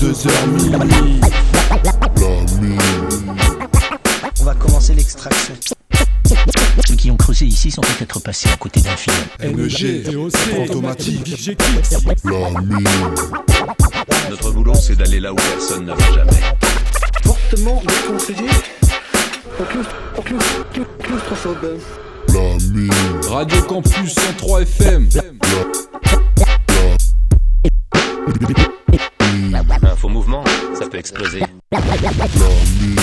22h minuit. La mine. On va commencer l'extraction. Ceux qui ont creusé ici sont peut-être passés à côté d'un film. NG, automatique, La mine. Notre boulot, c'est d'aller là où personne ne va jamais. Fortement déconseillé. Plus 300 buzz. La mine. Radio Campus 103 FM. Un faux mouvement, ça peut exploser. La mine.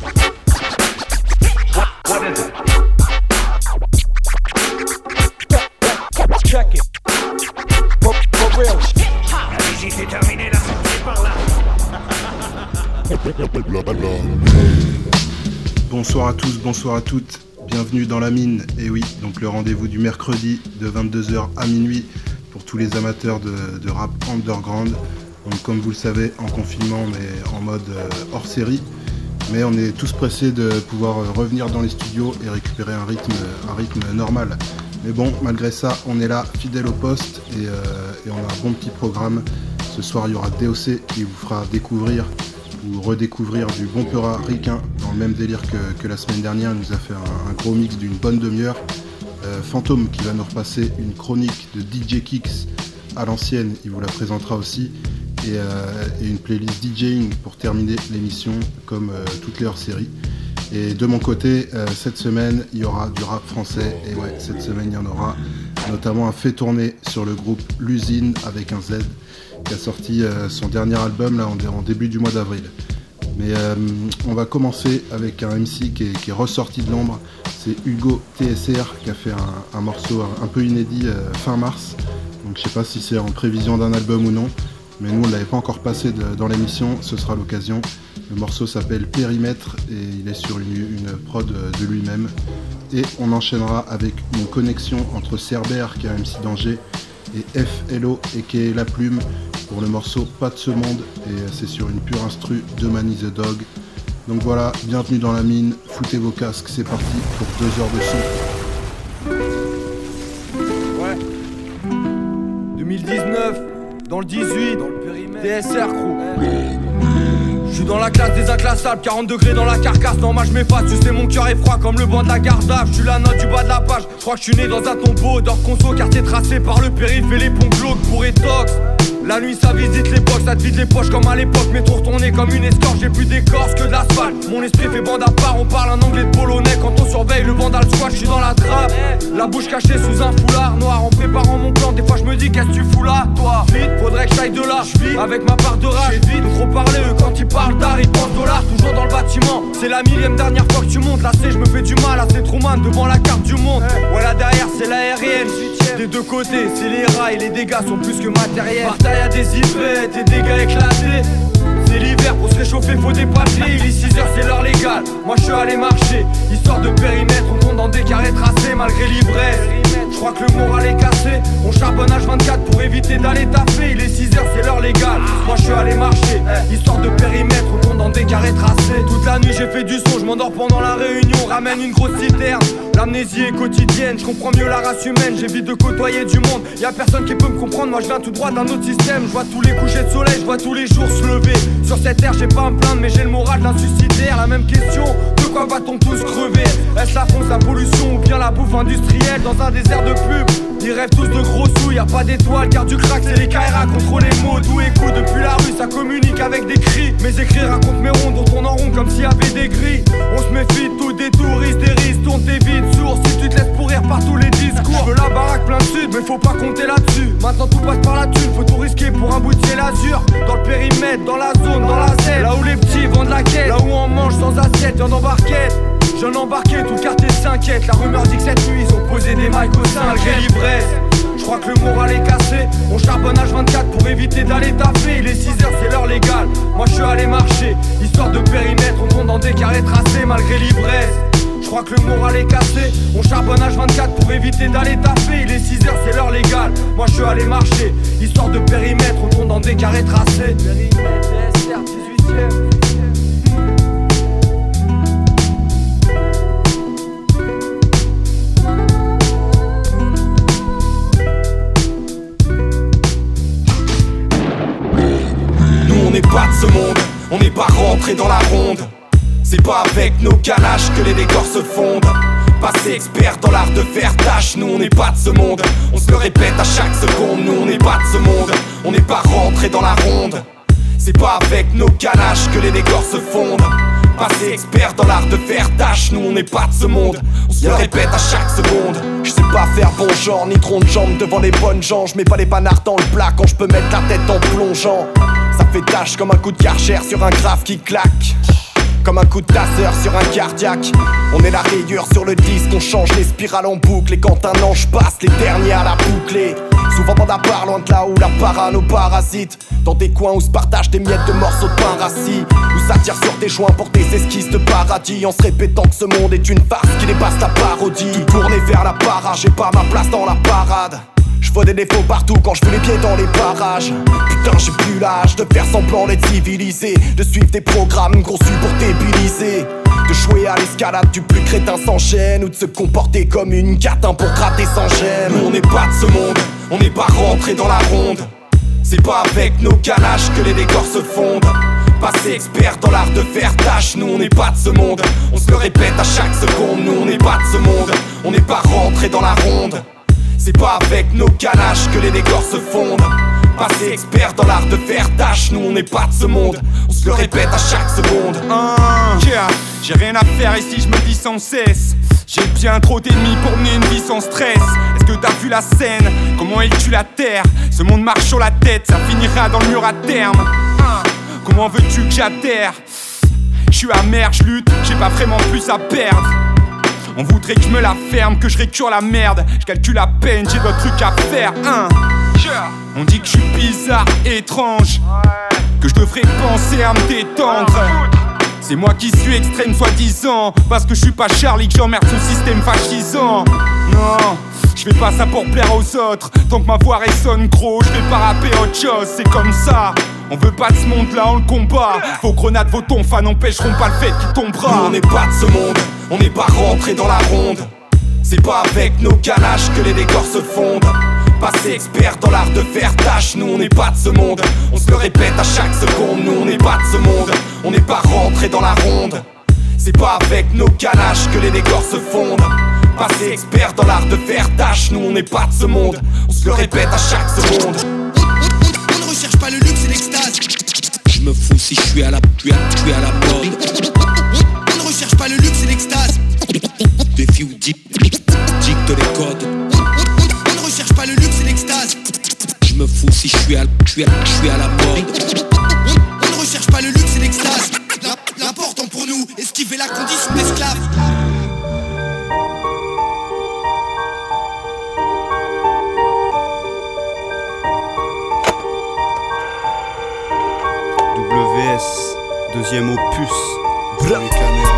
Check it. For real. La visite est terminée, la sortie par là. La mine. Bonsoir à tous, bonsoir à toutes, bienvenue dans la mine, et oui, donc le rendez-vous du mercredi de 22h à minuit pour tous les amateurs de rap underground. Donc comme vous le savez, en confinement mais en mode hors série, mais on est tous pressés de pouvoir revenir dans les studios et récupérer un rythme normal. Mais bon, malgré ça, on est là, fidèle au poste, et on a un bon petit programme. Ce soir, il y aura DOC qui vous fera découvrir ou redécouvrir du bon Peura ricain dans le même délire que la semaine dernière. Il nous a fait un gros mix d'une bonne demi-heure. Fantôme qui va nous repasser une chronique de DJ Kicks à l'ancienne, il vous la présentera aussi, et une playlist DJing pour terminer l'émission comme toutes les hors-séries. Et de mon côté, cette semaine il y aura du rap français, et ouais, cette semaine il y en aura notamment un fait tourner sur le groupe L'Usine avec un Z, qui a sorti son dernier album là en début du mois d'avril. Mais on va commencer avec un MC qui est ressorti de l'ombre, c'est Hugo TSR qui a fait un morceau un peu inédit fin mars. Donc je sais pas si c'est en prévision d'un album ou non, mais nous on ne l'avait pas encore passé dans l'émission, ce sera l'occasion. Le morceau s'appelle Périmètre et il est sur une prod de lui-même. Et on enchaînera avec une connexion entre Cerbère qui est un MC d'Angers et FLO et qui est La Plume pour le morceau Pas de ce monde, et c'est sur une pure instru de Manny the Dog. Donc voilà, bienvenue dans la mine, foutez vos casques, c'est parti pour 2 heures de son. Ouais. 2019, dans le 18, dans le périmètre, DSR crew. Je suis dans la classe des inclassables, 40 degrés dans la carcasse. Non, moi je m'efface, tu sais mon cœur est froid comme le banc de la garde. Je suis la note du bas de la page, je crois que je suis né dans un tombeau d'or conso, quartier tracé par le périph' et les ponts glauques pour étox. La nuit ça visite les box, ça te vide les poches comme à l'époque. Métro retourné comme une escorte, j'ai plus d'écorce que de l'asphalte. Mon esprit fait bande à part, on parle un anglais de polonais. Quand on surveille le vandal squat, je suis dans la trappe. La bouche cachée sous un foulard noir. En préparant mon plan, des fois je me dis qu'est-ce que tu fous là, toi. Vite, faudrait que j'aille de là, j'vis avec ma part de rage. J'ai vite trop parlé, eux quand ils parlent d'art, ils pensent dollars. Toujours dans le bâtiment, c'est la 1000e dernière fois que tu montes. Là c'est, je me fais du mal, là c'est Truman devant la carte du monde. Voilà derrière c'est l'aérienne, des deux côtés c'est les rails, les dégâts sont plus que matériels. Bataille à des hypettes et dégâts éclatés. C'est l'hiver, pour se réchauffer faut des papiers. Il est 6h, c'est l'heure légale, moi je suis allé marcher. Histoire de périmètre, on compte dans des carrés tracés malgré l'ivresse. Je crois que le moral est cassé, on charbonne H24 pour éviter d'aller taper. Il est 6h, c'est l'heure légale, moi je suis allé marcher. Histoire de périmètre, on compte dans des carrés tracés. Toute la nuit j'ai fait du son, je m'endors pendant la réunion. Ramène une grosse citerne, l'amnésie est quotidienne. Je comprends mieux la race humaine, j'évite de côtoyer du monde. Y'a personne qui peut me comprendre, moi je viens tout droit d'un autre système. Je vois tous les couchers de soleil, je vois tous les jours se lever. Sur cette terre j'ai pas à me plaindre mais j'ai le moral d'un suicidaire. La même question, de quoi va-t-on tous crever? Est-ce la fonce, la pollution ou bien la bouffe industrielle dans un désert de pub? Ils rêvent tous de gros sous, y'a pas d'étoiles, car du crack c'est les KRA contre les mots. D'où écoute depuis la rue, ça communique avec des cris. Mes écrits racontent mes rondes, on tourne en rond comme s'il y avait des grilles. On se méfie de tout, des touristes, des risques, tourne tes vides sourds. Si tu te laisses pourrir par tous les discours. Je veux la baraque plein de sud, mais faut pas compter là-dessus. Maintenant tout passe par la thune, faut tout risquer pour un bout de ciel azur. Dans le périmètre, dans la zone, dans la Z, là où les petits vendent la quête, là où on mange sans assiette, y'en embarquette. J'en embarqué, tout le quartier s'inquiète. La rumeur dit que cette nuit ils ont posé des mics au sein malgré l'ivresse. Je crois que le moral est cassé, on charbonne H24 pour éviter d'aller taper. Il est 6h, c'est l'heure légale, moi je suis allé marcher. Histoire de périmètre, on compte dans des carrés tracés malgré l'ivresse. Je crois que le moral est cassé, on charbonne H24 pour éviter d'aller taper. Il est 6h, c'est l'heure légale, moi je suis allé marcher. Histoire de périmètre, on compte dans des carrés tracés. Périmètre, DSR, 18ème. On n'est pas de rentrer dans la ronde. C'est pas avec nos ganaches que les décors se fondent. Passé expert dans l'art de faire tâche, nous on n'est pas de ce monde. On se le répète à chaque seconde, nous on n'est pas de ce monde. On n'est pas rentré dans la ronde. C'est pas avec nos ganaches que les décors se fondent. Passé expert dans l'art de faire tâche, nous on n'est pas de ce monde. On se le répète à chaque seconde. Je sais pas faire bon genre, ni tronc de jambes devant les bonnes gens. Je mets pas les panards dans le plat quand je peux mettre la tête en plongeant. Ça fait tâche comme un coup de Karcher sur un graphe qui claque. Comme un coup de tasseur sur un cardiaque. On est la rayure sur le disque, on change les spirales en boucle. Et quand un ange passe, les derniers à la boucler. Souvent bande à part, loin de là où la parano parasite. Dans des coins où se partagent des miettes de morceaux de pain rassis. Où ça tire sur tes joints pour des esquisses de paradis. En se répétant que ce monde est une farce qui dépasse la parodie. Tout tourner vers la para, j'ai pas ma place dans la parade. Je vois des défauts partout quand je fais les pieds dans les parages. Putain j'ai plus l'âge de faire semblant d'être civilisé. De suivre des programmes conçus pour débiliser. De jouer à l'escalade du plus crétin sans chaîne. Ou de se comporter comme une catin pour gratter sans gemme. Nous on n'est pas de ce monde, on n'est pas rentré dans la ronde. C'est pas avec nos ganaches que les décors se fondent. Passé expert dans l'art de faire tâche, nous on n'est pas de ce monde. On se le répète à chaque seconde, nous on n'est pas de ce monde. On n'est pas rentré dans la ronde. C'est pas avec nos ganaches que les décors se fondent. Passé expert dans l'art de faire tâche, nous on n'est pas de ce monde. On se le répète à chaque seconde. J'ai rien à faire ici, je me dis sans cesse. J'ai bien trop d'ennemis pour mener une vie sans stress. Est-ce que t'as vu la scène, comment elle tue la terre? Ce monde marche sur la tête, ça finira dans le mur à terme. Comment veux-tu que j'atterre? Je suis amer, je lutte, j'ai pas vraiment plus à perdre. On voudrait que je me la ferme, que je récure la merde. Je calcule à peine, j'ai d'autres trucs à faire. On dit que je suis bizarre, étrange, que je devrais penser à me détendre. C'est moi qui suis extrême soi-disant, parce que je suis pas Charlie que j'emmerde ce système fascisant. Non, je fais pas ça pour plaire aux autres. Tant que ma voix résonne gros, je vais pas rapper autre chose, c'est comme ça. On veut pas de ce monde-là, on le combat. Vos grenades, vos tonfas n'empêcheront pas le fait qu'il tombera. Nous on n'est pas de ce monde, on n'est pas rentré dans la ronde. C'est pas avec nos ganaches que les décors se fondent. Passé expert dans l'art de faire tâche, nous on n'est pas de ce monde. On se le répète à chaque seconde, nous on n'est pas de ce monde. On n'est pas rentré dans la ronde. C'est pas avec nos ganaches que les décors se fondent. Passé expert dans l'art de faire tâche, nous on n'est pas de ce monde. On se le répète à chaque seconde. On ne recherche pas le luxe et l'extase. Je me fous si je suis à la mode. On ne recherche pas le luxe et l'extase. Défi ou dicte les codes. On ne recherche pas le luxe et l'extase. Je me fous si je suis à la mode. On ne recherche pas le luxe et l'extase. L'important pour nous, esquiver la condition d'esclave. WS, deuxième opus. Les caméras.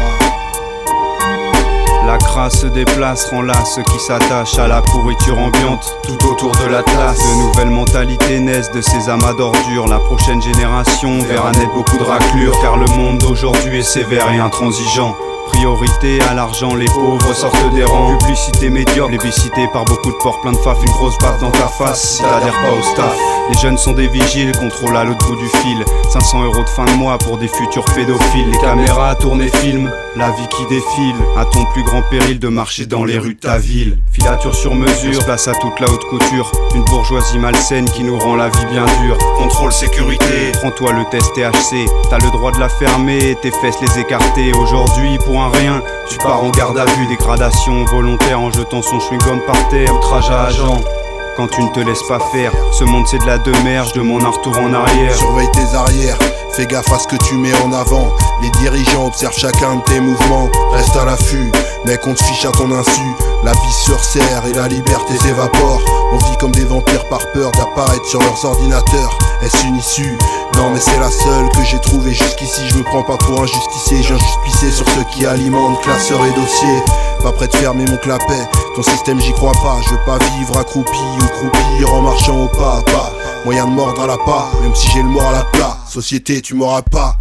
La crasse se déplace, rend là ceux qui s'attachent à la pourriture ambiante tout autour de l'Atlas. De nouvelles mentalités naissent de ces amas d'ordures. La prochaine génération verra naître beaucoup de raclures, car le monde d'aujourd'hui est sévère et intransigeant. Priorité à l'argent, les pauvres sortent des rangs. Publicité médiocre, plébiscité par beaucoup de porcs plein de faf. Une grosse baffe dans ta face si t'adhères pas au staff. Les jeunes sont des vigiles, contrôle à l'autre bout du fil. 500 € de fin de mois pour des futurs pédophiles. Les caméras tournent et filment la vie qui défile. À ton plus grand péril de marcher dans les rues de ta ville. Filature sur mesure, place à toute la haute couture. Une bourgeoisie malsaine qui nous rend la vie bien dure. Contrôle sécurité, prends-toi le test THC. T'as le droit de la fermer, tes fesses les écarter. Aujourd'hui pour un rien, tu pars en garde à vue. Dégradation volontaire en jetant son chewing-gum par terre. Outrage à agent quand tu ne te laisses pas faire. Ce monde c'est de la demeure, je demande un retour en arrière. Surveille tes arrières, fais gaffe à ce que tu mets en avant. Les dirigeants observent chacun de tes mouvements. Reste à l'affût, mec on te fiche à ton insu. La vie se resserre et la liberté s'évapore. On vit comme des vampires par peur d'apparaître sur leurs ordinateurs. Est-ce une issue? Non mais c'est la seule que j'ai trouvée jusqu'ici. Je me prends pas pour un justicier, j'ai juste pissé sur ceux qui alimentent classeurs et dossiers. Pas prêt de fermer mon clapet, ton système j'y crois pas. Je veux pas vivre accroupi ou croupir en marchant au pas à pas. Moyen de mordre à la pas, même si j'ai le mort à la plat. Société tu m'auras pas.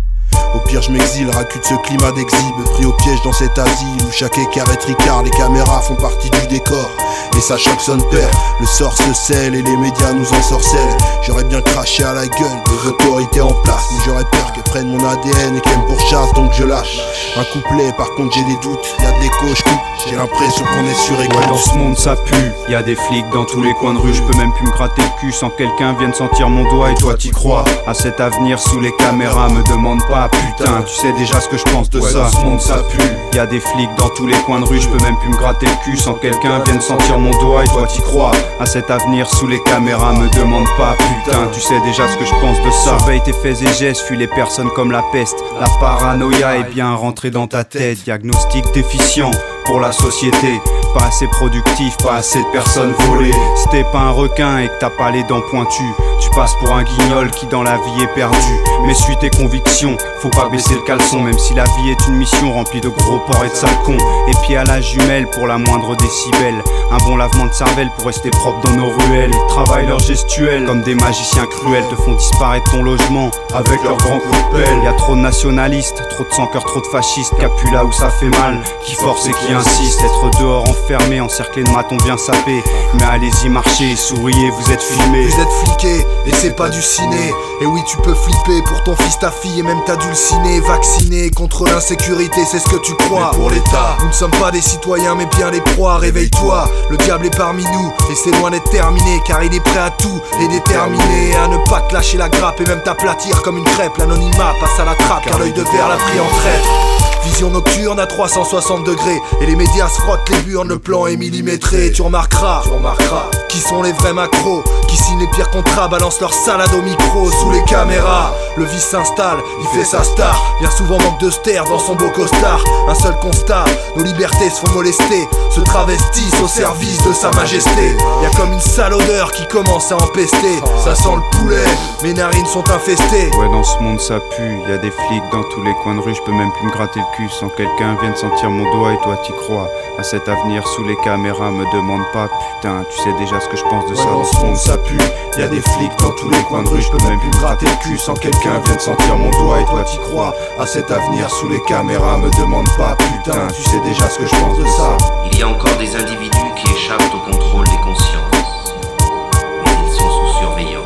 Au pire je m'exile, raccute ce climat d'exhibe. Pris au piège dans cet asile où chaque écart est tricard. Les caméras font partie du décor et ça choque son père. Le sort se scelle et les médias nous ensorcellent. J'aurais bien craché à la gueule des autorités en place, mais j'aurais peur qu'elles prennent mon ADN et qu'elles me pourchassent, donc je lâche un couplet. Par contre j'ai des doutes, y'a de l'écho, je coupe. J'ai l'impression qu'on est sur écoute. Ouais, dans ce monde ça pue, y'a des flics dans tous les coins de rue. Je peux même plus me gratter le cul sans quelqu'un vienne sentir mon doigt. Et toi t'y crois à cet avenir sous les caméras? Me demande pas, putain, tu sais déjà ce que je pense de ça. Dans ce monde ça pue, y'a des flics dans tous les coins de rue. Je peux même plus me gratter le cul sans quelqu'un vienne sentir mon doigt. Et toi t'y crois à cet avenir sous les caméras? Me demande pas, putain, tu sais déjà ce que je pense de ça. Surveille tes faits et gestes, fuis les personnes comme la peste. La paranoïa est bien rentrée dans ta tête. Diagnostic déficient pour la société, pas assez productif, pas assez de personnes volées. Si t'es pas un requin et que t'as pas les dents pointues, tu passes pour un guignol qui dans la vie est perdu. Mais suis tes convictions, faut pas baisser le caleçon. Même si la vie est une mission remplie de gros porcs et de sales cons. Et puis à la jumelle pour la moindre décibel. Un bon lavement de cervelle pour rester propre dans nos ruelles. Ils travaillent leur gestuelle comme des magiciens cruels. Te font disparaître ton logement avec leurs grands coups de pelle. Y'a trop de nationalistes, trop de sans-cœur, trop de fascistes. Qui appuient là où ça fait mal, qui forcent et qui insistent. Être dehors enfermé, encerclé de matons bien sapés. Mais allez-y marchez, souriez, vous êtes filmés. Vous êtes fliqués et c'est pas du ciné. Et oui tu peux flipper pour ton fils, ta fille et même ta dulcinée. Vacciné contre l'insécurité, c'est ce que tu crois. Mais pour l'État, nous ne sommes pas des citoyens mais bien des proies. Réveille-toi, le diable est parmi nous et c'est loin d'être terminé. Car il est prêt à tout et déterminé à ne pas te lâcher la grappe et même t'aplatir comme une crêpe. L'anonymat passe à la trappe car l'œil de verre l'a pris en traître. Vision nocturne à 360 degrés et les médias se frottent les burnes, le plan est millimétré. Tu remarqueras qui sont les vrais macros, qui signent les pires contrats, balancent leur salade au micro. Sous les caméras, le vice s'installe, il fait sa star. Bien souvent manque de ster dans son beau costard. Un seul constat, nos libertés se font molester, se travestissent au service de sa majesté. Y'a comme une sale odeur qui commence à empester. Ça sent le poulet, mes narines sont infestées. Ouais, dans ce monde ça pue, y'a des flics dans tous les coins de rue. Je peux même plus me gratter le cul sans quelqu'un vienne sentir mon doigt. Et toi t'y crois à cet avenir sous les caméras? Me demande pas, putain, tu sais déjà ce que je pense de ça. Dans ce monde ça pue, y'a des flics dans tous les coins de rue. Je peux même plus me gratter le cul sans quelqu'un vienne sentir mon doigt. Et toi t'y crois à cet avenir sous les caméras? Me demande pas, putain, tu sais déjà ce que je pense de ça. Il y a encore des individus qui échappent au contrôle des consciences, mais ils sont sous surveillance.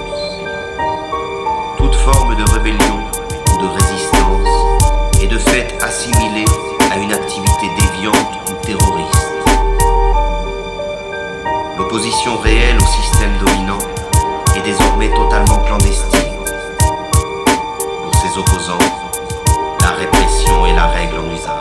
Toute forme de rébellion ou de résistance est de fait assimilée à une activité déviante ou terroriste. L'opposition réelle au système dominant est désormais totalement clandestine. Pour ses opposants, la répression est la règle en usage.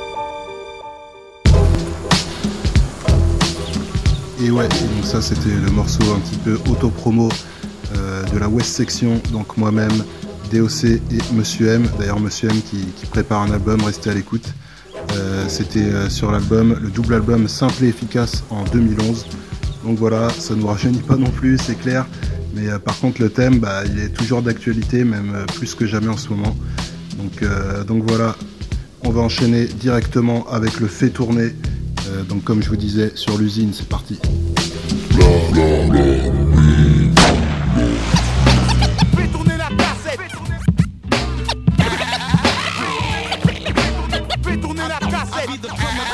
Et ouais, donc ça c'était le morceau un petit peu auto-promo de la West Section, donc moi-même, DOC et Monsieur M. D'ailleurs Monsieur M qui prépare un album, restez à l'écoute. C'était sur l'album, le double album Simple et Efficace en 2011. Donc voilà, ça ne nous rajeunit pas non plus, c'est clair. Mais par contre le thème, il est toujours d'actualité, même plus que jamais en ce moment. Donc voilà, on va enchaîner directement avec le fait tourner. Donc comme je vous disais, sur l'usine, c'est parti. Fais tourner la cassette. Fais tourner la cassette.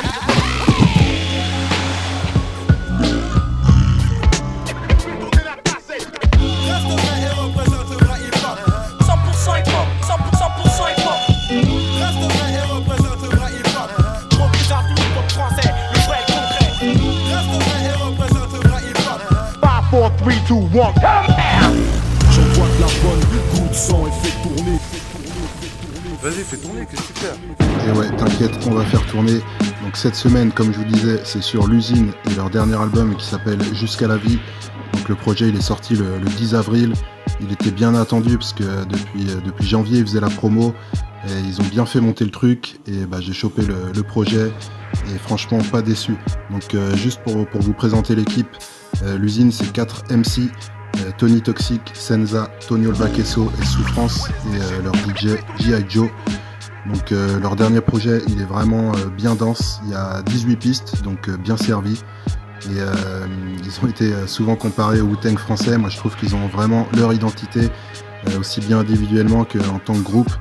J'envoie de la bonne, coup de sang et fais tourner. Vas-y, fais tourner, qu'est-ce que tu fais? Et ouais, t'inquiète, on va faire tourner. Donc cette semaine, comme je vous disais, c'est sur l'usine et leur dernier album qui s'appelle Jusqu'à la vie. Donc le projet, il est sorti le 10 avril. Il était bien attendu parce que depuis janvier, ils faisaient la promo. Et ils ont bien fait monter le truc et j'ai chopé le projet et franchement pas déçu. Donc juste pour vous présenter l'équipe, l'usine c'est 4 MC, Tony Toxic, Senza, Tony Olbakeso et Souffrance et leur DJ G.I. Joe. Donc leur dernier projet il est vraiment bien dense, il y a 18 pistes donc bien servi. Et ils ont été souvent comparés au Wu-Tang français. Moi je trouve qu'ils ont vraiment leur identité, aussi bien individuellement qu'en tant que groupe.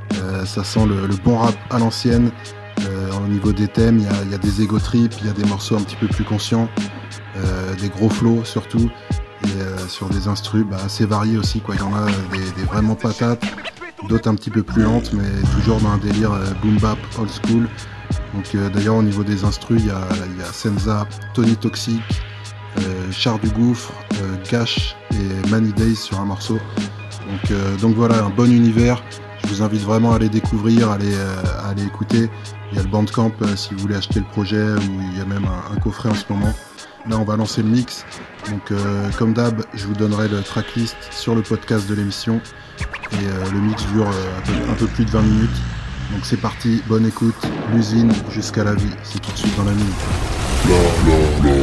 Ça sent le bon rap à l'ancienne. Au niveau des thèmes, il y a des ego trips, il y a des morceaux un petit peu plus conscients, des gros flows surtout, et sur des instrus assez variés aussi, quoi. Il y en a des vraiment patates, d'autres un petit peu plus lentes, mais toujours dans un délire boom bap old school. Donc d'ailleurs au niveau des instrus, il y a Senza, Tony Toxic, Char du Gouffre, Gash et Many Days sur un morceau. Donc voilà, un bon univers. Je vous invite vraiment à aller découvrir, à aller écouter. Il y a le Bandcamp si vous voulez acheter le projet, ou il y a même un coffret en ce moment. Là on va lancer le mix. Donc comme d'hab, je vous donnerai le tracklist sur le podcast de l'émission. Et le mix dure un peu plus de 20 minutes. Donc c'est parti, bonne écoute, l'usine jusqu'à la vie, c'est tout de suite dans la mine.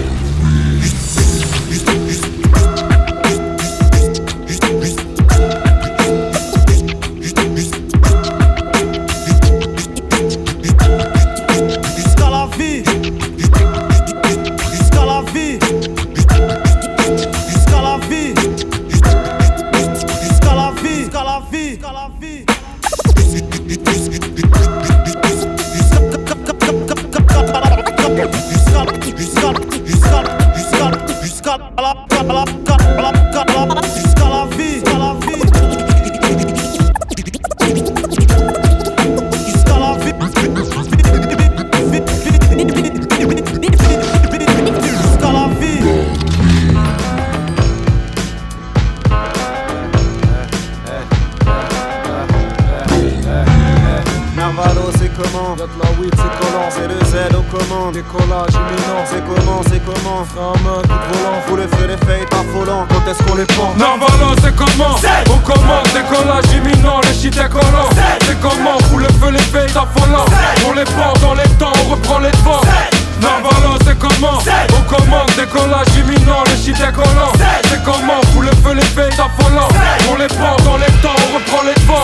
Décollage imminent, c'est comment frein à main, coup de volant, faut les feux, les faits affolants, quand est-ce qu'on les prend? Narvalo, c'est comment? On commande, décollage imminent, les shit décollants. C'est comment? Faut le feu, les faits affolants. On les prend dans les temps, on reprend les devants. Narvalo, c'est comment? On commande, décollage imminent, les shit décollants. C'est comment? Faut le feu, les faits affolants. On les prend dans les temps, on reprend les devants.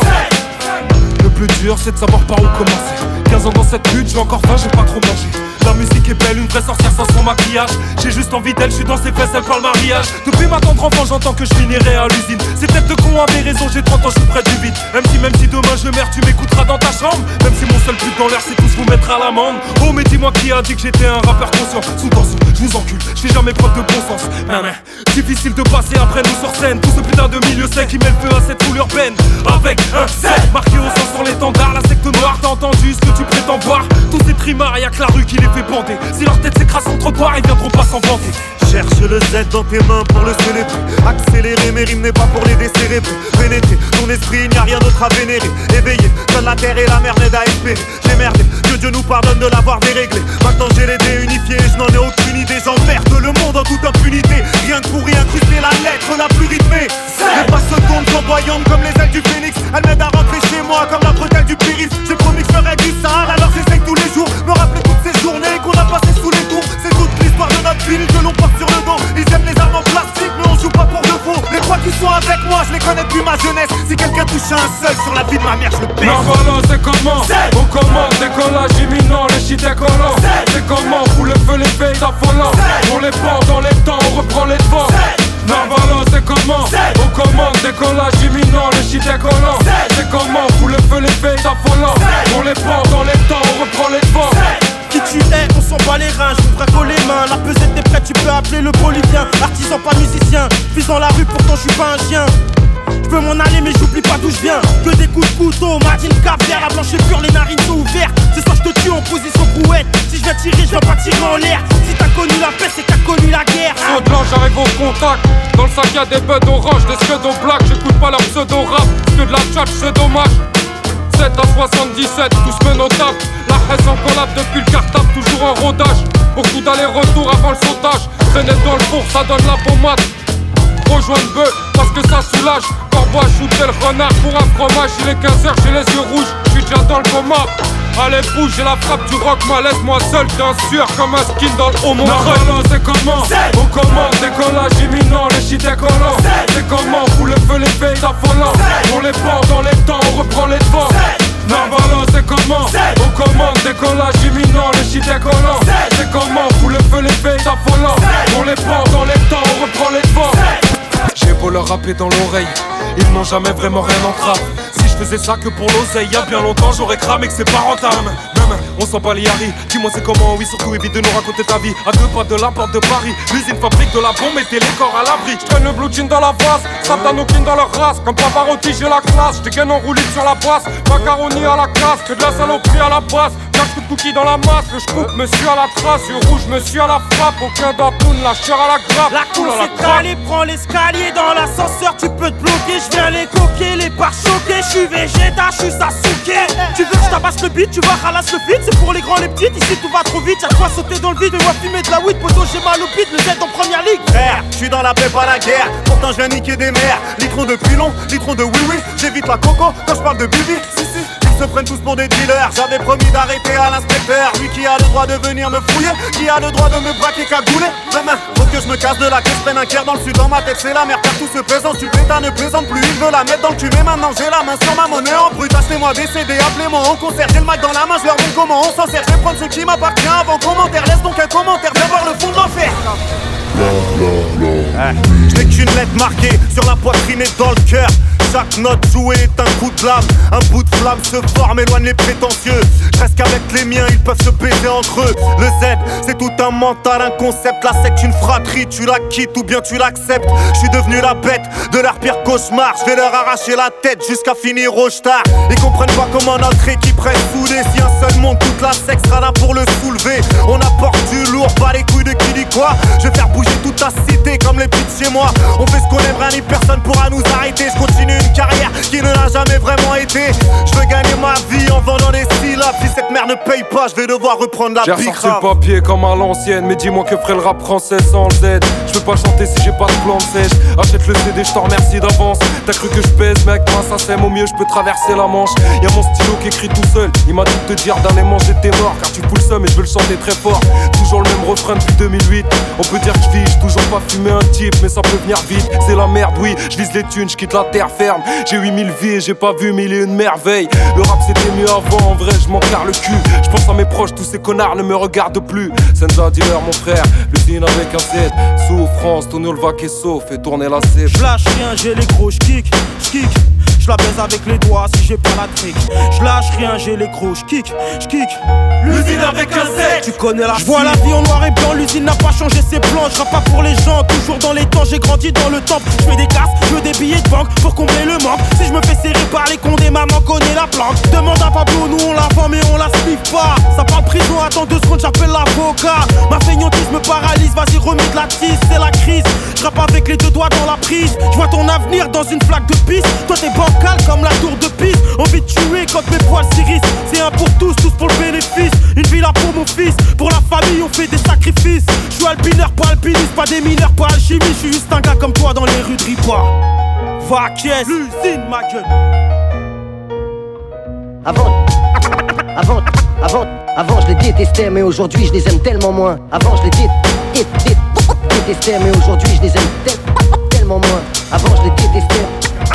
Le plus dur, c'est de savoir par où commencer. 15 ans dans cette lutte, j'ai encore faim, j'ai pas trop mangé. La musique est belle, une vraie sorcière sans son maquillage. J'ai juste envie d'elle, je suis dans ses fesses, elle parle mariage. Depuis ma tendre enfant, j'entends que je finirai à l'usine. Ces têtes de cons avaient raison, j'ai 30 ans, je suis près du vide. Même si demain je meurs, tu m'écouteras dans ta chambre. Même si mon seul but dans l'air, c'est tous vous mettre à l'amende. Oh mais dis-moi qui a dit que j'étais un rappeur conscient. Sous tension, je vous encule, je fais jamais preuve de bon sens. Difficile de passer après nous sur scène. Tout ce putain de milieu sec qui met le feu à cette foule urbaine. Avec un set marqué au sang sur l'étendard, la secte noire. T'as entendu ce que tu prétends voir? Tous ces trimards, y'a que la rue qui les fait bander. Si leur tête s'écrase sur le trottoir, ils viendront pas s'en vanter. Cherche le Z dans tes mains pour le célébrer. Accélérer, mes rimes n'est pas pour les décérébrer. Pénétrer ton esprit, il n'y a rien d'autre à vénérer. Éveillé, seule la terre et la mer n'aident à espérer. J'ai merdé, que Dieu nous pardonne de l'avoir déréglé. Maintenant j'ai les dés unifiés, je n'en ai aucune idée. J'emmerde le monde en toute impunité. Rien que pour y incruster la lettre la plus rythmée. Les pas se tournent flamboyantes comme les ailes du phénix. Elles m'aident à rentrer chez moi comme la bretelle du périph'. J'ai promis que je ferais du sale, alors j'essaye tous les jours. Me rappeler toutes ces journées qu'on a passées sous les tours. C'est toute l'histoire de notre ville que l'on porte sur le dos. Ils aiment les armes en plastique mais on joue pas pour de faux. Les trois qui sont avec moi je les connais depuis ma jeunesse. Si quelqu'un touche un seul sur la vie de ma mère je le baisse. Narvalo, c'est comment? On commande, décollage imminent, les shit décollants. C'est comment? Faut le feu, les faits affolants. On les prend dans les temps, on reprend les devants. Narvalo, c'est comment? On commande, décollage imminent, les shit décollants. C'est comment? Faut le feu, les faits affolants. On les prend dans les temps, on reprend les devants. Qui tu es, on s'en bat les reins, je vous braque les mains. La pesette est prête, tu peux appeler le bolivien. Artisan pas musicien, vis dans la rue pourtant je suis pas un chien. Je peux m'en aller mais j'oublie pas d'où je viens. Que des coups de couteau, Martine caviar, la blanche est pure, les narines sont ouvertes. Ce soir je te tue en position brouette. Si je viens tirer, je viens pas tirer en l'air. Si t'as connu la paix, c'est que t'as connu la guerre. Saut de l'ange, j'arrive au contact. Dans le sac y'a des buds orange, des pseudo black. J'écoute pas leur pseudo rap, que de la tchatch c'est dommage. 7 à 77, tous menotables. La haisse en collab depuis le cartable, toujours en rodage. Beaucoup d'allers-retours avant le sautage. Traîner dans le four, ça donne la pommade. Rejoindre bœuf, parce que ça soulage. Corbeau à shooter le renard pour un fromage. Il est 15h, j'ai les yeux rouges, j'suis déjà dans le coma. Allez bouge, j'ai la frappe du rock, moi laisse-moi seul. T'es un sueur comme un skin dans le haut mon Narvalo, c'est comment? On commande, décollage imminent, les shit décollants. C'est comment? Faut le feu, les faits affolants. On les prend dans les temps, on reprend les devants. Narvalo, c'est comment? On commande, décollage imminent, les shit décollants. C'est comment? Faut le feu, les faits affolants. On les prend dans les temps, on reprend les devants. J'ai beau leur rapper dans l'oreille, ils n'ont jamais vraiment rien en trappe. Si je faisais ça que pour l'oseille. Y'a bien longtemps j'aurais cramé que c'est pas rentable. Même, on s'en bat les haris. Dis-moi c'est comment, oui surtout évite de nous raconter ta vie. À 2 pas de la porte de Paris, l'usine fabrique de la bombe, mettez les corps à l'abri. J'traîne le blue jean dans la face, Satanokin dans leur race. Comme Pavarotti j'ai la classe, j'dégaine en roulis sur la basse. Macaroni à la casse, que de la saloperie à la base. Cache coup de cookies dans la masse, le j'coupe monsieur à la trace. Yeux rouge monsieur à la frappe, aucun d'Antoun, la chair à la grappe. La course est calée, prends l'escalier dans l'ascenseur, tu peux te bloquer. J'viens les coquer, les pare choquer. J'suis Vegeta, j'suis Sasuke. Tu veux que j'tabasse le beat, tu vas ralasse le feed. C'est pour les grands, les petites, ici tout va trop vite. Y'a quoi sauter dans le vide, mais moi fumer de la weed. Poto j'ai mal au pit, le Z en première ligue. Frère, j'suis dans la paix, pas la guerre. Pourtant j'viens niquer des mers. Litron de pilon, litron de oui-oui. J'évite la coco quand j'parle de bibi. Ils se prennent tous pour des dealers. J'avais promis d'arrêter à l'inspecteur. Lui qui a le droit de venir me fouiller, qui a le droit de me braquer cagoulé. Demain, faut que je me casse de la queue, je prenne un quart dans le sud. Dans ma tête c'est la merde car tout se plaisante. Tu pétas ne plaisante plus, il veut la mettre dans le cul. Mais maintenant j'ai la main sur ma monnaie en brut. Achetez-moi des CD, appelez-moi en concert. J'ai le mic dans la main, je leur montre comment on s'en sert. Je vais prendre ce qui m'appartient avant commentaire. Laisse donc un commentaire, viens voir le fond de l'enfer. Je n'ai qu'une lettre marquée sur la poitrine et dans le cœur. Chaque note jouée est un coup de lame. Un bout de flamme se forme, éloigne les prétentieux. Je reste qu'avec les miens, ils peuvent se baiser entre eux. Le Z, c'est tout un mental, un concept. La secte, une fratrie, tu la quittes ou bien tu l'acceptes. Je suis devenu la bête de leur pire cauchemar. Je vais leur arracher la tête jusqu'à finir au star. Ils comprennent pas comment notre équipe reste soudée. Si un seul monte, toute la secte sera là pour le soulever. On apporte du lourd, pas les couilles de qui dit quoi. Je vais faire bouger toute ta cité comme les petites chez moi. On fait ce qu'on aime, rien ni personne pourra nous arrêter. Je continue une carrière qui ne l'a jamais vraiment été. Je veux gagner ma vie en vendant des syllabes. Si cette merde ne paye pas, je vais devoir reprendre la pique. J'ai ressorti le papier comme à l'ancienne. Mais dis-moi que ferait le rap français sans le Z. Je peux pas chanter si j'ai pas de plan de sèche. Achète le CD, je t'en remercie d'avance. T'as cru que je pèse, mais avec moi ça sème. Au mieux je peux traverser la Manche. Y'a mon stylo qui écrit tout seul. Il m'a dit de te dire d'aller manger tes morts. Car tu fous le seum et je veux le chanter très fort. Toujours le même refrain depuis 2008. On peut dire que je vis, j'ai toujours pas fumé un type. Mais ça peut venir vite, c'est la merde, oui. Je vise les thunes, je quitte la terre ferme. J'ai 8000 vies et j'ai pas vu 1001 merveilles. Le rap c'était mieux avant, en vrai je m'en carre le cul. Je pense à mes proches, tous ces connards ne me regardent plus. Senza dealer mon frère, l'usine avec un Z. Souffrance, Tonio le vaque et sauf, fait tourner la cible. J'lâche rien, j'ai les gros, j'kick. Je la baise avec les doigts si j'ai pas la trick. Je lâche rien, j'ai les gros, j'kick. L'usine avec un Z. Tu connais la. Je vois la vie en noir et blanc, l'usine n'a pas changé ses plans. Je rappe pas pour les gens, toujours dans les temps. J'ai grandi dans le temple. Je fais des casses, je veux des billets de banque pour combler le manque. Si je me fais serrer par les condés, maman connaît la planque. Demande à Pablo, nous on la vend mais on la sniffe pas. Ça parle prison, attends 2 secondes, j'appelle l'avocat. Ma feignantise me paralyse, vas-y remets de la tisse, c'est la crise. Je rappe avec les 2 doigts dans la prise. Je vois ton avenir dans une flaque de pisse. Toi t'es bancal comme la tour de Pise. Envie de tuer quand mes poils s'irrissent. C'est un pour tous pour le bénéfice. Une villa pour mon fils, pour la famille on fait des sacrifices. Je suis alpineur, pas alpiniste, pas des mineurs, pas alchimiste. Je suis juste un gars comme toi dans les rues de Ripa. Va caisse, l'usine ma gueule. Avant je les détestais mais aujourd'hui je les aime tellement moins. Avant je les détestais mais aujourd'hui je les aime tellement moins. Avant je les détestais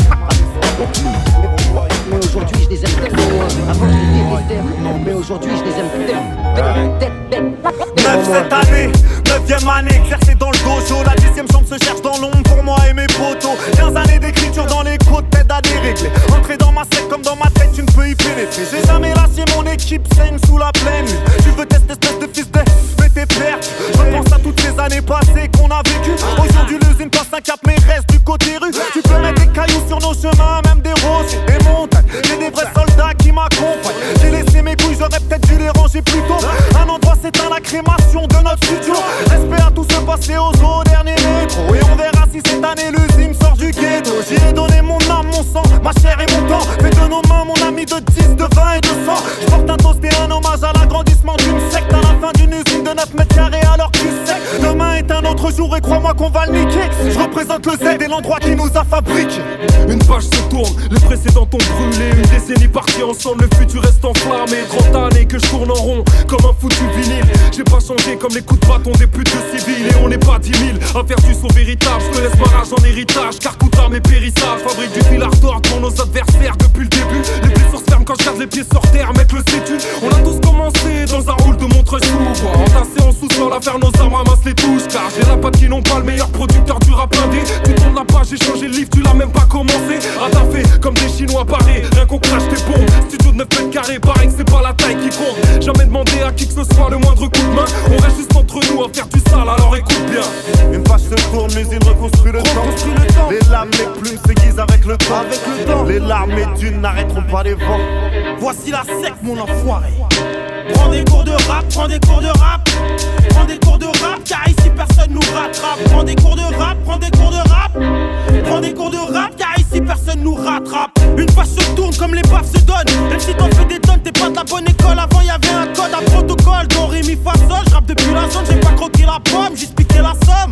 mais aujourd'hui je les aime tellement moins. Avant je les détestais mais aujourd'hui je les aime tellement. 9 cette année, 9ème année, exercé dans le dojo. La 10ème chambre se cherche dans l'ombre pour moi et mes potos. 15 années d'écriture dans les côtes, t'aides à dérégler. Entrer dans ma secte comme dans ma tête, tu ne peux y pénétrer. J'ai jamais lâché mon équipe, saigne sous la pleine lune. Tu veux tester espèce de fils de mais t'es perdu. Je pense à toutes ces années passées qu'on a vécues. Aujourd'hui l'usine passe un cap mais reste du côté rue. Tu peux mettre des cailloux sur nos chemins, même des roses et des montagnes. J'ai des vrais soldats qui m'accompagnent. J'ai laissé mes couilles, j'aurais peut-être dû les ranger plus tôt. Un endroit s'éteint la crémation de notre studio. Respect à tout ce passé aux eaux, dernier métro. Et on verra si cette année l'usine sort du ghetto. J'y ai donné mon âme, mon sang, ma chair et mon temps. Fais de nos mains mon ami de 10, de 20 et de 100. Je porte un toast et un hommage à l'agrandissement d'une secte. À la fin d'une usine de 9 mètres carrés alors que tu sais. Demain est un autre jour et crois-moi qu'on va le niquer. Je représente le Z et l'endroit qui nous a fabriqué. Une page se tourne, les précédents ont brûlé. Une décennie partie ensemble, le futur reste enflammé. 30 années que je tourne en rond, comme un foutu vinyle. J'ai pas changé comme les coups de bâton des putes de civils. Et on n'est pas 10 000 à faire du saut véritable. Je te laisse ma rage en héritage, car coûte à mes périssables. Fabrique du fil d'or pour nos adversaires depuis le début. Les blessures se ferment quand je garde les pieds sur terre, mec le sais-tu. On a tous commencé dans un rôle de montre chou. Entassé en sous-sol à faire nos armes, ramasse les touches. Car j'ai la potes qui n'ont pas le meilleur producteur du rap indé. Tu tournes la page, j'ai changé le livre, tu l'as même pas commencé. Ratafé comme des Chinois barrés, rien qu'on crache tes bombes. Studio de 9 mètres carrés, pareil que c'est pas la taille qui compte. Jamais demandé à qui que ce soit le moindre coup de main. On reste juste entre nous à faire du sale, alors écoute bien. Une page se tourne, l'usine reconstruit le temps. Les lames, les plumes s'aiguisent avec le temps. Les larmes et dunes n'arrêteront pas les vents. Voici la secte, mon enfoiré. Prends des cours de rap, prends des cours de rap. Prends des cours de rap, car ici personne nous rattrape. Prends des cours de rap, prends des cours de rap. Prends des cours de rap, car ici personne nous rattrape. Une page se tourne comme les baffes se donnent. Même si t'en fais des tonnes, t'es pas de la bonne école. Avant y'avait un code, un protocole. Don, ré, mi, fa, sol. J'rappe depuis la zone, j'ai pas croqué la pomme, juste piqué la somme.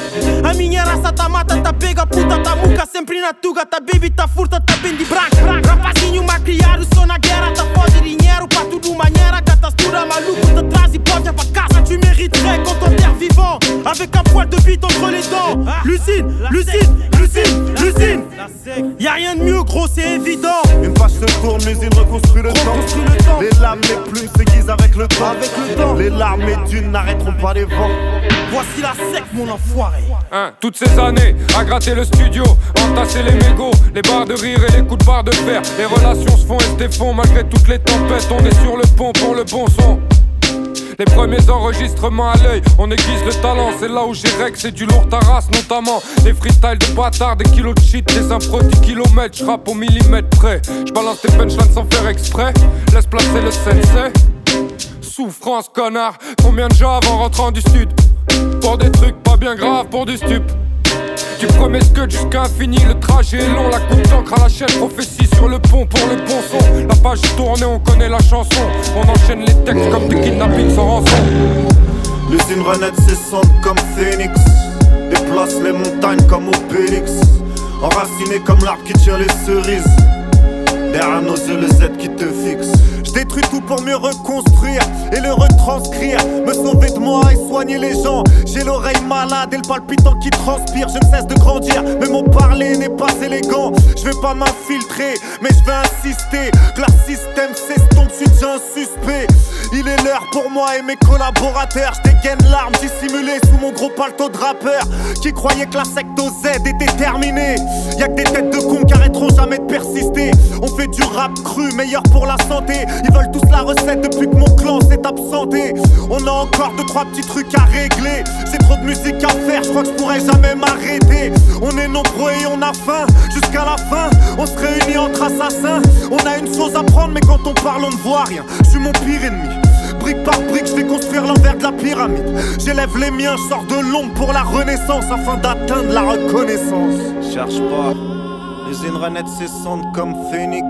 A minha raça tá mata, tá pega, puta, tá muca. Sempre na tuga, tá baby, tá furta, tá bem de branco. Rapazinho mal criado, sou na guerra. Tá foda dinheiro pra tudo maneira. Catastura maluco, te traz e pode pra casa. Tu mériterais qu'on t'enterre vivant, avec un poil de bite entre les dents. L'usine, l'usine, l'usine, l'usine. Y'a rien de mieux, gros, c'est évident. Une page se tourne, l'usine reconstruit le temps. Les lames, les plumes s'aiguisent avec le temps. Les larmes et dunes n'arrêteront pas les vents. Voici la secte, mon enfoiré. Toutes ces années à gratter le studio, entasser les mégots, les barres de rire et les coups de barre de fer. Les relations se font et se défont malgré toutes les tempêtes. On est sur le pont pour le bon son. Les premiers enregistrements à l'œil, on aiguise le talent. C'est là où j'ai règle, c'est du lourd taras notamment. Des freestyles de bâtards, des kilos de shit, des impros 10 kilomètres. J'rappe au millimètre près. J'balance tes punchlines sans faire exprès. Laisse placer le sensei. Souffrance connard, combien de gens en rentrant du sud? Pour des trucs pas bien graves, pour du stup. Du premier scud jusqu'à infini, le trajet est long. La coupe d'encre à la chaîne, prophétie sur le pont pour le bon son. La page tournée, on connaît la chanson. On enchaîne les textes comme des kidnappings sans rançon. L'usine renaît de ses cendres comme Phoenix. Déplace les montagnes comme Obélix. Enraciné comme l'arbre qui tire les cerises. Derrière nos yeux le Z qui te fixe. Je détruis tout pour mieux reconstruire et le retranscrire. Me sauver de moi et soigner les gens. J'ai l'oreille malade et le palpitant qui transpire. Je ne cesse de grandir, mais mon parler n'est pas élégant. Je vais pas m'infiltrer, mais je vais insister que leur système s'estompe, suis déjà un suspect. Il est l'heure pour moi et mes collaborateurs. Je dégaine l'arme dissimulée sous mon gros paletot de rappeur qui croyait que la secte au Z était terminée. Y'a que des têtes de cons qui arrêteront jamais de persister. On fait du rap cru, meilleur pour la santé. Ils veulent tous la recette depuis que mon clan s'est absenté. On a encore 2-3 petits trucs à régler. J'ai trop de musique à faire, je crois que je pourrais jamais m'arrêter. On est nombreux et on a faim, jusqu'à la fin on se réunit entre assassins. On a une chose à prendre mais quand on parle on ne voit rien. Je suis mon pire ennemi. Brique par brique, je vais construire l'envers de la pyramide. J'élève les miens, je sors de l'ombre pour la renaissance afin d'atteindre la reconnaissance. Cherche pas, l'usine renaît de ses cendres comme Phoenix.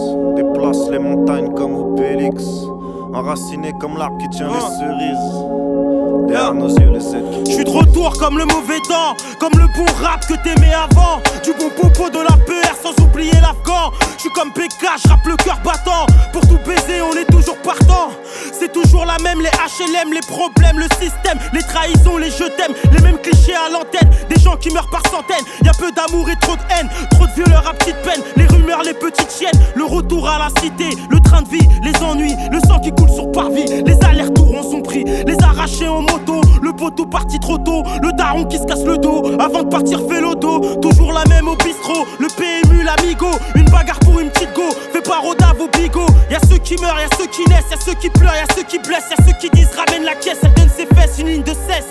Déplace les montagnes comme Obélix. Enraciné comme l'arbre qui tient les cerises. Derrière nos yeux les sept. J'suis de retour comme le mauvais temps, comme le bon rap que t'aimais avant. Du bon popo de la PR sans oublier l'Afghan. J'suis comme PK, j'rappe le cœur battant. Pour tout baiser on est toujours partant. C'est toujours la même, les HLM, les problèmes, le système, les trahisons, les je t'aime, les mêmes clichés à l'antenne. Des gens qui meurent par centaines, y'a peu d'amour et trop de haine. Trop de violeurs à petite peine, les rumeurs, les petites chiennes. Le retour à la cité, le train de vie, les ennuis, le sang qui coule sur parvis. Les allers-retours en sont pris, les arrachés en moto. Le poteau parti trop tôt, le daron qui se casse le dos. Avant de partir fait l'auto, toujours la même au bistrot. Le PMU, l'amigo, une bagarre pour une petite go. Fais pas rodave au bigot. Y'a ceux qui meurent, y'a ceux qui naissent, y'a ceux qui pleurent, y'a ceux qui blessent, y'a ceux qui disent ramène la caisse, elle donne ses fesses, une ligne de cesse.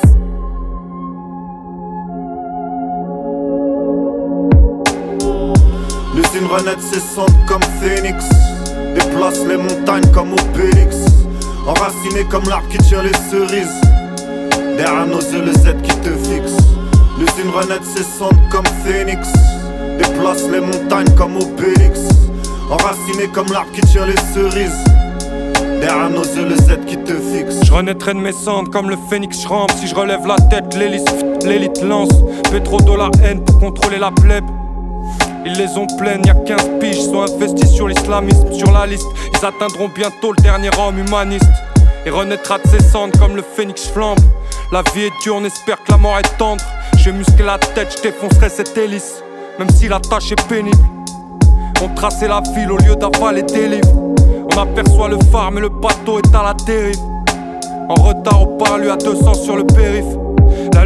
L'usine renaît de ses cendres comme Phoenix. Déplace les montagnes comme Obélix. Enraciné comme l'arbre qui tire les cerises. Derrière nos yeux le Z qui te fixe. L'usine renaît de ses cendres comme Phoenix. Déplace les montagnes comme Obélix. Enraciné comme l'arbre qui tire les cerises. Derrière nos yeux le Z qui te fixe. Je renaîtrai de mes cendres comme le phénix, je rampe. Si je relève la tête, l'élite lance. Pétro-dollar haine pour contrôler la plèbe. Ils les ont pleines, y'a 15 piges, sont investis sur l'islamisme, sur la liste. Ils atteindront bientôt le dernier homme humaniste. Et renaîtra de ses cendres comme le phénix flambe. La vie est dure, on espère que la mort est tendre. J'ai musclé la tête, je défoncerai cette hélice. Même si la tâche est pénible. On traçait la ville au lieu d'avaler des livres. On aperçoit le phare mais le bateau est à la dérive. En retard au parlu à 200 sur le périph'. La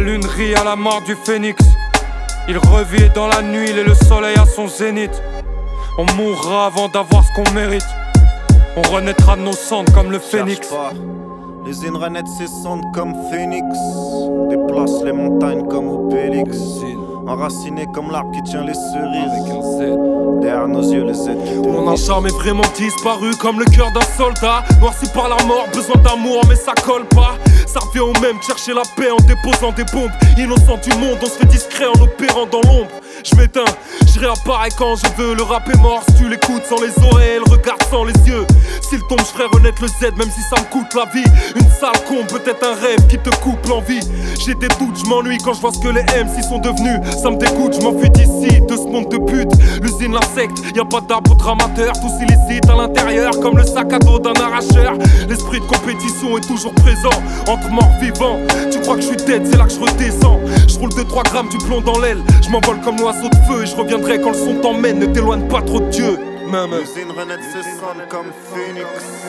lune rit à la mort du phénix. Il revit dans la nuit, il est le soleil à son zénith. On mourra avant d'avoir ce qu'on mérite. On renaîtra de nos cendres comme le phénix. L'usine renaît de ses cendres comme phénix. Déplace les montagnes comme Obélix. Enraciné comme l'arbre qui tient les cerises. Derrière nos yeux les aides qui On n'a jamais vraiment disparu comme le cœur d'un soldat. Noirci par la mort, besoin d'amour mais ça colle pas. Ça revient au même, chercher la paix en déposant des bombes. Innocent du monde, on se fait discret en opérant dans l'ombre. Je m'éteins, je réapparais quand je veux. Le rap est mort, si tu l'écoutes sans les oreilles, le regard sans les yeux. S'il tombe, je ferai renaître le Z, même si ça me coûte la vie. Une sale con, peut-être un rêve qui te coupe l'envie. J'ai des doutes, je m'ennuie quand je vois ce que les MC sont devenus. Ça me dégoûte, je m'enfuis d'ici, de ce monde de pute. L'usine, l'insecte, y'a pas d'arbre dramateur. Tous illicites à l'intérieur, comme le sac à dos d'un arracheur. L'esprit de compétition est toujours présent, entre morts vivants. Tu crois que je suis dead, c'est là que je redescends. Je roule 2-3 grammes du plomb dans l'aile. Je m'envole comme l'oiseau de feu et je reviendrai quand le son t'emmène. Ne t'éloigne pas trop de Dieu. L'usine renaît de ses cendres comme phénix.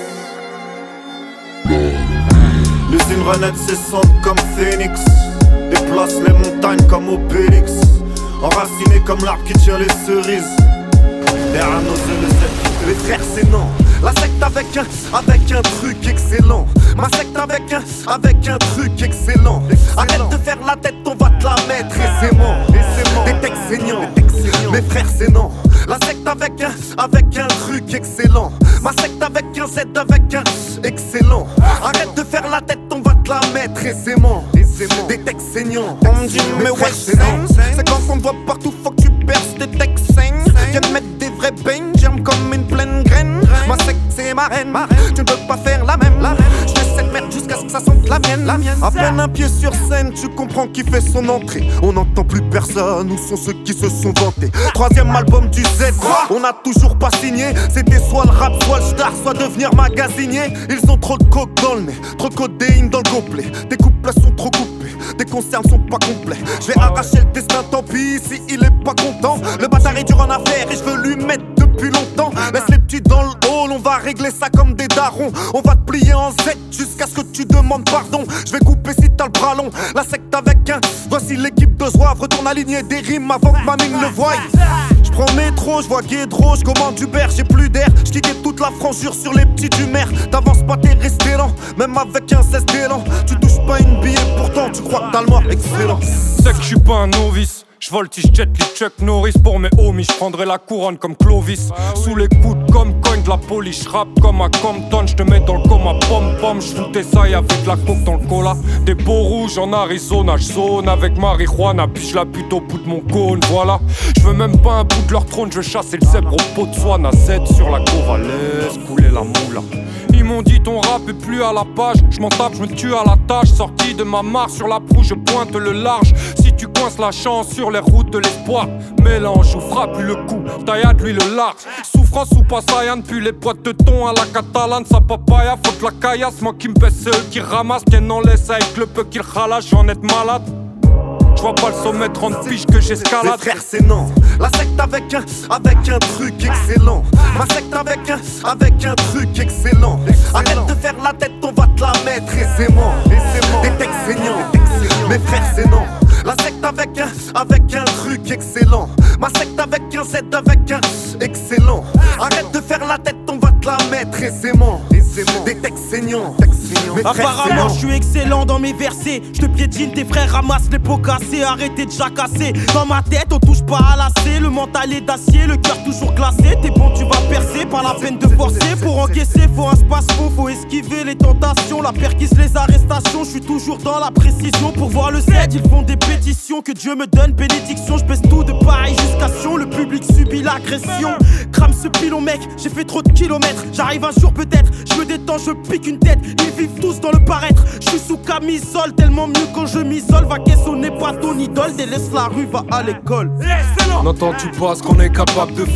L'usine renaît de ses cendres comme phénix. Déplace les montagnes comme Obélix. Enraciné comme l'arbre qui tient les cerises. Derrière nos yeux les frères c'est non. La secte avec un truc excellent. Ma secte avec un truc excellent. Arrête de faire la tête, on va te la mettre aisément. Des textes saignants. Mes frères c'est non. La secte avec un truc excellent. Ma secte avec un Z avec un excellent. Arrête de faire la tête, on va te la mettre aisément. Des textes saignants. On me dit mais ouais c'est quand on te voit partout, faut que tu perces des textes saignes. Viens mettre des vrais beignes, germe comme une pleine graine. Ma secte c'est ma reine, tu ne peux pas faire la même. Je fais cette merde jusqu'à ce que ça sente la mienne. À peine un pied sur scène, tu comprends qui fait son entrée. On n'entend plus personne, où sont ceux qui se sont vantés. 3e album du Z, on n'a toujours pas signé. C'était soit le rap, soit le star, soit devenir magasinier. Ils ont trop de coke dans le nez, trop de codéine dans le gobelet. Tes couplets sont trop coupés, tes concerts sont pas complets. Je vais arracher le destin, tant pis si il est pas content. Le bâtard est dur en affaires et je veux lui mettre depuis longtemps. Laisse les petits dans le hall, on va régler ça comme des darons. On va te plier en Z jusqu'à ce que tu demandes pardon. Je vais couper si t'as le bras long. La secte avec un, voici l'équipe de Zouave. Retourne aligner des rimes avant que ma mine le voie. J'prends le métro, j'vois Guédro, j'commande Uber, j'ai plus d'air. J'kickais toute la franchise sur les petits du maire. T'avances pas, t'es resté lent, même avec un 16 d'élan. Tu touches pas une billet, pourtant tu crois que t'as le mort excellent. C'est que j'suis pas un novice. J'voltige jet les Chuck Norris pour mes homies. J'prendrai la couronne comme Clovis. Sous les coudes comme cogne de la police. J'rappe comme à Compton. J'te mets dans le coma pom-pom. J'foutais ça et avec de la coke dans le cola. Des beaux rouges en Arizona. J'zone avec marijuana. Puis j'la bute au bout de mon cône. Voilà. J'veux même pas un bout de leur trône. J'veux chasser le zèbre au pot de soie. Z sur la Corvalès. Couler la moula. Ils m'ont dit ton rap est plus à la page. J'm'en tape, j'me tue à la tâche. Sorti de ma mare sur la proue, je pointe le large. Si tu coinces la chance sur les routes de l'espoir, mélange ou frappe le coup, taillade lui le large. Souffrance ou passayan, puis les boîtes de thon à la catalane. Sa papaya, faut que la caillasse. Moi qui me pèse, c'est eux qui ramassent. Tiens, en laisse avec le peu qu'ils ralassent, j'en ai malade. J'vois pas le sommet 30 piges que j'escalade. Mes frères c'est non. La secte avec un truc excellent. Ma secte avec un truc excellent. Arrête de faire la tête, on va te la mettre aisément. Des textes saignants. Mes frères c'est non. La secte avec un truc excellent. Ma secte avec un Z avec un excellent. Arrête de faire la tête, on va te la mettre aisément. Des textes saignants. Apparemment je suis excellent dans mes versets. Je te piétine, tes frères ramassent les pots cassés. Arrêtez de jacasser. Dans ma tête on touche pas à l'acier. Le mental est d'acier, le cœur toujours glacé. T'es bon tu vas percer, pas la peine de forcer. Pour encaisser faut un space-fond, faut esquiver les tentations. La perquise, les arrestations, je suis toujours dans la précision. Pour voir le Z ils font des pétitions. Que Dieu me donne bénédiction. Je pèse tout de pareil jusqu'à Sion. Le public subit l'agression. Crame ce pilon mec, j'ai fait trop de kilomètres. J'arrive un jour peut-être, je me détends, je pique une tête. Ils vivent tous dans le paraître. Je suis sous camisole, tellement mieux quand je m'isole. Va caisse, on n'est pas ton idole. Délaisse la rue, va à l'école. N'entends-tu pas ce qu'on est capable de faire?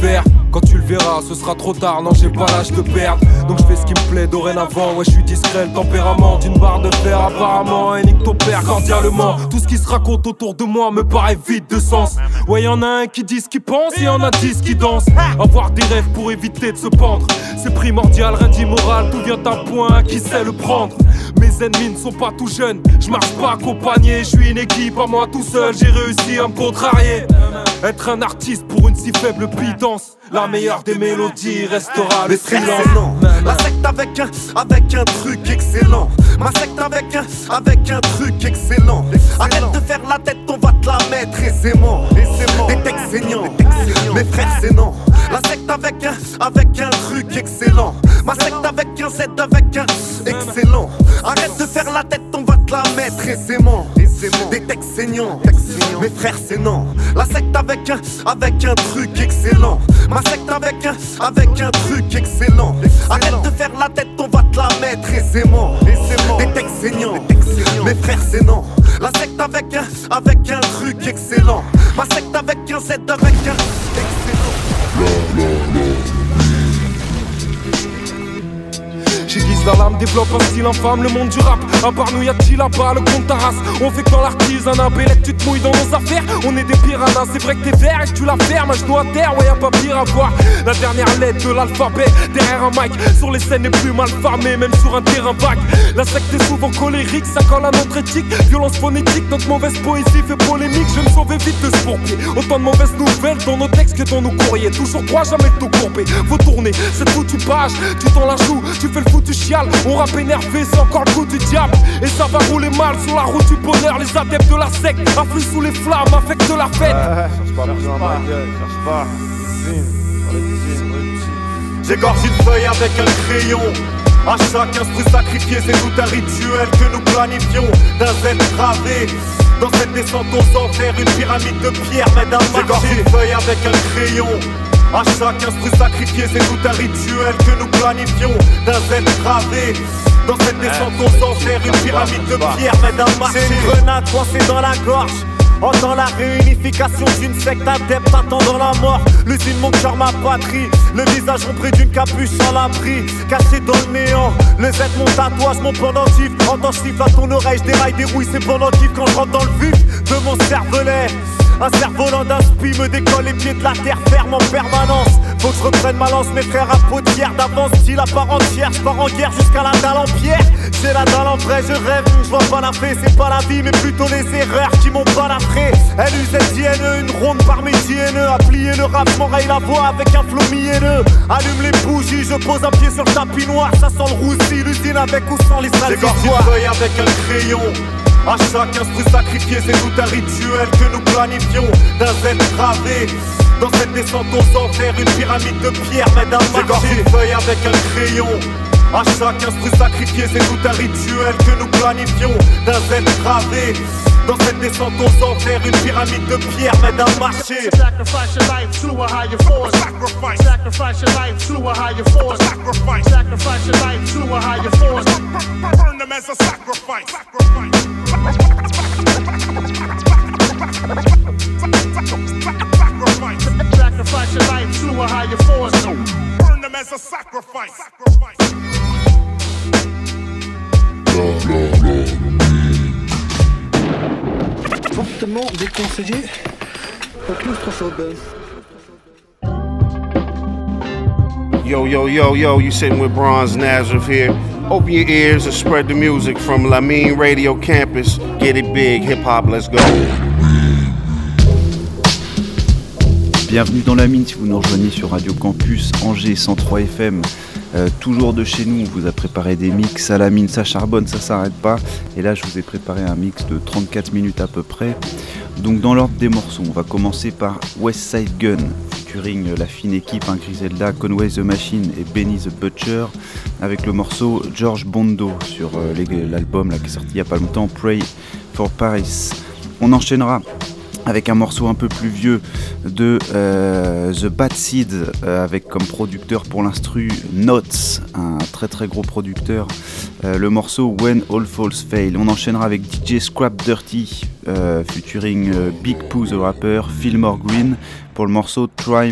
Quand tu le verras, ce sera trop tard, non j'ai pas l'âge de perdre. Donc je fais ce qui me plaît dorénavant. Ouais, je suis discret, le tempérament d'une barre de fer apparemment. Et nique ton père cordialement. Tout ce qui se raconte autour de moi me paraît vide de sens. Ouais, y'en a un qui dit ce qu'il pense et y'en a 10 qui dansent. Avoir des rêves pour éviter de se pendre, c'est primordial, rien d'immoral. Tout vient d'un point, qui sait le prendre. Mes ennemis ne sont pas tout jeunes, je marche pas accompagné. Je suis une équipe, à moi tout seul, j'ai réussi à me contrarier. Être un artiste pour une si faible pitance, la meilleure des mélodies restera le silence. La secte avec un truc excellent. Ma secte avec un truc excellent. Arrête de faire la tête, on va te la mettre aisément. Des textes saignants, mes frères c'est non. La secte avec un truc excellent. Ma secte avec un Z avec un excellent. Arrête de faire la tête, on va te la mettre aisément. Des textes saignants, mes frères c'est non. La secte avec un truc excellent. Ma secte avec un truc excellent. Arrête de faire la tête, on va te la mettre aisément. Des textes saignants, mes frères c'est non. La secte avec un truc excellent. Ma secte avec un Z avec un excellent. J'aiguise la lame, développe un style infâme, le monde du rap. À part nous y'a-t-il là-bas, le compte ta race. On fait que dans l'artisanat, Bélec tu te mouilles dans nos affaires. On est des piranhas, c'est vrai que t'es vert et que tu la fermes. À genoux à terre, ouais y'a pas pire à voir. La dernière lettre de l'alphabet, derrière un mic. Sur les scènes les plus mal farmées, même sur un terrain vague. La secte est souvent colérique, ça colle à notre éthique. Violence phonétique, notre mauvaise poésie fait polémique. Je vais me sauver vite de ce pourpier. Autant de mauvaises nouvelles dans nos textes que dans nos courriers. Toujours droit, jamais tout courbé. Faut tourner cette foutue page, tu t'en la joues, tu fais le fout. Tu chiales, on rappe énervé, c'est encore le coup du diable. Et ça va rouler mal sur la route du bonheur. Les adeptes de la secte affluent sous les flammes, affectent la fête. Cherche pas. J'égorge une feuille avec un crayon. À chaque instru sacrifié, c'est tout un rituel que nous planifions. D'un Z gravé dans cette descente aux enfers, une pyramide de pierre mais d'un marché. J'égorge une feuille avec un crayon. À chaque instru sacrifié, c'est tout un rituel que nous planifions. D'un Z gravé dans cette descente aux enfers, une pyramide de pierre mais d'un marché. C'est une grenade coincée dans la gorge. Entends la réunification d'une secte adepte attendant la mort. L'usine, mon cœur, ma patrie. Le visage ombré d'une capuche sans l'abri, caché dans le néant. Le Z, mon tatouage, mon pendentif. Entends chiffre à ton oreille, je déraille, dérouille, c'est pendentif. Quand je rentre dans le vif de mon cervelet, un cerf-volant d'inspi me décolle les pieds de la terre ferme en permanence. Faut que je reprenne ma lance, mes frères à peau de pierre. D'avance, style à part entière, je pars en guerre jusqu'à la dalle en pierre. J'ai la dalle en vrai, je rêve, je vois pas la fée. C'est pas la vie, mais plutôt les erreurs qui m'ont balafré. LUZJNE, une ronde parmi JNE. À plier le rap, m'enraye la voix avec un flow mielleux. Allume les bougies, je pose un pied sur le tapis noir. Ça sent le roussi, l'usine avec ou sans les salles. J'égorge une feuille avec un crayon. À chaque instru sacrifié, c'est tout un rituel que nous planifions. D'un Z gravé dans cette descente aux enfers, une pyramide de pierre mais d'un marché. J'égorge une feuille avec un crayon. À chaque instru sacrifié, c'est tout un rituel que nous planifions. D'un Z gravé dans cette descente aux enfers, une pyramide de pierre mais d'un marché. Sacrifice your life to a higher force. Sacrifice. Sacrifice your life to a higher force. Sacrifice. Sacrifice your life to a higher force. Burn them as a sacrifice. Sacrifice your life to a higher force. Burn them as a sacrifice. Fortement déconseillé pour claustrophobes. Yo, you sitting with Bronze Nazareth here. Open your ears and spread the music from Lamine Radio Campus. Get it big, hip hop, let's go. Bienvenue dans la mine si vous nous rejoignez sur Radio Campus Angers 103 FM. Toujours de chez nous, on vous a préparé des mix à la mine, ça charbonne, ça s'arrête pas. Et là je vous ai préparé un mix de 34 minutes à peu près. Donc dans l'ordre des morceaux, on va commencer par West Side Gun, featuring la fine équipe Griselda, Conway the Machine et Benny the Butcher, avec le morceau George Bondo sur l'album là, qui est sorti il y a pas longtemps, Pray for Paris. On enchaînera avec un morceau un peu plus vieux de The Bad Seed, avec comme producteur pour l'instru Notes, un très très gros producteur, le morceau When All Falls Fail. On enchaînera avec DJ Scrap Dirty, featuring Big Pooh the Rapper, Fillmore Green, pour le morceau Time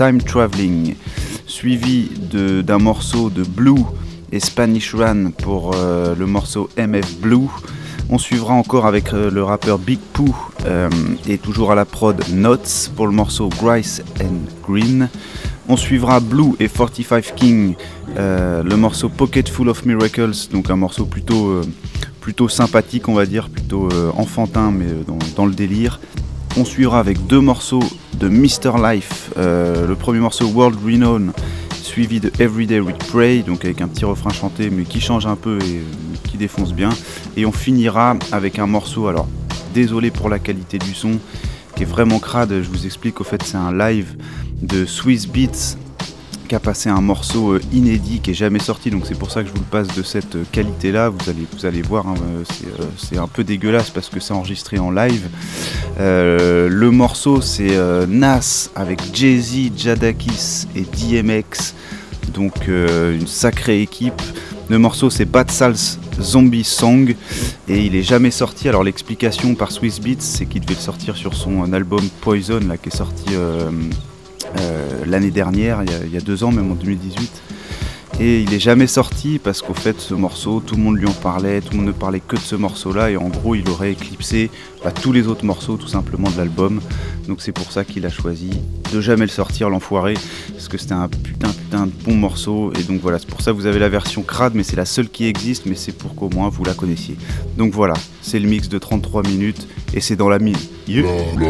Time Traveling, suivi d'un morceau de Blue et Spanish Run pour le morceau MF Blue. On suivra encore avec le rappeur Big Pooh et toujours à la prod Notes pour le morceau Grice and Green. On suivra Blue et 45 King, le morceau Pocket Full of Miracles, donc un morceau plutôt sympathique, on va dire, plutôt enfantin, mais dans le délire. On suivra avec 2 morceaux de Mr. Life, le premier morceau World Renown, suivi de Everyday We Pray, donc avec un petit refrain chanté, mais qui change un peu et qui défonce bien. Et on finira avec un morceau, alors désolé pour la qualité du son, qui est vraiment crade, je vous explique, au fait c'est un live de Swiss Beats qui a passé un morceau inédit qui est jamais sorti, donc c'est pour ça que je vous le passe de cette qualité là. Vous allez voir, hein, c'est un peu dégueulasse parce que c'est enregistré en live. Le morceau c'est Nas avec Jay-Z, Jadakiss et DMX, donc une sacrée équipe. Le morceau c'est Bad Sal's Zombie Song et il est jamais sorti. Alors l'explication par Swiss Beats, c'est qu'il devait le sortir sur son album Poison là, qui est sorti l'année dernière, il y a 2 ans, même en 2018. Et il est jamais sorti parce qu'au fait ce morceau, tout le monde lui en parlait, tout le monde ne parlait que de ce morceau là, et en gros il aurait éclipsé tous les autres morceaux tout simplement de l'album. Donc c'est pour ça qu'il a choisi de jamais le sortir, l'enfoiré, parce que c'était un putain de bon morceau. Et donc voilà, c'est pour ça que vous avez la version crade, mais c'est la seule qui existe, mais c'est pour qu'au moins vous la connaissiez. Donc voilà, c'est le mix de 33 minutes et c'est dans la mine. Yeah.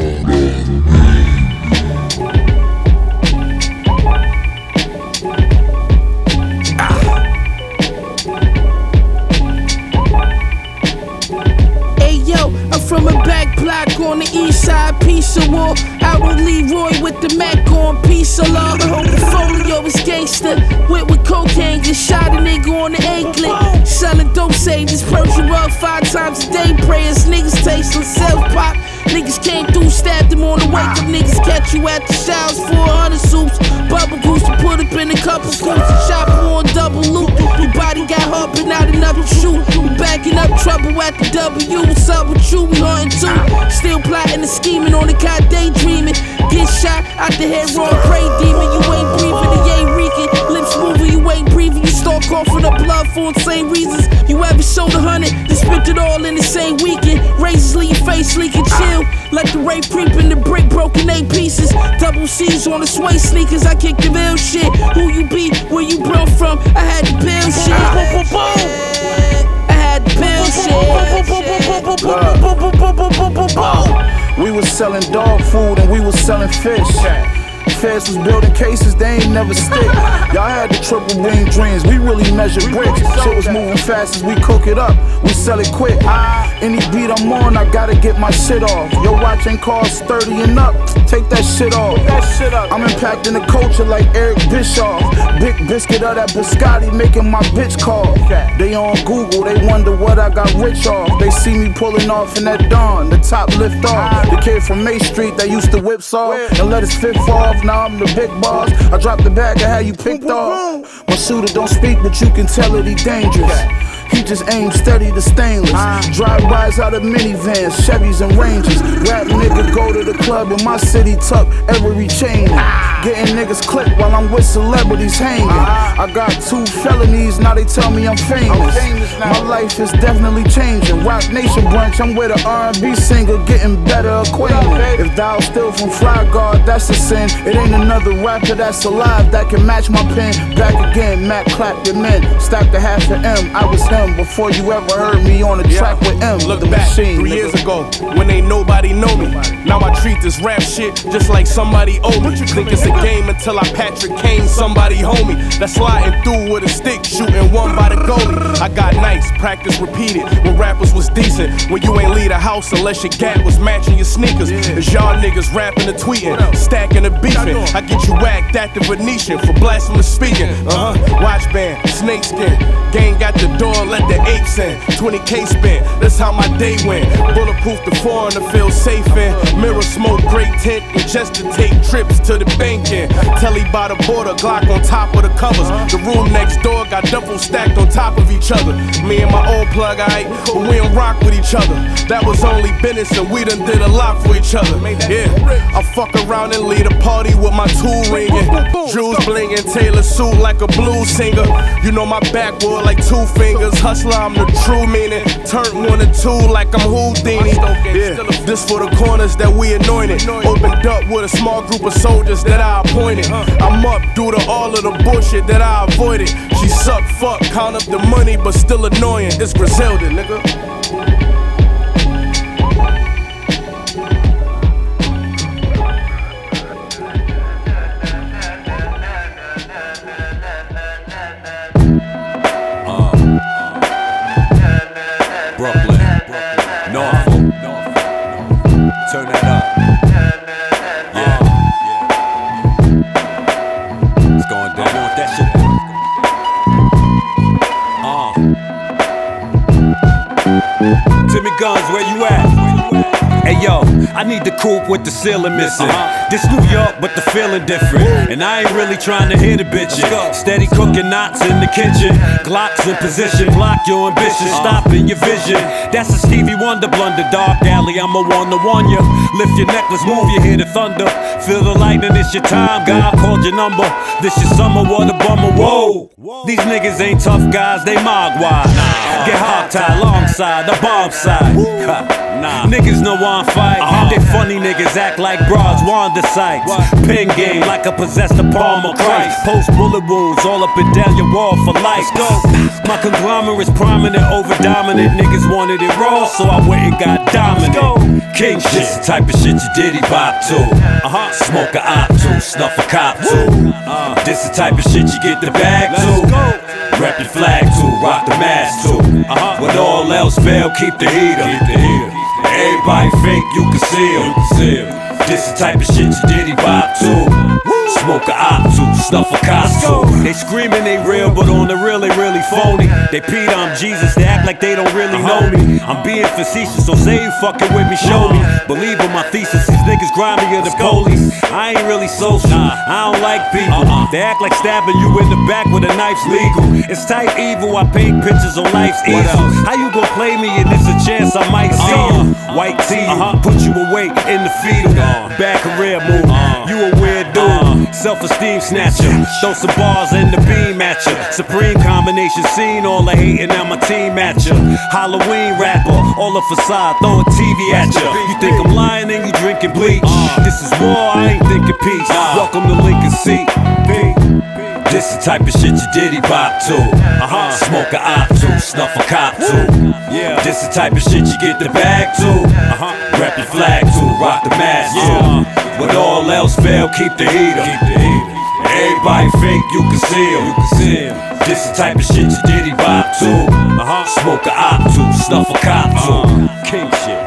From a back block on the east side, piece of wall. Out on Leroy with the Mac on, piece of law. The whole portfolio is gangster. Went with cocaine, just shot a nigga on the A-clip. Selling dope savings, Persian rug 5 times a day. Prayers, niggas tasting self-pop. Niggas came through, stabbed them on the wake up. Niggas catch you at the showers, 400 soups. Bubble goose to put up in a couple scoops. Shop on double loop. Your body got hard, but not enough to shoot. You backing up trouble at the W. What's up with you? We hunting too. Still plotting and scheming on the cot, daydreaming. Get shot out the head, wrong, pray demon. You ain't breathing, you ain't reeking. Lips moving, you ain't breathing. You start coughing up blood for insane reasons. You ever sold 100, then spent it all in the same weekend. Razors leave your face leaking, chill. Let the rape creep in the brick, broken 8 pieces. Double C's on the sway sneakers, I kick the real shit. Who you be, where you brought from, I had to build shit. I had to build shit. We was selling dog food and we was selling fish. Feds was building cases, they ain't never stick. Y'all had the triple beam dreams, we really measure bricks. Shit was moving fast as we cook it up, we sell it quick. Any beat I'm on, I gotta get my shit off. Your watch ain't cost 30 and up, take that shit off. I'm impacting the culture like Eric Bischoff. Big biscuit of that biscotti, making my bitch call. They on Google, they wonder what I got rich off. They see me pulling off in that dawn, the top lift off. The kid from May Street that used to whip saw and let his fifth off. Now I'm the big boss. I dropped the bag, I had you picked off. My shooter don't speak, but you can tell that he dangerous. He just aims steady to stainless. Drive-bys out of minivans, Chevys and Rangers. Rap nigga go to the club in my city, tuck every chain. Getting niggas clipped while I'm with celebrities hanging. I got 2 felonies, now they tell me I'm famous. My life is definitely changing. Rock Nation brunch, I'm with an R&B singer, getting better acquainted. If thou still from Fly Guard, that's a sin. It ain't another rapper that's alive that can match my pen. Back again, Mac clap your men, stacked a half an M. I was him before you ever heard me on the track with M. Look the back, machine, 3 years ago, when ain't nobody know me. Now I treat this rap shit just like somebody owe me. Think it's a game until I Patrick Kane somebody homie. That's sliding through with a stick, shooting one by the goalie. I got nice, practice repeated, when rappers was decent. When you ain't leave the house unless your gap was matching your sneakers. As y'all niggas rapping and tweeting, stacking and beefing. I get you whacked at the Venetian for blasphemous speaking. Watch band, snakeskin, gang got the door let the apes in. 20K spent, that's how my day went. Bulletproof the foreign to feel safe in. Mirror smoke, great tint, and just to take trips to the banking. Telly by the border, Glock on top of the covers. The room next door got double stacked on top of each other. Me and my old plug, aight, but we don't rock with each other. That was only business and we done did a lot for each other. Yeah, I fuck around and lead a party with my tool ringing. Jewels blinging, Taylor suit like a blues singer. You know my backwood like 2 fingers. Hustler, I'm the true meaning. Turn 1 and 2 like I'm Houdini. Yeah, this for the corners that we anointed. Opened up with a small group of soldiers that I appointed. I'm up due to all of the bullshit that I avoided. She suck, fuck, count up the money, but still annoying. It's Griselda, nigga. Turn that up. Yeah. It's going down. I want that shit. Timmy Guns, where you at? Hey yo, I need the coupe with the ceiling missing. This New York, but the feeling different. And I ain't really trying to hear the bitchin'. Steady cooking knots in the kitchen. Glocks in position, block your ambition, stopping your vision. That's a Stevie Wonder blunder, dark alley. I'm a one to warn you. Lift your necklace, move, you hear the thunder. Feel the lightning, it's your time. God called your number. This your summer, what a bummer. Whoa, these niggas ain't tough guys, they mogwai. Get hog-tied alongside the bomb side. Niggas know I'm fight. They funny niggas act like broads, wander sights. Pin game like a possessed palm of Christ. Post bullet wounds all up and down your wall for life. My conglomerate's prominent over dominant. Niggas wanted it raw, so I went and got dominant. King shit, this the type of shit you diddy bop to. Smoke a op to, snuff a cop to. This the type of shit you get the bag to. Rep your flag to, rock the mask to. When all else fail, keep the heater. Everybody fake, you can see him. This the type of shit you diddy bop to. Smoke a op to, snuff a cop to. They screaming they real, but on the real they really phony. They Peter, I'm Jesus, they act like they don't really know me. I'm being facetious, so say you fucking with me, show me. Believe in my thesis, these niggas grimier than police. I ain't really social, I don't like people. They act like stabbing you in the back with a knife's legal. It's type evil, I paint pictures on life's easel. How you gon' play me and it's a chance I might see you? White tee, put you away in the fetal. Bad career move, you a weird dude. Self-esteem snatcher, throw some bars in the beam at ya. Supreme combination scene, all the hating on my team at ya. Halloween rapper, all the facade, throwing TV at ya. You think I'm lying and you drinking bleach? This is war, I ain't thinking peace. Welcome to Lincoln Seat. This the type of shit you diddy bop to. Smoke a op to, snuff a cop to. This the type of shit you get the bag to. Rep your flag to, rock the mask to. When all else fail, keep the heater. Everybody fake, you can see him. This the type of shit you diddy bop to. Smoke a op to, snuff a cop to. King shit.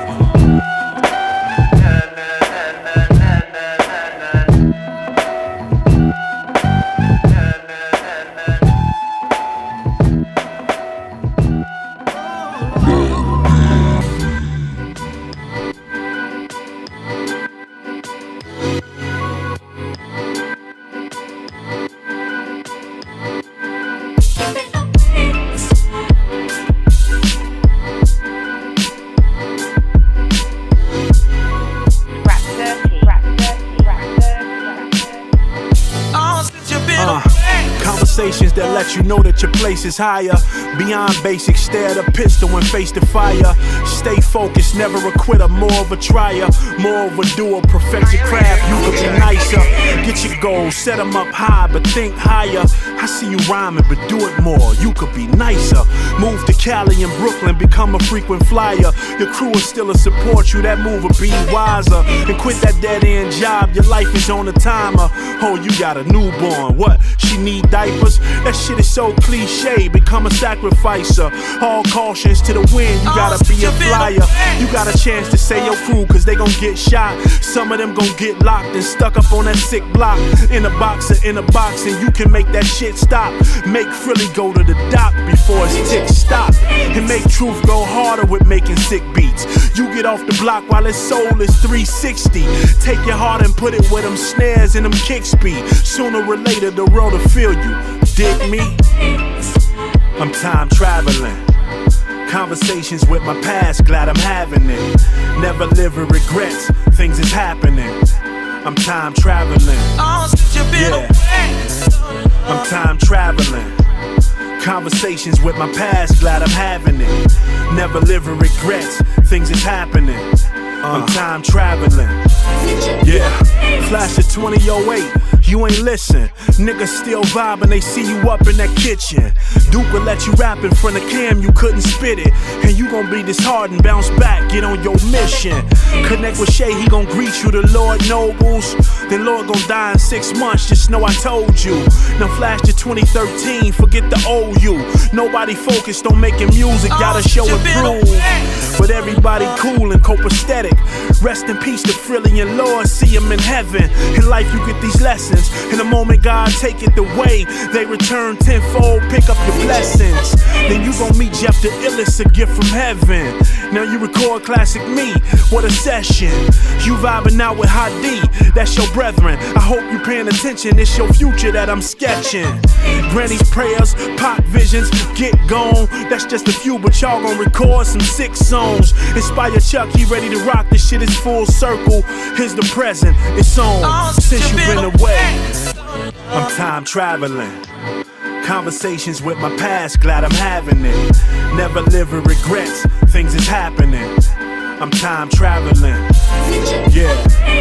That let you know that your place is higher. Beyond basics, stare at a pistol and face the fire. Stay focused, never a quitter, more of a trier. More of a doer, perfect your craft, you could be nicer. Get your goals, set them up high, but think higher. I see you rhyming, but do it more, you could be nicer. Move to Cali and Brooklyn, become a frequent flyer. Your crew is still to support you, that move will be wiser. And quit that dead-end job, your life is on a timer. Oh, you got a newborn, what? She need diapers? That shit is so cliche. Become a sacrificer. All cautions to the wind. You gotta be a flyer. You got a chance to say your crew, cause they gon' get shot. Some of them gon' get locked and stuck up on that sick block. In a box or in a box, and you can make that shit stop. Make Philly go to the dock before his tick stop. And make truth go harder with making sick beats. You get off the block while his soul is 360. Take your heart and put it where them snares and them kicks be. Sooner or later the world will feel you. Dig me? I'm time traveling. Conversations with my past, glad I'm having it. Never live with regrets, things is happening. I'm time traveling. Yeah. I'm time traveling. Conversations with my past, glad I'm having it. Never live with regrets, things is happening. I'm time traveling. Yeah. Flash of 2008. You ain't listen. Niggas still vibing, they see you up in that kitchen. Duke will let you rap in front of Cam, you couldn't spit it. And you gon' be disheartened, bounce back, get on your mission. Connect with Shay, he gon' greet you, the Lord Nobles. Then Lord gon' die in 6 months, just know I told you. Now flash to 2013, forget the old you. Nobody focused on making music, gotta show and prove. But everybody cool and copacetic. Rest in peace to Frilly and Lord, see him in heaven. In life you get these lessons. In the moment God take it away, they return tenfold, pick up your blessings. Then you gon' meet Jeff the illest, a gift from heaven. Now you record classic me, what a session. You vibing out with Hadi, that's your brethren. I hope you paying attention, it's your future that I'm sketching. Granny's prayers, pop visions, get gone. That's just a few, but y'all gon' record some sick songs. Inspire Chuck, he ready to rock, this shit is full circle. Here's the present, it's on, since you been away. I'm time traveling. Conversations with my past, glad I'm having it. Never live with regrets, things is happening. I'm time traveling. Yeah.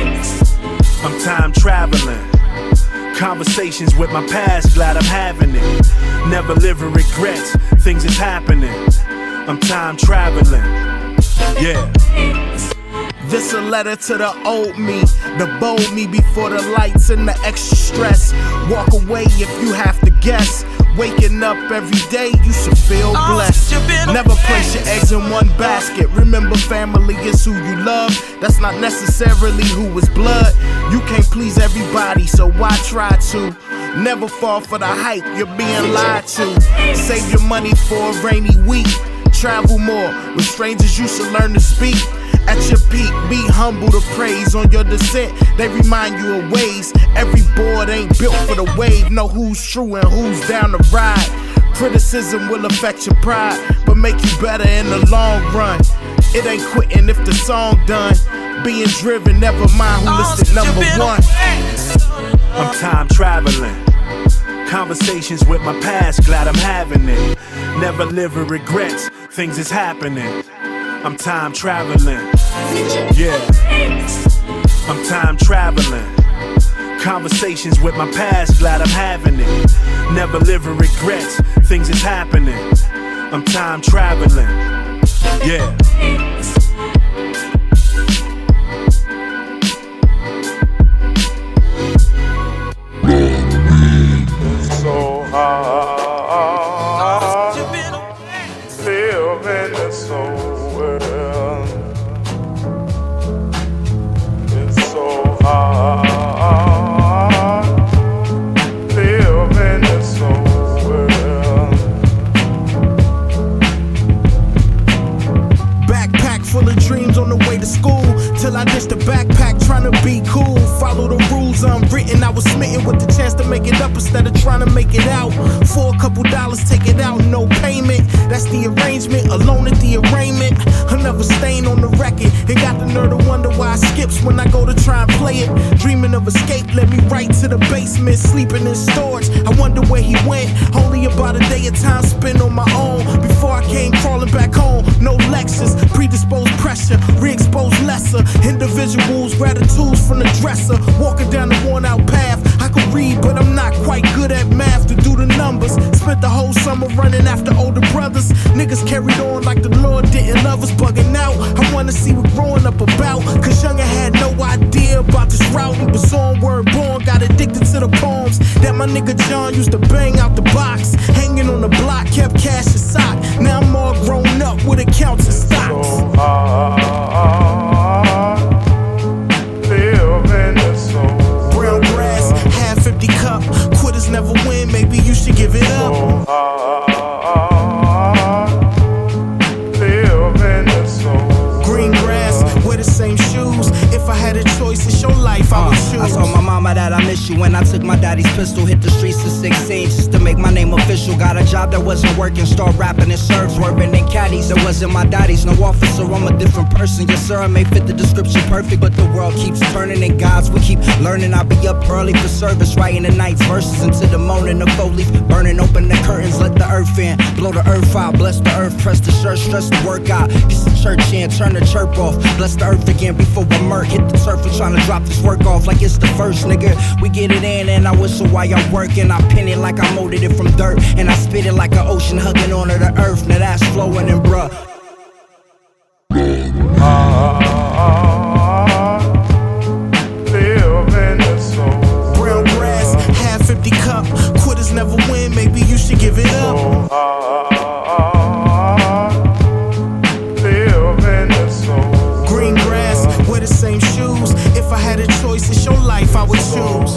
I'm time traveling. Conversations with my past, glad I'm having it. Never live with regrets, things is happening. I'm time traveling. Yeah. This a letter to the old me, the bold me before the lights and the extra stress. Walk away if you have to guess. Waking up every day, you should feel blessed. Never place your eggs in one basket. Remember, family is who you love. That's not necessarily who is blood. You can't please everybody, so why try to? Never fall for the hype, you're being lied to. Save your money for a rainy week. Travel more, with strangers you should learn to speak. At your peak, be humble to praise. On your descent, they remind you of ways. Every board ain't built for the wave. Know who's true and who's down to ride. Criticism will affect your pride, but make you better in the long run. It ain't quitting if the song done. Being driven, never mind who listed number one. I'm time traveling. Conversations with my past, glad I'm having it. Never live with regrets, things is happening. I'm time traveling. Yeah. I'm time traveling. Conversations with my past, glad I'm having it. Never live with regrets, things is happening. I'm time traveling. Yeah. So hard, live in this old world. It's so hard, live in this old world. Backpack full of dreams on the way to school. Till I ditched the backpack trying to be cool. Follow the rules unwritten. I was smitten with the chance to make it up instead of trying to make it out. For a couple dollars, take it out, no payment. That's the arrangement, alone at the arraignment. Another stain on the record. And got the nerve to wonder why I skips when I go to try and play it. Dreaming of escape led me right to the basement. Sleeping in storage, I wonder where he went. Only about a day of time spent on my own. Before I came crawling back home. No lectures, predisposed pressure, re-exposed lesser. Individuals, gratitudes from the dresser. Walking down the worn out path. I could read, but I'm not quite good at math to do the numbers. Spent the whole summer running after older brothers. Niggas carried on like the Lord didn't love us, bugging out. I wanna see what growing up about. Cause younger had no idea about this route. He was on word born, got addicted to the poems that my nigga John used to bang out the box. If I had a choice, it's your life I would choose. I told my mama that I miss you when I took my daddy's pistol. Hit the streets at 16 just to make my name official. Got a job that wasn't working, start rapping and serve, swerving in caddies. It wasn't my daddy's, no officer, I'm a different person. Yes sir, I may fit the description perfect, but the world keeps turning and gods we keep learning. I'll be up early for service, writing the night's verses into the morning. The foliage burning, open the curtains, let the earth in, blow the earth out, bless the earth, press the shirt, stress the workout, get some church in, turn the chirp off, bless the earth again before I murk, hit the turf and trying to drop this work off like it's the first, nigga. We get it in and I whistle while y'all working. I pin it like I molded it from dirt, and I spit it like an ocean hugging onto the earth. Now that's flowing and bruh. Brown grass, half empty cup. Quitters never win, maybe you should give it up. Green grass, wear the same shoes. If I had a choice, it's your life I would choose.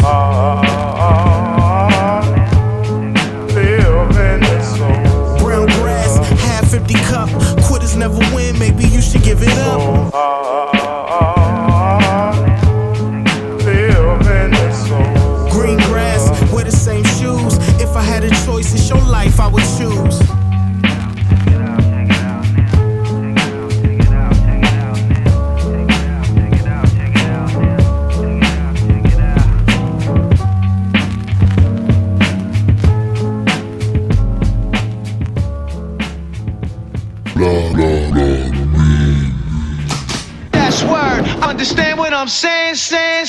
Brown grass, half empty cup. Quitters never win, maybe you should give it up. Green grass, wear the same shoes. If I had a choice, it's your life I would choose. That's word, understand what I'm saying.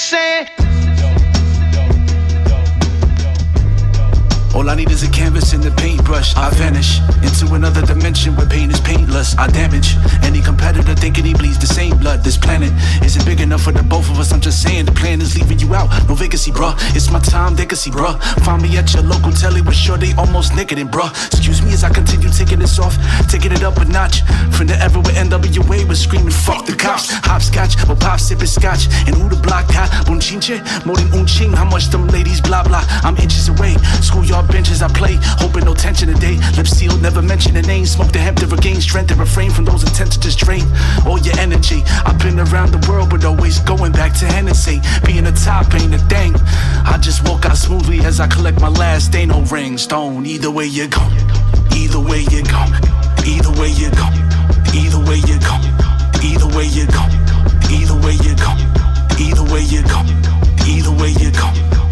All I need is a canvas and a paintbrush. I vanish into another dimension where pain is painless. I damage any competitor thinking he bleeds the same blood. This planet isn't big enough for the both of us. I'm just saying the plan is leaving you out. No vacancy, bruh. It's my time, they can see, bruh. Find me at your local telly with sure they almost naked and bruh. Excuse me as I continue taking this off, taking it up a notch. From the era where NWA was screaming, fuck the cops. Hopscotch, or pop sipping scotch. And who the block got? Bunchinche, more than unching. How much them ladies blah blah. I'm inches away. Schoolyard benches I play, hoping no tension today. Lips sealed, never mention the name. Smoke the hemp to regain strength and refrain from those intent to just drain all your energy. I've been around the world, but always going back to Hennessy. Being the top ain't a thing. I just walk out smoothly as I collect my last. Ain't no ring stone. Either way you go, either way you go, either way you go, either way you go, either way you go, either way you go, either way you go, either way you go.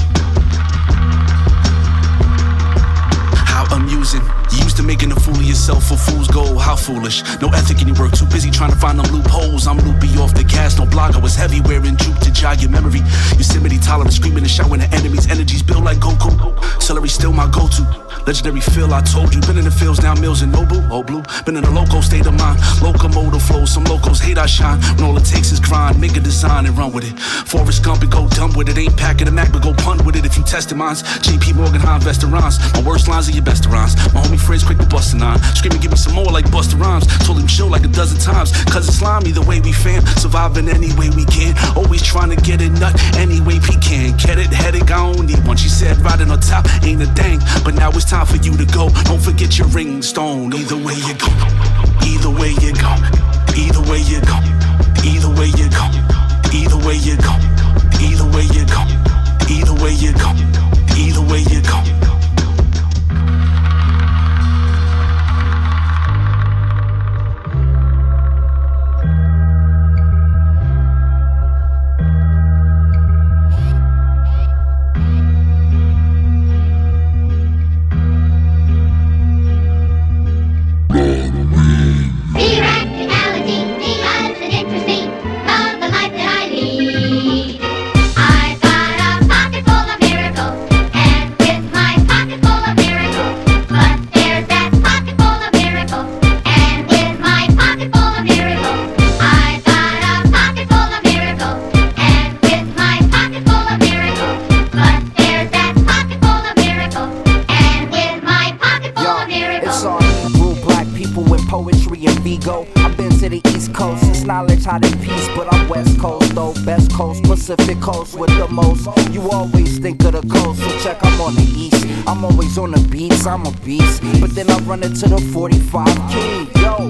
How amusing. You used to making a fool of yourself for fool's gold. How foolish. No ethic in your work. Too busy trying to find them loopholes. I'm loopy off the gas. No blog. I was heavy wearing juke to jog your memory. Yosemite tolerant. Screaming and shouting at enemies. Energies build like Goku. Celery still my go-to. Legendary feel I told you. Been in the fields now. Mills and Nobu. Oh blue. Been in a loco state of mind. Locomotive flow. Some locals hate I shine. When all it takes is grind. Make a design and run with it. Forrest Gump and go dumb with it. Ain't packing a Mac but go punt with it if you tested mines. JP Morgan High restaurants. My worst lines are your best rhymes. My homie friends quick to bust a nine. Screaming give me some more like Busta Rhymes. Told him chill like a dozen times. Cause it's slimy the way we fam. Surviving any way we can. Always trying to get a nut any way we can. Get it, headache, I don't need one. She said riding on top ain't a thing. But now it's time for you to go. Don't forget your ring stone. Either way you go. Either way you go. Either way you go. Either way you go. Either way you go. Either way you go. Either way you go. Either way you go. Hot in peace, but I'm West Coast though. Best Coast, Pacific Coast with the most. You always think of the coast, so check, I'm on the east. I'm always on the beats, I'm a beast. But then I run into the 45 key, yo.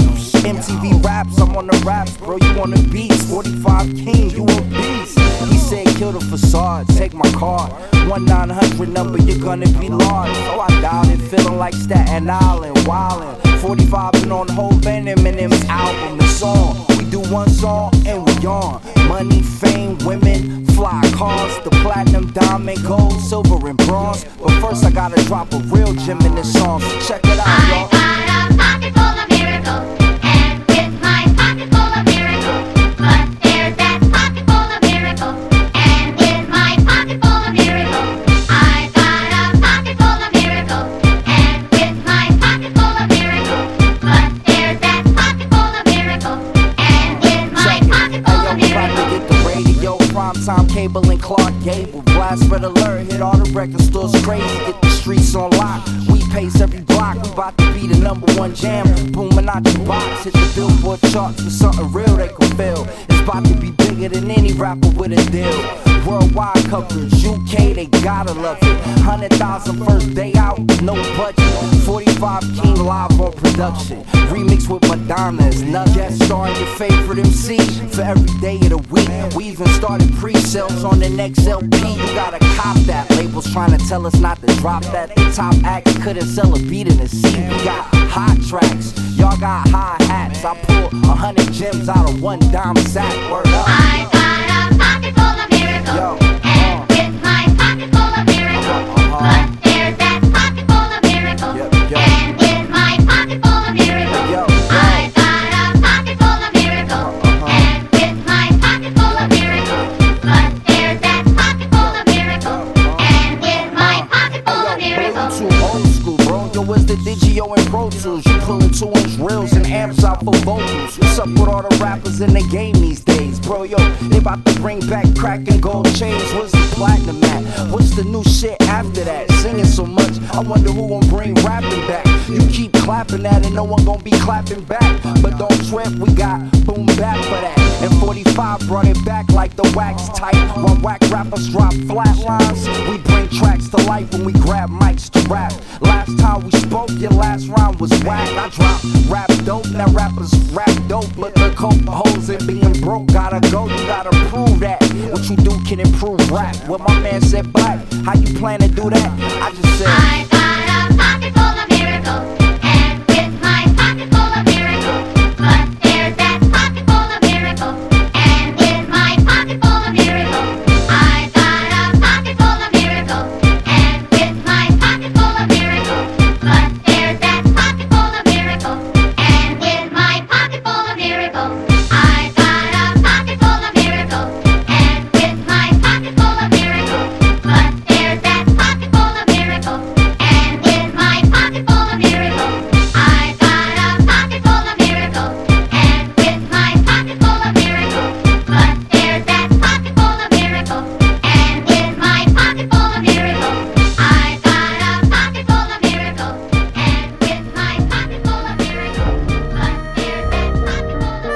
MTV raps, I'm on the raps, bro, you on the beats. 45 King, you a beast. He said kill the facade, take my card. 1-900 number, you're gonna be large. So I dialed it, feeling like Staten Island, wildin'. 45 been on the whole Venom and M's album and song. We do one song and we on. Money, fame, women, fly cars, the platinum, diamond, gold, silver, and bronze. But first I gotta drop a real gem in this song, so check it out, y'all. I got a pocket full of miracles, and with my pocket full of miracles, but there's that pocket full of miracles, and with my pocket full of miracles, I got a pocket full of miracles, and with my pocket full of miracles, but there's that pocket full of miracles, and with my pocket full of miracles. Get the radio, primetime cable and Clark Gable. Blast red alert, hit all the record stores crazy. Get the streets on lock. We pace every block. We bout to be the #1 jam. Booming out your box. Hit the Billboard charts for something real they can feel. It's about to be bigger than any rapper with a deal. Worldwide coverage, UK, they gotta love it. 100,000 first day out, no budget. 45 King live on production. Remix with Madonna is nuts. Guest starring your favorite MC for every day of the week. We even started pre-sales on the next LP. You gotta cop that. Labels trying to tell us not to drop that. The top acts couldn't sell a beat in the sea. We got hot tracks, y'all got high hats. I pull 100 gems out of one dime sack. Word up. I got a pocket full of miracles, and with my pocket full of miracles, but there's that pocket full of miracles, and with my pocket full of miracles, I got a pocket full of miracles, and with my pocket full of miracles, but there's that pocket full of miracles, and with my pocket full of miracles. Too old school, bro. Yo, it's the Digio and Pro Tools. You pulling 2-inch reels and amps out for vocals. What's up with all the rappers in the game these days, bro? Yo, they about to bring back crack and gold chains. What's the platinum at? What's the new shit after that? Singing so much, I wonder who gon' bring rapping back. You keep clapping that and no one gon' be clapping back. But don't trip, we got boom bap for that. And 45 brought it back like the wax type. While whack rappers drop flat lines, we bring tracks to life when we grab mics to rap. Last time we spoke, your last rhyme was whack. I dropped rap dope, now rappers rap dope. But the coke holes and being broke gotta go, you gotta prove that. What you do can improve rap. What my man said black, how you plan to do that? I just said I got a pocket full of miracles, and with my pocket full of miracles, but there's that pocket full of miracles, and with my pocket full of miracles, I got a pocket full of miracles, and with my pocket full of miracles, but there's that pocket full of miracles, and with my pocket full of miracles, I got a pocket full of miracles, and with my pocket full of miracles, but there's that pocket full of miracles, and with my pocket full of miracles, I got a pocket full of miracles, and with my pocket full of miracles, but there's that pocket full of miracles, and with my pocket full of miracles, I got a pocket full of miracles, and with my pocket full of miracles, but there's that pocket full of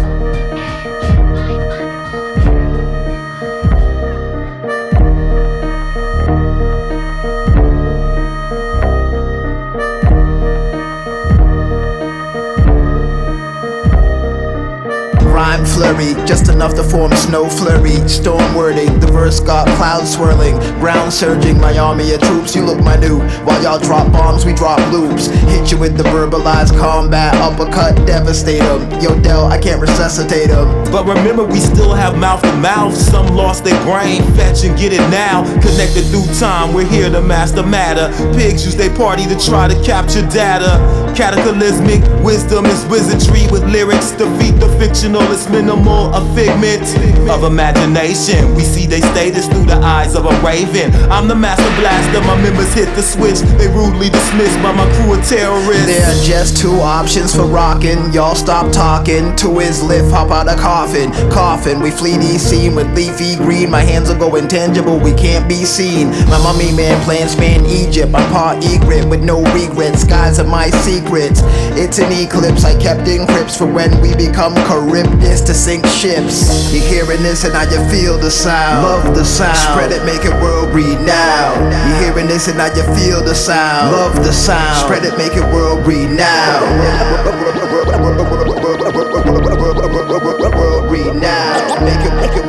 Rhyme flurry, just enough to form snow flurry. Storm wording, the verse got clouds swirling. Ground surging, my army of troops, you look minute. While y'all drop bombs, we drop loops. Hit you with the verbalized combat, uppercut, devastate 'em. Yo, Del, I can't resuscitate 'em. But remember, we still have mouth to mouth. Some lost their brain, fetch and get it now. Connected through time, we're here to master matter. Pigs use their party to try to capture data. Cataclysmic wisdom is wizardry with lyrics. Defeat the fictional, it's minimal, a figment of imagination. We see they status through the eyes of a raven. I'm the master blaster, my members hit the switch. They rudely dismissed by my crew of terrorists. There are just two options for rockin'. Y'all stop talking. To his lift, hop out of coffin. Coffin, we flee the scene with leafy green. My hands are going tangible, we can't be seen. My mummy man playing span Egypt. I'm part egret with no regrets. Skies are my secrets. It's an eclipse I kept in crypts for when we become Charybdis to sink ships. You're hearing this and now you feel the sound. Love the sound. Spread it, make it world renowned. You're hearing this and now you feel the sound. Love the sound. Spread it, make it world renowned. world renowned. Make it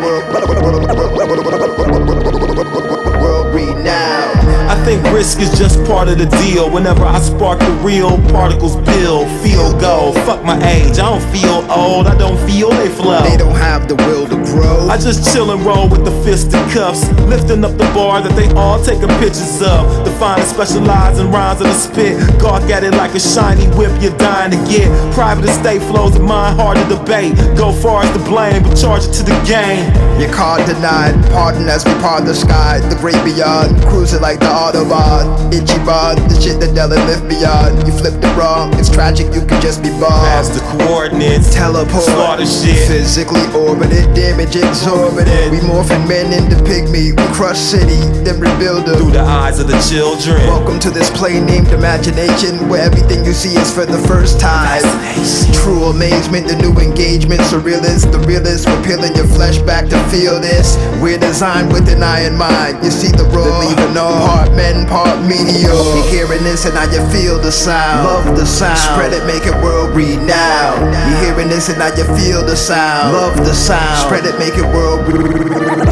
world renowned. I think risk is just part of the deal. Whenever I spark the real, particles build, feel go. Fuck my age, I don't feel old, I don't feel they flow. They don't have the will to grow. I just chill and roll with the fisted cuffs, lifting up the bar that they all taking pictures of. Define and specialize in rhymes of the spit. Gawk at it like a shiny whip you're dying to get. Private estate flows of mine, hard to debate. Go far as to blame, but charge it to the game. Your card denied, pardon as we part the sky. The great beyond, cruising like the Autobahn. Itchy bond, the shit that never lived beyond. You flipped it wrong, it's tragic, you could just be bombed. Pass the coordinates, teleport, slaughter shit. Physically orbited, damage exorbitant. We morphin' men into pygmy, we crush city, then rebuild them. Through the eyes of the children. Welcome to this play named imagination, where everything you see is for the first time. True amazement, the new engagement, surrealist. The realist, we're peeling your flesh back to feel this. We're designed with an eye in mind. You see the raw, leaving all part men, part meteor. You're hearing this and now you feel the sound. Love the sound. Spread it, make it world renowned. You're hearing this and now you feel the sound. Love the sound. Spread it, make it world renowned.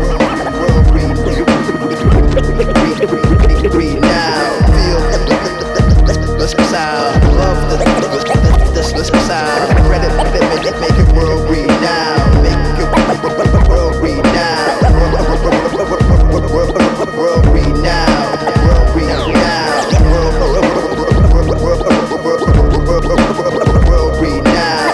Feel the sound. Love the sound. Spread it, make it world renowned. Make it world renowned. World renowned. World renowned. World renowned.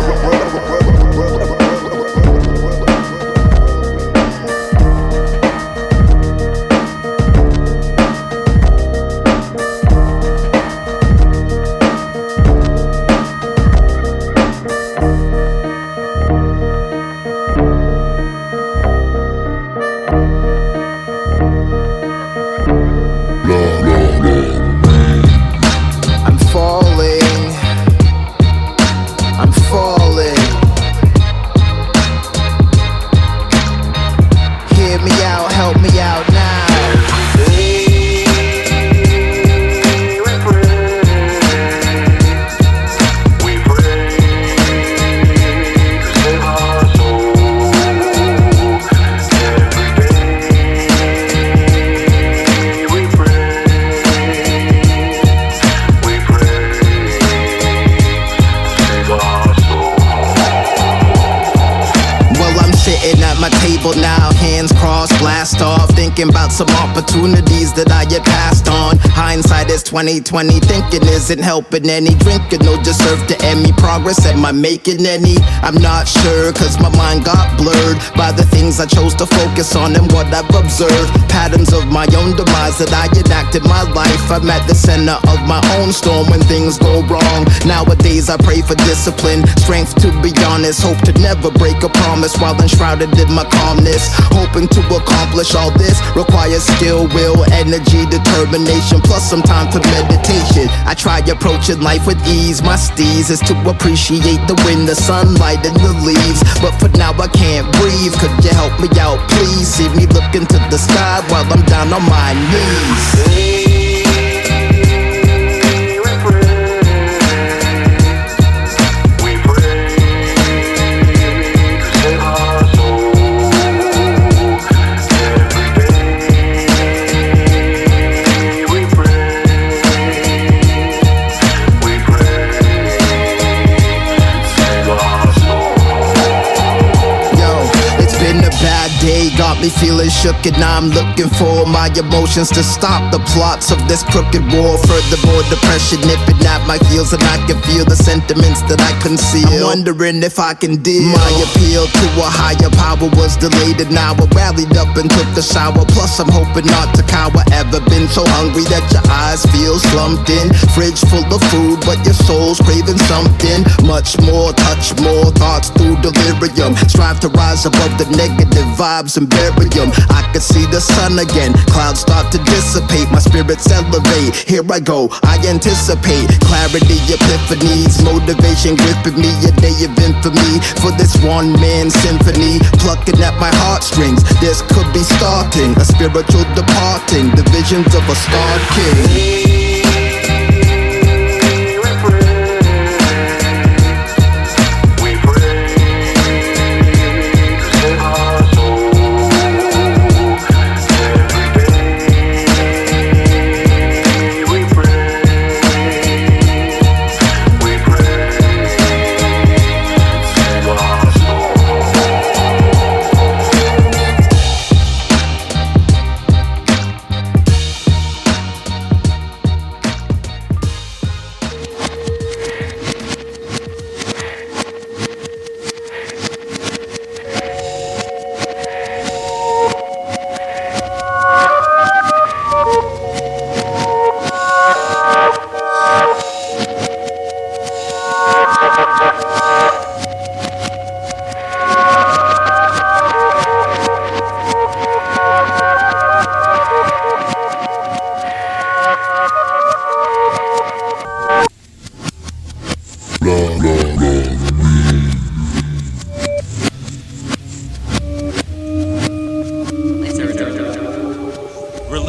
Now, hands crossed, blast off, thinking about some opportunities that I had passed on. Hindsight is 20/20, thinking isn't helping any. Drinking no deserve to end me. Progress, am I making any? I'm not sure, cause my mind got blurred by the things I chose to focus on and what I've observed. Patterns of my own demise that I enacted my life. I'm at the center of my own storm when things go wrong. Nowadays I pray for discipline, strength to be honest. Hope to never break a promise while enshrouded in my calmness. Hoping to accomplish all this requires skill, will, energy, determination, plus some time for meditation. I try approaching life with ease. My steez is to appreciate the wind, the sunlight, and the leaves. But for now I can't breathe. Could you help me out, please? See me look into the sky while I'm down on my knees. Got me feeling shook and now I'm looking for my emotions to stop the plots of this crooked war. Furthermore, depression nipping at my heels and I can feel the sentiments that I conceal. I'm wondering if I can deal. My appeal to a higher power was delayed and now I rallied up and took a shower. Plus I'm hoping not to cower. Ever been so hungry that your eyes feel slumped in? Fridge full of food but your soul's craving something much more. Touch more thoughts through delirium. Strive to rise above the negative vibes and bury them. I can see the sun again. Clouds start to dissipate. My spirits elevate. Here I go. I anticipate clarity, epiphanies, motivation gripping me. A day of infamy for this one-man symphony. Plucking at my heartstrings. This could be starting a spiritual departing. The visions of a star king.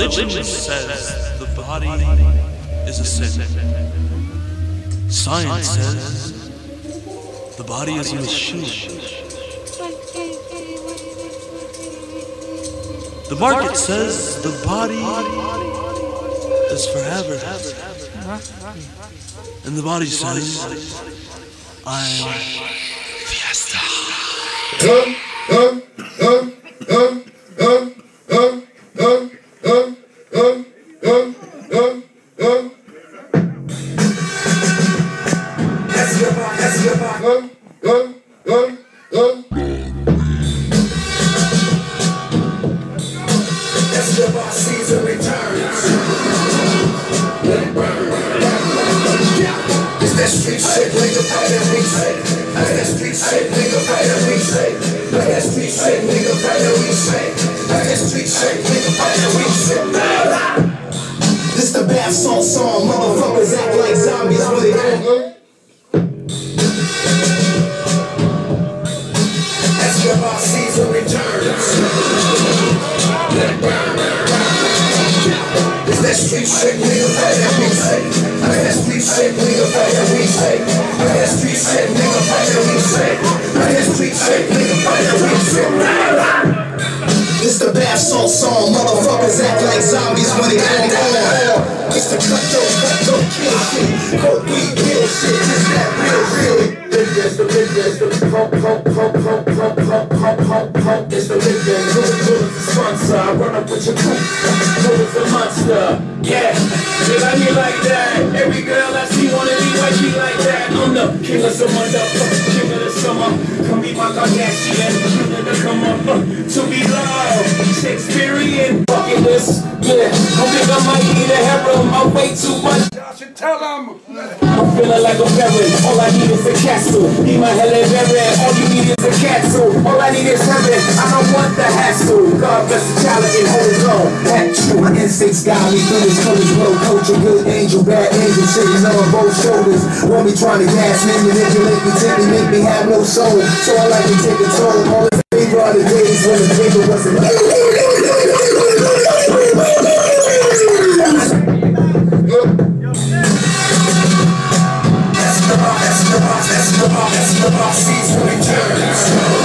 Religion says the body is a sin. Science says the body is a machine. The market says the body is forever. And the body says, I'm Fiesta. Season returns. It's that street shit, nigga, that we say. It's that street shit, nigga, that we say. It's that street shit, nigga, that we say. It's that street shit, nigga, that we say. This the bath salt song, motherfuckers act like zombies when they don't. That's your boss season returns. It's that street shit, nigga, that we say. It's that street shit, nigga, that we say. It's that street shit, nigga, that we say. It's that street shit, nigga, that we say. It's the bath salt song, motherfuckers act like zombies when they don't on. It's the cutthroat kill shit, coke weed kill shit. It's that real. It's the pump. It's the lick gang, who is the sponsor? I run up with your crew, who is the monster? Yeah, they like me like that. Every girl I see wanna be like me like that. I'm the king of summer, the king of the summer. Come be my Kardashian, king of the come up. To be loved, Shakespearean bucket list. Yeah, I think I might need a harem. I weigh too much. Y'all should tell them. I'm feeling like a baron. All I need is a castle. Be my Helen Baron. All you need is a castle. All I need is heaven. I don't want the hassle. God bless the child and hold on. That true. My instincts guide me through this colors. Blow coach, a good angel, bad angel, sitting on both shoulders. Want me trying to gas me, manipulate me, tip me, make me have no soul. So I like to take a toll. All the favor are the days when the paper wasn't. That's the boss season returns.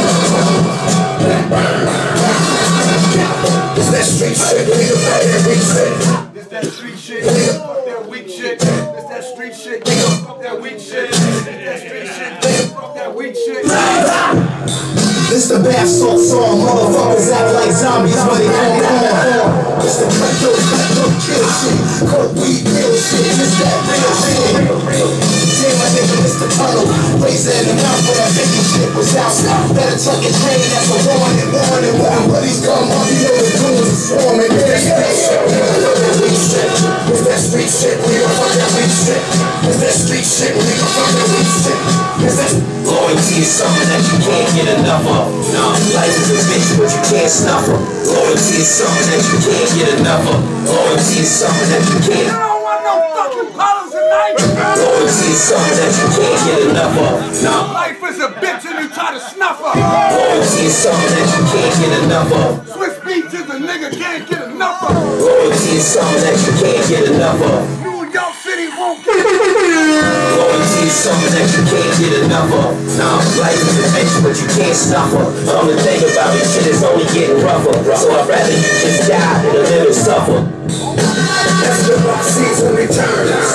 It's that street shit, nigga, fuck that weak shit. It's that street shit, nigga, fuck that weak shit. It's that street shit, nigga, fuck that weak shit. It's that street shit, nigga, fuck that weak shit. This the bath salt song, motherfuckers act like zombies when they don't on. It's the cutthroat kill shit, coke weed real shit. It's that real shit. Yeah, my nigga, it's the tunnel. Razor in the mouth where that baby shit was out. Better tuck and train, that's a warning. When buddies come up, you know the goons are swarming. It's that shit, it's that street shit, nigga, fuck that weak shit. It's that street shit, nigga, fuck that weak shit. It's that loyalty is something that you can't get enough of. No, life is a bitch, but you can't snuff her. Loyalty is something that you can't get enough of. Loyalty is something that you can't. I don't want no fucking bottles tonight. Loyalty is something that you can't get enough of. No, life is a bitch and you try to snuff her. Loyalty is something that you can't get enough of. Swiss beats is a nigga can't get enough of. Loyalty is something that you can't get enough of. New York City won't get enough of. Loyalty is something that you can't get enough of. No, life is a bitch, but you can't stop her. All the thing about this shit is only getting rougher. So I'd rather you just die than a little suffer. That's the boss season returns.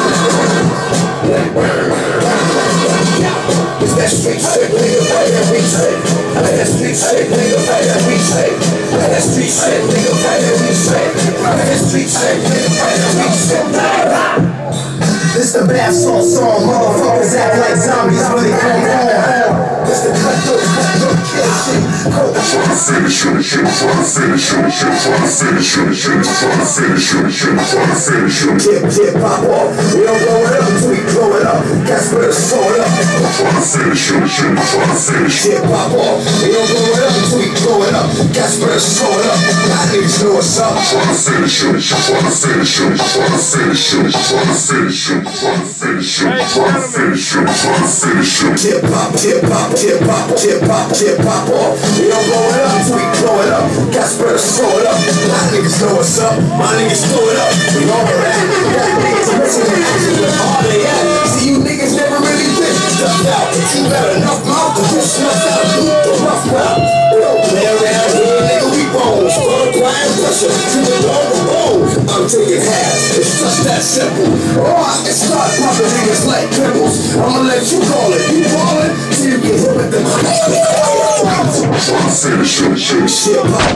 It's that street shit, nigga, right that we say. That street shit, nigga, right that we say. That street shit, nigga, right that we say. That street shit, nigga, right that we say. This the bath salt song, motherfuckers act like zombies when they come on. It's the cutthroat kill shit. Tryna finish it, Tip, pop off. We don't blow it up until we blow it up. That's where it's showing up. Tryna finish it, Tip, pop off. We don't blow it up until we blow it up. That's where it's showing up. I need to know what's up. Tryna finish it. Tip, pop off. We don't blow it up until we blow it up. That's disperse, throw it up. My niggas know what's up, my niggas throw it up. We all get that. Got niggas missing in action, where all they at? See, you niggas never really been stuffed out. If you got enough mouth to get snuffed out, do the rough route. We don't play around here, nigga, we roll. Start applying pressure to the dog of bone. I'm taking halves, it's just that simple. Or I can start popping niggas like pimples. I'ma let you call it, you call it, till you get hit with them. Shit pop.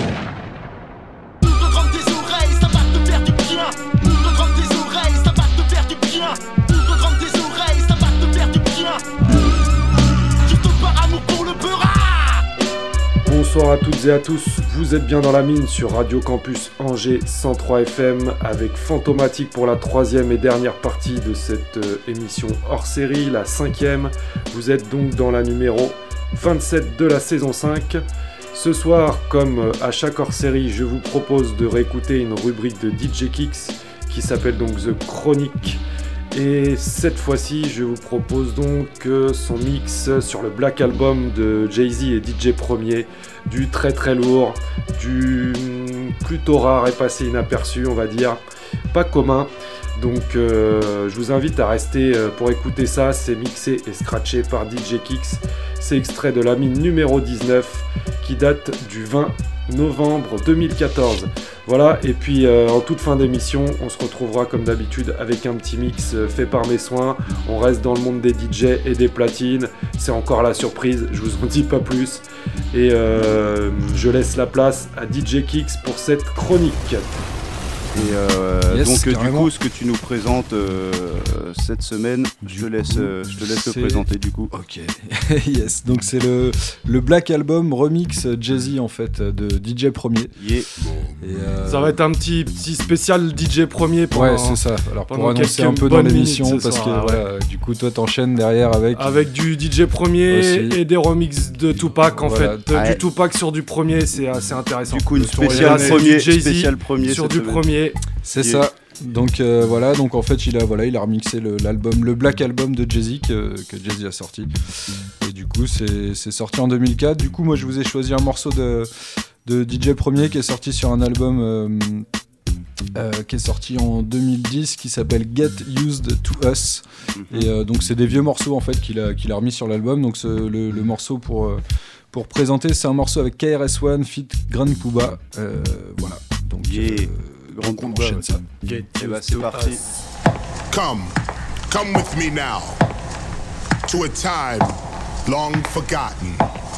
Bonsoir à toutes et à tous, vous êtes bien dans la mine sur Radio Campus Angers 103 FM avec Fantomatique pour la troisième et dernière partie de cette émission hors série, la cinquième. Vous êtes donc dans la numéro 27 de la saison 5. Ce soir, comme à chaque hors série, je vous propose de réécouter une rubrique de DJ Kicks qui s'appelle donc The Chronic. Et cette fois-ci, je vous propose donc son mix sur le Black Album de Jay-Z et DJ Premier, du très très lourd, du plutôt rare et passé inaperçu, on va dire, pas commun. Donc je vous invite à rester pour écouter ça, c'est mixé et scratché par DJ Kicks. C'est extrait de la mine numéro 19 qui date du 20 novembre 2014. Voilà, et puis en toute fin d'émission, on se retrouvera comme d'habitude avec un petit mix fait par mes soins. On reste dans le monde des DJ et des platines. C'est encore la surprise, je vous en dis pas plus. Et je laisse la place à DJ Kicks pour cette chronique. Et Yes, donc carrément. du coup, ce que tu nous présentes cette semaine, je te laisse le présenter du coup. Ok, yes, donc c'est le Black Album remix Jay-Z en fait de DJ Premier. Yeah. Ça va être un petit spécial DJ Premier Ouais, c'est ça. Alors pour annoncer un peu dans l'émission, parce que voilà, du coup toi t'enchaînes derrière avec du DJ Premier aussi. et des remixes de Tupac en Voilà. fait. Ouais. Du Tupac sur du premier, c'est assez intéressant. Du coup, une Sur les spéciale bases, premier, du Jay-Z spéciale premier sur cette du semaine. premier. C'est ça. Donc voilà, donc en fait il a remixé l'album, le Black Album de Jay-Z que Jay-Z a sorti. Et du coup c'est sorti en 2004. Du coup moi je vous ai choisi un morceau de DJ Premier qui est sorti sur un album qui est sorti en 2010 qui s'appelle Get Used to Us. Et donc c'est des vieux morceaux en fait qu'il a remis sur l'album. Donc le morceau pour présenter, c'est un morceau avec KRS-One feat Grand Puba. Voilà. Donc Grand on Puba, enchaîne ça. Et bah c'est parti. Come with me now to a time long forgotten.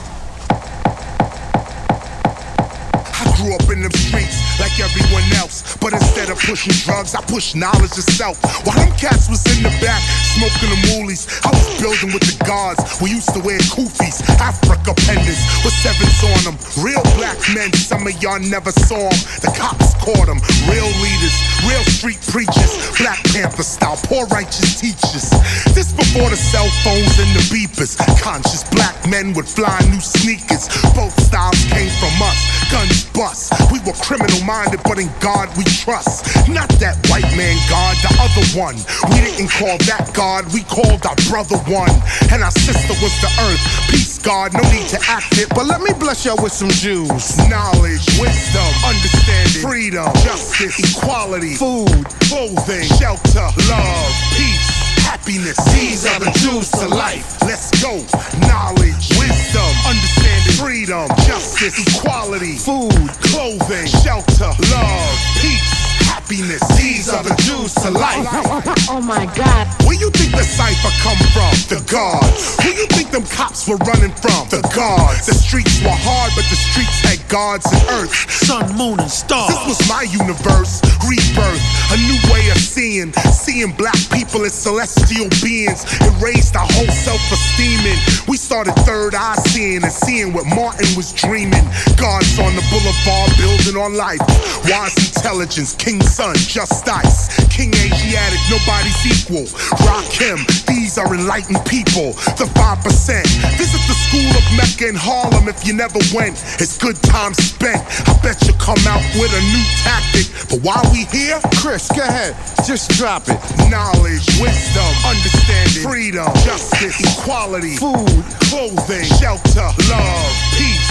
I grew up in the streets like everyone else, but instead of pushing drugs, I pushed knowledge itself. While them cats was in the back smoking the moolies, I was building with the guards. We used to wear kufis, Africa pendants with sevens on them. Real black men, some of y'all never saw them. The cops caught them. Real leaders, real street preachers, Black Panther style, poor righteous teachers. This before the cell phones and the beepers. Conscious black men with flying new sneakers. Both styles came from us. Guns bust. We were criminal minded, but in God we trust. Not that white man God, the other one. We didn't call that God, we called our brother one. And our sister was the earth. Peace, God, no need to act it, but let me bless y'all with some Jews. Knowledge, wisdom, understanding, freedom, justice, equality, food, clothing, shelter, love, peace, happiness. These are the Jews to life. Let's go. Knowledge, wisdom, understanding, freedom, justice, equality, food, clothing, shelter, love, peace, happiness. These are the Jews to life. Oh my God. Where you think the cipher come from? The gods. Who you think them cops were running from? The gods. The streets were hard, but the streets had gods and earth. Sun, moon, and stars. This was my universe. Rebirth. A new way of seeing. Seeing black people as celestial beings. It raised our whole self-esteem. We started third eye seeing and seeing what Martin was dreaming. Gods on the boulevard building on life. Wise intelligence. King Sun, just ice. King Asiatic, nobody's equal. Rakim, these are enlightened people. The 5%. Visit the school of Mecca in Harlem if you never went. It's good time spent. I bet you come out with a new tactic. But while we here, Chris, go ahead. Just drop it. Knowledge, wisdom, understanding, freedom, justice, equality, food, clothing, shelter, love, peace,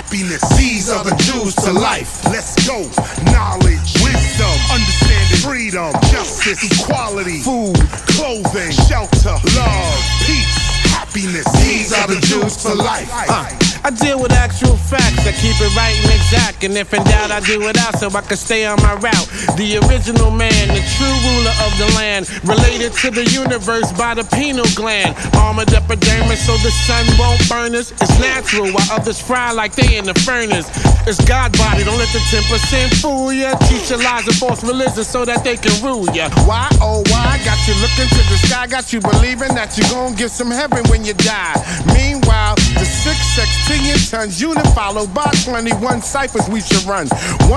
happiness. These are the Jews to life. Let's go. Knowledge, wisdom, understanding, freedom, justice, equality, food, clothing, shelter, love, peace, happiness. These are the Jews to life. I deal with actual facts, I keep it right and exact. And if in doubt, I do it out so I can stay on my route. The original man, the true ruler of the land, related to the universe by the pineal gland. Armored epidermis so the sun won't burn us. It's natural while others fry like they in the furnace. It's God body, don't let the 10% fool ya. Teach your lies and false religion so that they can rule ya. Why, oh why, got you looking to the sky, got you believing that you gon' get some heaven when you die. Meanwhile, the 6 sextillion tons unit followed by 21 ciphers we should run.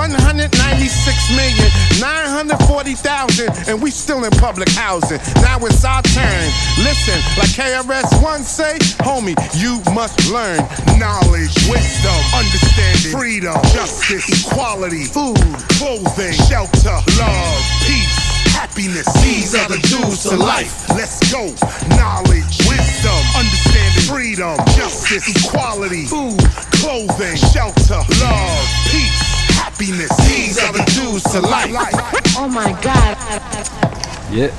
196,940,000 and we still in public housing. Now it's our turn. Listen, like KRS-One say, homie, you must learn. Knowledge, wisdom, understanding, freedom, justice, equality, food, clothing, shelter, love, peace, happiness. These are the Jews to life. Let's go. Knowledge, wisdom, understanding, freedom, justice, equality, food, clothing, shelter, love, peace, happiness. These are the Jews to life. Oh my God. Yeah,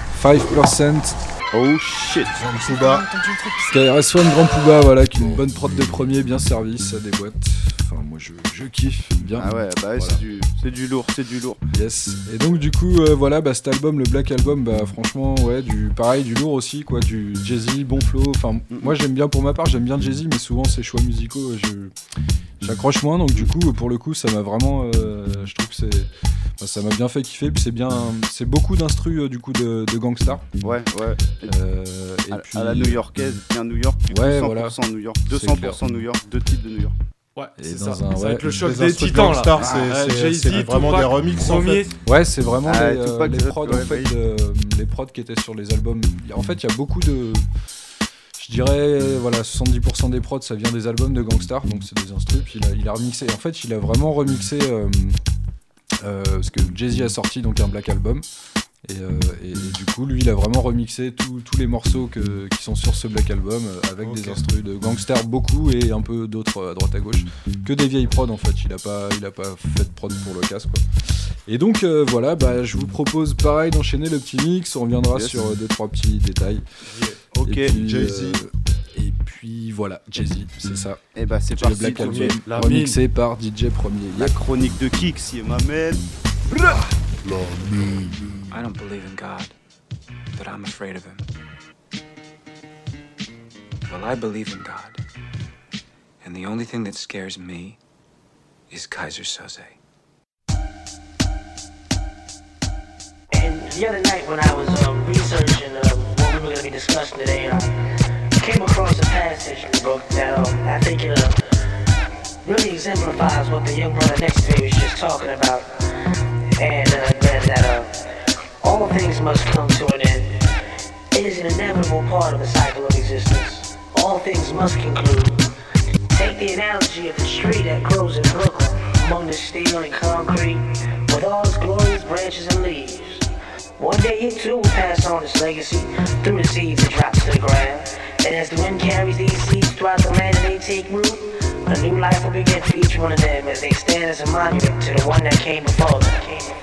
5%. Oh shit, Grand Pouba. KRS-One, Grand Pouba, voilà, qui est une bonne prod de premier, bien servie, ça déboîte. Enfin, moi je kiffe bien. Ah ouais, bah ouais, voilà. c'est du lourd. Yes. Et donc du coup, voilà, cet album, le Black Album, franchement, ouais, du lourd aussi, quoi, du Jay-Z, bon flow. Enfin, moi j'aime bien, pour ma part, j'aime bien Jay-Z, mais souvent ses choix musicaux, j'accroche moins. Donc du coup, pour le coup, ça m'a vraiment, je trouve que ça m'a bien fait kiffer. Puis c'est beaucoup d'instru du coup de Gangstar. Ouais. Et puis à la new-yorkaise, bien New York, du coup, ouais, 100% voilà. New York, 200% New York, 2 titres de New York. Ouais, c'est ça. Ça va être le choc des titans là. C'est vraiment des remixes en fait. Ouais, c'est vraiment les prods ouais, en fait, les prods qui étaient sur les albums. En fait, il y a beaucoup de, je dirais, voilà, 70% des prods ça vient des albums de Gangstar, donc c'est des instrus. Puis il a remixé. En fait, il a vraiment remixé parce que Jay-Z a sorti donc un Black Album. Et du coup, lui, il a vraiment remixé tous les morceaux qui sont sur ce Black Album avec des instrus de Gangstar, beaucoup, et un peu d'autres à droite à gauche, que des vieilles prods en fait. Il a pas fait de prod pour l'occasion, quoi. Et donc voilà, je vous propose pareil d'enchaîner le petit mix. On reviendra sur 2-3 petits détails. Yeah. Ok, Jay-Z. Et puis voilà, Jay-Z, c'est ça. Et c'est parti. Le Black Album remixé par DJ Premier. La chronique de Kix, il m'amène. I don't believe in God, but I'm afraid of him. Well, I believe in God, and the only thing that scares me is Kaiser Soze. And the other night when I was researching what we were going to be discussing today, I came across a passage in the book that I think really exemplifies what the young brother next to me was just talking about. And that all things must come to an end. It is an inevitable part of the cycle of existence. All things must conclude. Take the analogy of the tree that grows in Brooklyn, among the steel and concrete, with all its glorious branches and leaves. One day it too will pass on its legacy through the seeds it drops to the ground. And as the wind carries these seeds throughout the land and they take root, a new life will begin for each one of them as they stand as a monument to the one that came before them.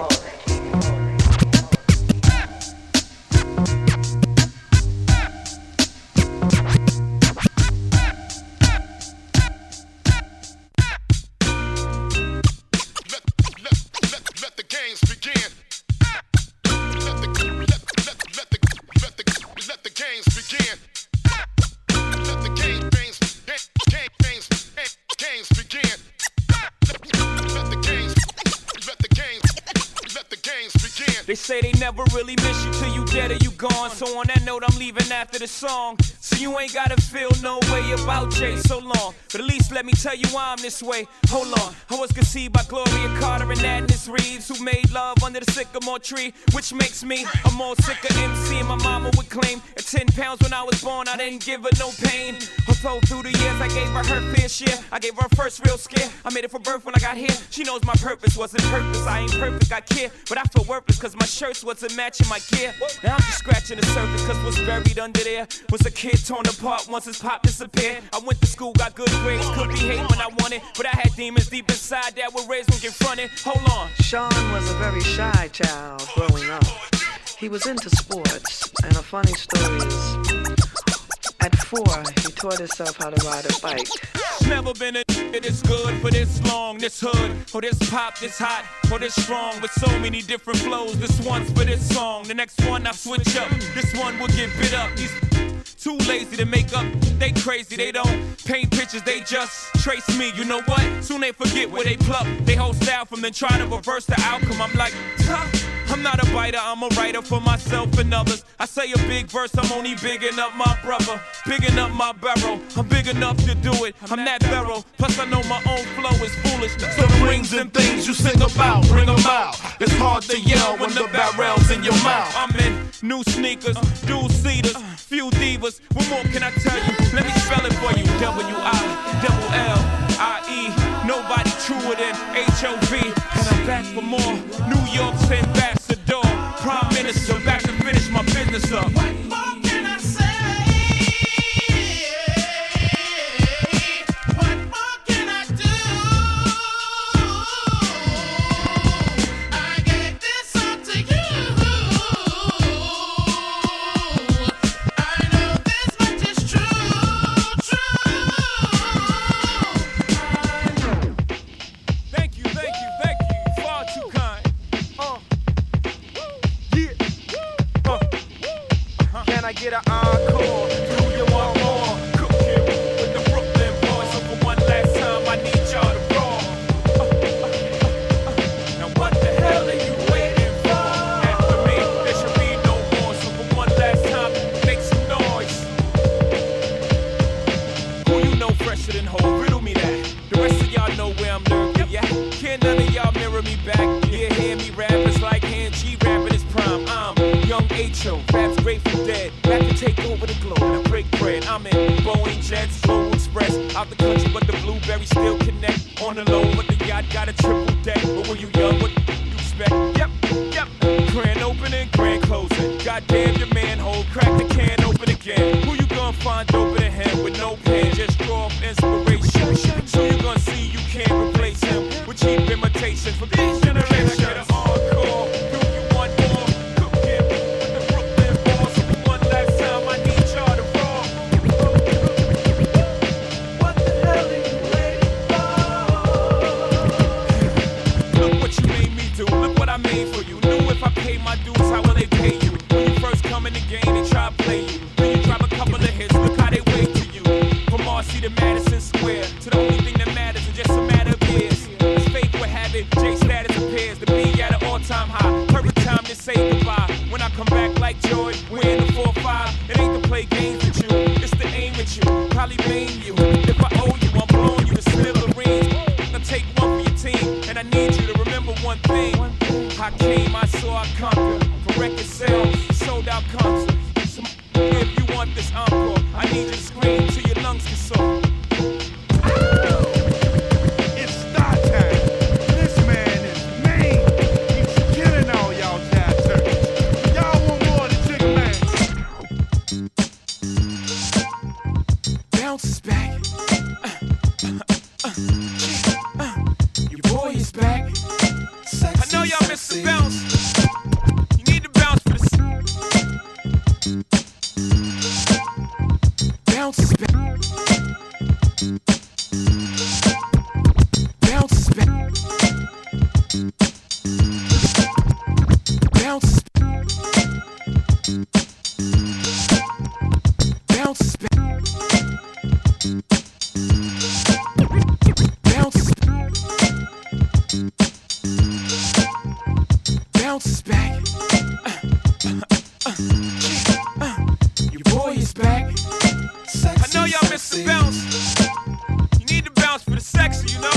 Let the games begin. Let the games begin. Let the games begin. Let the games begin. They say they never really miss you till you dead or you gone. So on that note, I'm leaving after the song. So you ain't gotta feel no way about Jay so long. But at least let me tell you why I'm this way. Hold on, I was conceived by Gloria Carter and Agnes Reeves, who made love under the sycamore tree, which makes me a more sicker MC. And my mama would claim at 10 pounds when I was born, I didn't give her no pain. Although through the years I gave her fair share. I gave her first real scare. I made it for birth when I got here. She knows my purpose wasn't purpose. I ain't perfect, I care, but I feel worthless cause my shirts wasn't matching my gear. Now I'm just scratching the surface cause what's buried under there was a kid get torn apart once his pop disappeared. I went to school, got good grades, could behave when I wanted, but I had demons deep inside that were raised when confronted. Hold on. Sean was a very shy child growing up. He was into sports, and a funny story is, at 4, he taught himself how to ride a bike. Never been a this good for this long, this hood, or this pop, this hot, or this strong, with so many different flows. This one's for this song, the next one I switch up. This one will get bit up. These too lazy to make up, they crazy, they don't paint pictures, they just trace me. You know what? Soon they forget where they pluck. They whole style from then try to reverse the outcome. I'm like, I'm not a biter, I'm a writer for myself and others. I say a big verse, I'm only bigging up my brother, bigging up my barrel. I'm big enough to do it, I'm that barrel. Plus I know my own flow is foolish. So the rings and things you sing about, bring them out. It's hard to yell when the barrel's in your mouth. I'm in new sneakers, dual seaters, few divas. What more can I tell you? Let me spell it for you. W-I-L-L-I-E. Nobody truer than H-O-V. And I'm back for more. New York's ambassador, prime minister, back to finish my business up. What more can I say? What more can I do? I gave this up to you. I know this much is true, Thank you, far too kind. Can I get an encore? Do you want more? Cook it with the Brooklyn boys. So for one last time, I need y'all to roll. Now what the hell are you waiting for? After me, there should be no more. So for one last time, make some noise. Who you know fresher than Ho? Riddle me that. The rest of y'all know where I'm lurking. Yeah, can't none of y'all mirror me back. Yeah, hear me rap, it's like hand G rapping his prime. I'm young H.O., raps Grateful Dead. Back to take over the globe and I break bread. I'm in Boeing Jets, Global Express. Out the country, but the blueberries still connect. On the low, but the yacht got a triple deck. But when you young, what you expect? Yep. Grand opening, grand closing. Goddamn your manhole, crack the can open again. Who you gonna find open in him with no pen? Just draw off inspiration. So you gonna see you can't replace him with cheap imitation from these generations. Encore. Do you want more? Cook it with the Brooklyn boys. So for one last time, I need y'all to roll. What the hell are you waiting for? Look what you made me do. Look what I made for you. Knew if I pay my dues, how will they pay you? When you first come in the game, they try to play you. Then you drop a couple of hits. Look how they wait to you. From Marcy to Madison Square, to the only thing that matters is just a matter of years. As fate would have it, J status appears to be at an all-time high. Perfect time to say goodbye. When I come back like Joy, we're in the 4-5. It ain't to play games with you, it's to aim at you. Probably blame you. If I owe you, I'm blowing you to smithereens. Now take one for your team, and I need you to remember one thing. I came, I saw, I conquered. For record sales, sold out concerts. So if you want this encore, I need you to scream till your lungs get sore. It's star time. This man is mean. He's killing all y'all jazz turkeys. Y'all want more of the chicken man? Bounce is back. Your boy is back. I know y'all miss the bounce. You need to bounce for this. Bounce is back. Bounce is back. Bounce is back. Bounce is back. Bounce is back. Bounce is back. Your boy is back. I know y'all miss the bounce. You need to bounce for the sexy, you know?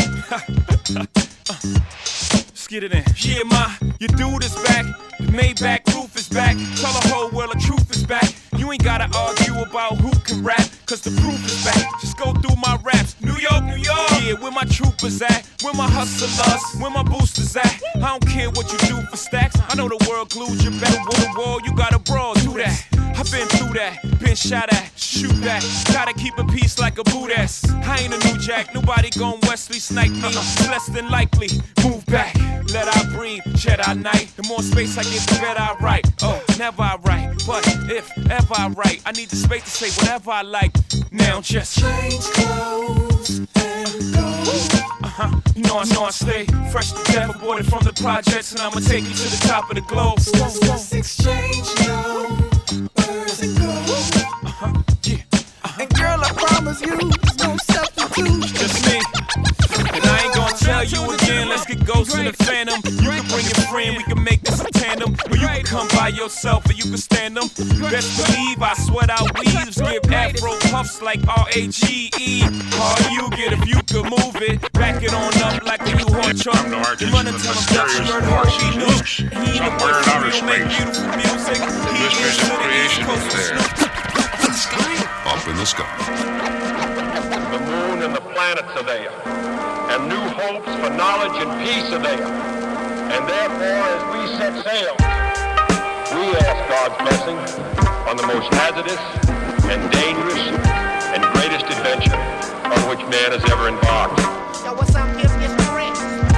Let's get it in. Yeah, your dude is back. The Maybach roof is back. Tell the whole world the truth is back. You ain't gotta argue about who can rap, cause the proof is back. Just go through my raps. New York, New York. Yeah, where my troopers at? Where my hustlers? Where my boosters at? I don't care what you do for stacks. I know the world glued you back. With the wall, you gotta brawl, do that. I've been through that, been shot at, shoot that. Gotta keep a peace like a Buddhist. I ain't a new jack, nobody gon' Wesley snipe me. It's less than likely, move back, let I breathe, Jedi Knight. The more space I get, the better I write. Oh, never I write, but if ever I write, I need the space to say whatever I like. Now just change clothes and go. You know I stay fresh to death, aborted from the projects, and I'ma take you to the top of the globe. Let's exchange numbers and go. And girl, I promise you, no substitute. Just me. And I ain't gonna tell you again, let's get Ghost in the Phantom. You can bring your friend, we can make this a tandem. Or you can come by yourself and you can stand them. Best believe I sweat out weaves, give afro puffs like R-A-G-E. All you get if you could move it, back it on up like a U-Haul truck. You run and tell him Dutch, you heard how he knew. He ain't a boy for real, make beautiful music. He is to the East Coast. Up in the sky. The moon and the planets are there, and new hopes for knowledge and peace are there. And therefore, as we set sail, we ask God's blessing on the most hazardous and dangerous and greatest adventure on which man has ever embarked. Yo, what's up, this Prince?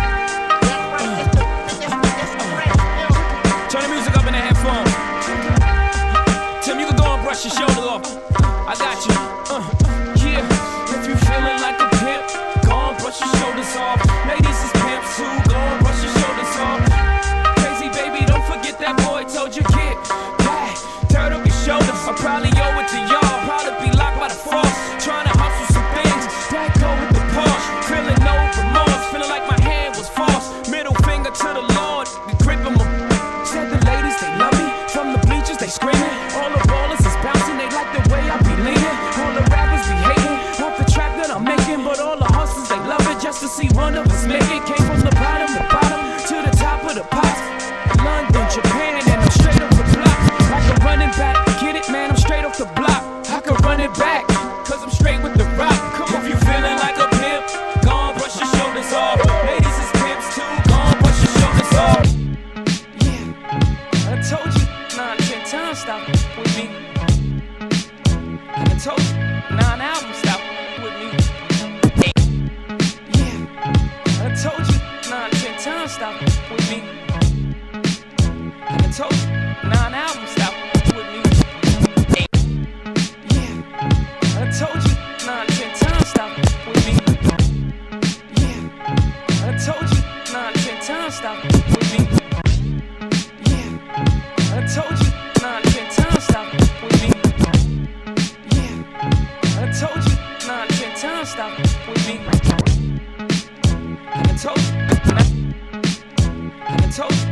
Turn the music up in the headphones. Tim, you can go and brush your shoulder off. I got you, yeah. If you feeling like a pimp, go and brush your shoulders off. Ladies is pimps too, go and brush your shoulders off. Crazy baby, don't forget that boy told you get back. Turn up your shoulders, I probably owe it to y'all. Probably be locked by the force, trying to hustle some things. That go with the Porsche, feeling no remorse. Feeling like my hand was false. Middle finger to the Lord, grip him. Said the ladies, they love me. From the bleachers, they screaming. All the ballers is bouncing, they like the way I be leaning. All the rappers be hating off the track that I'm making, but all the hustlers, they love it just to see one of us make it. Came from the bottom to the top of the pops. London, Japan, and I'm straight off the block. I can run it back, get it, man, I'm straight off the block. I can run it back, cause I'm straight with the rock. If you feeling like a pimp, go on, brush your shoulders off. Ladies is pimps too, go on, brush your shoulders off. Yeah, I told you 9, 10 times, stop with me. I told you 9 albums, stop with me. Yeah, I told you 9, 10 times, stop with me. I told you 9 albums, stop with me. Yeah, I told you 9, 10 times, stop with me. Yeah, I told you 9, 10 times, stop with me. Yeah, I told you 9, 10 times, stop with me. Yeah, I told you 9, 10 times, stop with me. I told you. I told you.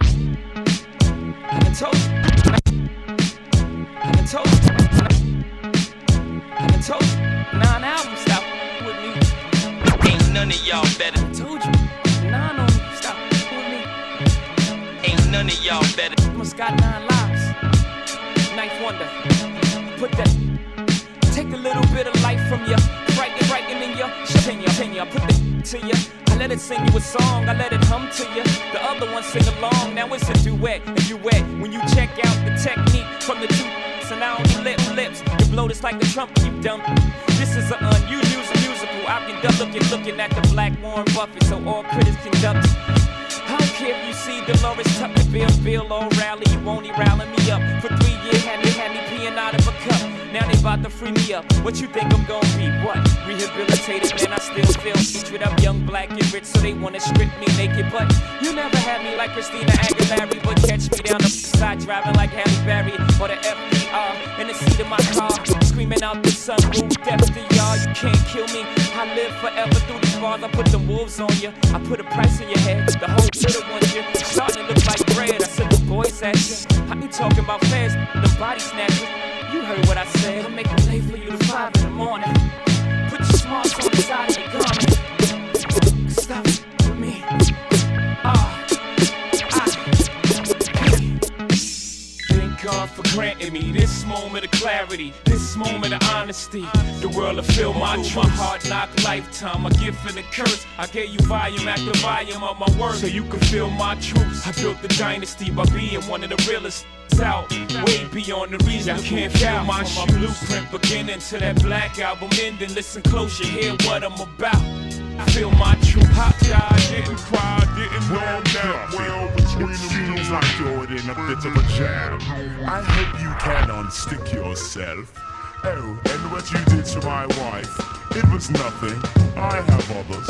I told you. I told you. I told you. 9 albums, stop with me. Ain't none of y'all better. I told you. 9 on me, stop with me. Ain't none of y'all better. Almost got 9 lives. 9th wonder. Put that. Take a little bit of life from you. Frightening you. Tenure. I put the to you. I let it sing you a song, I let it hum to you. The other one sing along, now it's a duet. And you wet when you check out the technique from the two. So now on your lips, you blow this like the trumpet, you dumb. This is an unusual musical. I've been looking at the black Warren Buffett, so all critics conduct. I don't care if you see Dolores Tucker, Bill O'Reilly, you only rallying me up. For 3 years, had me peeing out of a cup. Now they about to free me up. What you think I'm gonna be? What? Rehabilitated, man, I still feel featured up young, black, and rich, so they wanna strip me naked. But you never had me like Christina Aguilera, but catch me down the side driving like Halle Berry or the FDR in the seat of my car, screaming out the sunroof, death to y'all. You can't kill me. I live forever through these bars. I put the wolves on you. I put a price on your head. The whole city wants you. Starting to look like bread. I said the boys at you. I be talking about fans, the body snatchers. You heard what I said. I'll make them late for you to 5 in the morning. Put your smarts on the side of the garment. Stop with me. Thank God for granting me this moment of clarity. This last moment of honesty. The world will feel my truth. My heart knock lifetime, a gift and a curse. I gave you volume after volume of my work, so you can feel my truth. I built the dynasty by being one of the realest out, way beyond the reason. You can't feel my blueprint beginning to that Black Album ending. Listen close, you hear what I'm about. I feel my truth. Hot guy didn't cry, didn't know that well. It seems like you're in a bit of a jam. I hope you can unstick yourself. Oh, and what you did to my wife, it was nothing. I have others.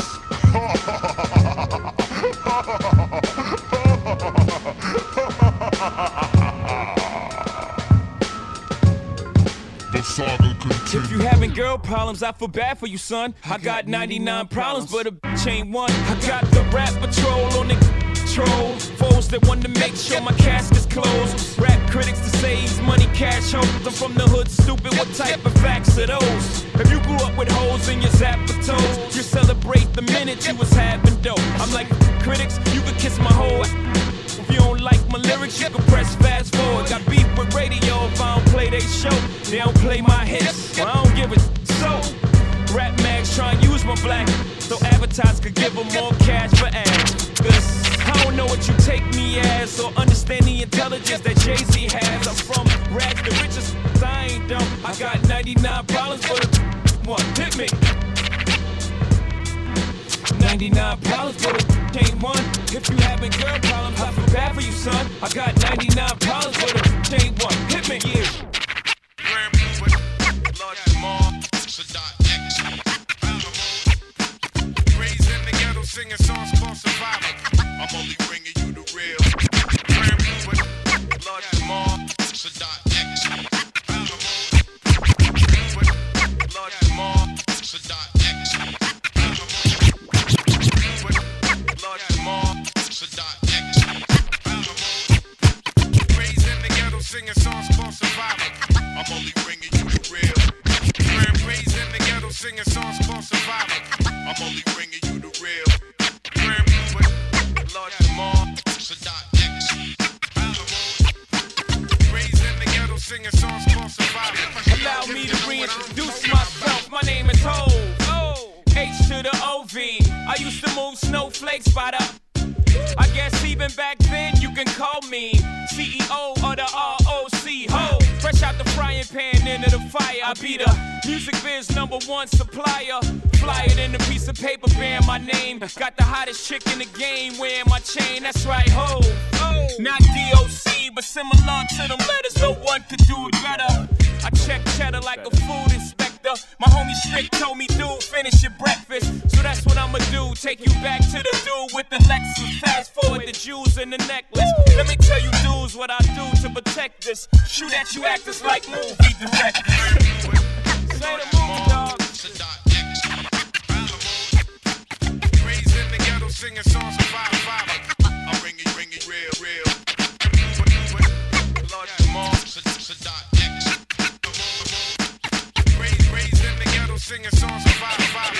The saga continues. If you having girl problems, I feel bad for you, son. I got 99 problems, but a bitch ain't one. I got the rap patrol on the control. Foes that want to make sure my casket's closed. Rap critics to save money, cash hope. I'm from the hood, stupid. What type of facts are those? If you grew up with holes in your zapper toes, you celebrate the minute you was having dope. I'm like critics, you could kiss my whole. If you don't like my lyrics, you can press fast forward. Got beef with radio if I don't play they show. They don't play my hits, well, I don't give a so. Rap mags try and use my black so advertisers could give them more cash for ads. Cause I don't know what you take me as or understand the intelligence that Jay-Z has. I'm from rags to riches, I ain't dumb. I got 99 problems for the one. Hit me. 99 problems for the ain't one. If you having girl problems, I feel bad for you, son. I got 99 problems for the ain't one. Hit me. Yeah. Raised in the ghetto singing songs for survival. I'm only bringing you the real. Grand Puba, Lord Jamal, Sadat X. Lord Jamal, Sadat X. Lord Jamal, Sadat X. Raised in the ghetto singing songs for survival. I'm only bringing you the real. Raised in the ghetto singing songs for survival. I'm only bringing you the real. Grand Puba, Lord Jamal, Sadat X. Raised in the ghetto singing songs for survival. Allow me to reintroduce myself. My name is Ho. H to the OV. I used to move snowflakes by the. I guess even back then you can call me CEO of the ROC. Ho, fresh out the frying pan into the fire. I be the music biz #1 supplier. Fly it in a piece of paper bearing my name. Got the hottest chick in the game wearing my chain. That's right, ho. Not DOC, but similar to them letters. No one could do it better. I check cheddar like a food inspector. My homie Strick told me, dude, finish your breakfast. So that's what I'ma do. Take you back to the dude with the Lexus. Fast forward the jewels and the necklace. Let me tell you dudes what I do to protect this. Shoot at you actors like movie directors. Say the movie, dog. Raised in the ghetto singing songs for survival. I'm bringing real. Lord Jamal, Sadat X. Raised in the ghetto singing songs for survival.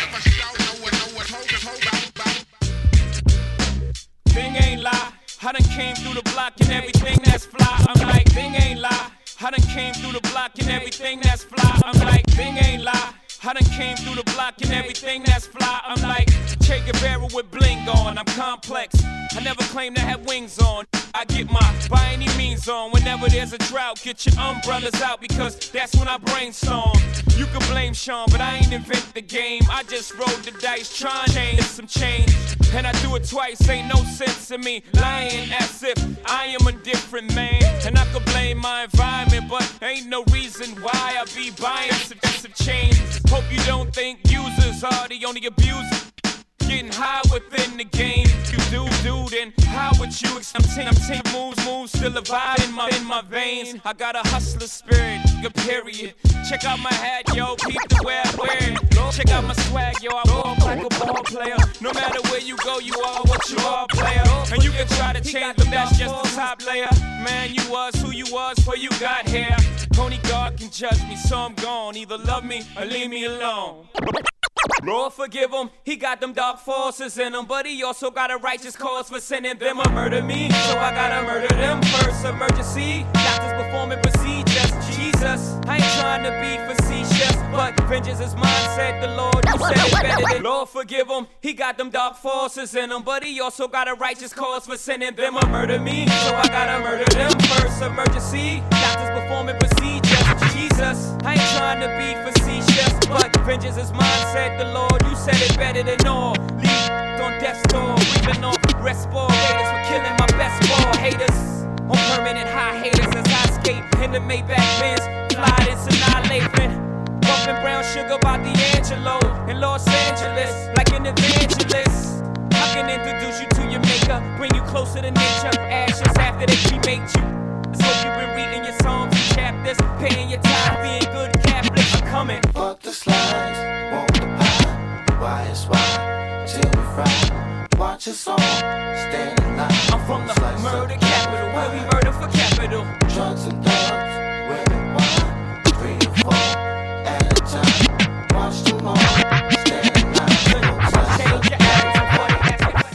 Thing ain't lie. I done came through the block and everything that's fly. I'm like, thing ain't lie. I done came through the block and everything that's fly. I'm like, thing ain't lie. I done came through the block and everything that's fly. I'm like Che Guevara with bling on. I'm complex. I never claim to have wings on. I get my by any means on. Whenever there's a drought, get your umbrellas out because that's when I brainstorm. You can blame Sean, but I ain't invent the game. I just rolled the dice, trying to change some change. And I do it twice, ain't no sense in me lying as if I am a different man. And I could blame my environment, but ain't no reason why I be buying some change. Hope you don't think users are the only abusers. Getting high within the game. You do, then how would you I'm 10 moves, still a vibe in my veins. I got a hustler spirit, good period. Check out my hat, yo, peep the way I wear it. Check out my swag, yo, I walk like a ball player. No matter where you go, you are what you are, player. And you can try to change, but that's just the top layer. Man, you was who you was before you got here. Only God can judge me, so I'm gone. Either love me or leave me alone. Lord forgive him, he got them dark forces in him, but he also got a righteous cause for sending them to murder me. So I gotta murder them first, emergency. Doctors performing procedures. Jesus, I ain't trying to be facetious, but vengeance is mine, said the Lord. You said it better than Lord, forgive him. He got them dark forces in him, but he also got a righteous cause for sending them to murder me. So I gotta murder them first. Emergency, doctors performing procedures. Jesus, I ain't trying to be facetious, but vengeance is mine, said the Lord. You said it better than all. Leave on death's door, reaping off respirators for killing my best ball haters. On permanent high haters as I skate in the Maybach Benz, fly this annihilation. Bumping brown sugar by D'Angelo in Los Angeles, like an evangelist. I can introduce you to your maker, bring you closer to nature. Ashes after they cremate you. Let's hope you've been reading your songs and chapters, paying your time, being good Catholics. I'm coming. Fuck the slides, want the pie. Why is why? Till we fry. Watch us all stand in line. I'm from the murder capital, where we murder for capital. Drugs and thugs, women, wine, 3 or 4 at a time. Watch them all stand in line. Change your attitude for the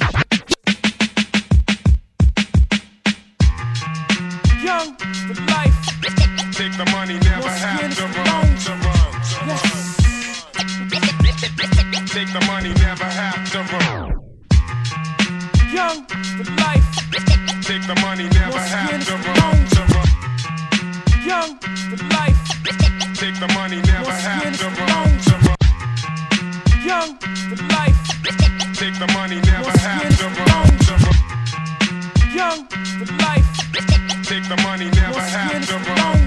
young, the life. Take the money, never have to run. Take the money, never have to run. Young, the life. Take the money, never have to run. Young, the life. Take the money, never have to run. Young, the life. Take the money, never have to run. Young, the life. Take the money, never have to run.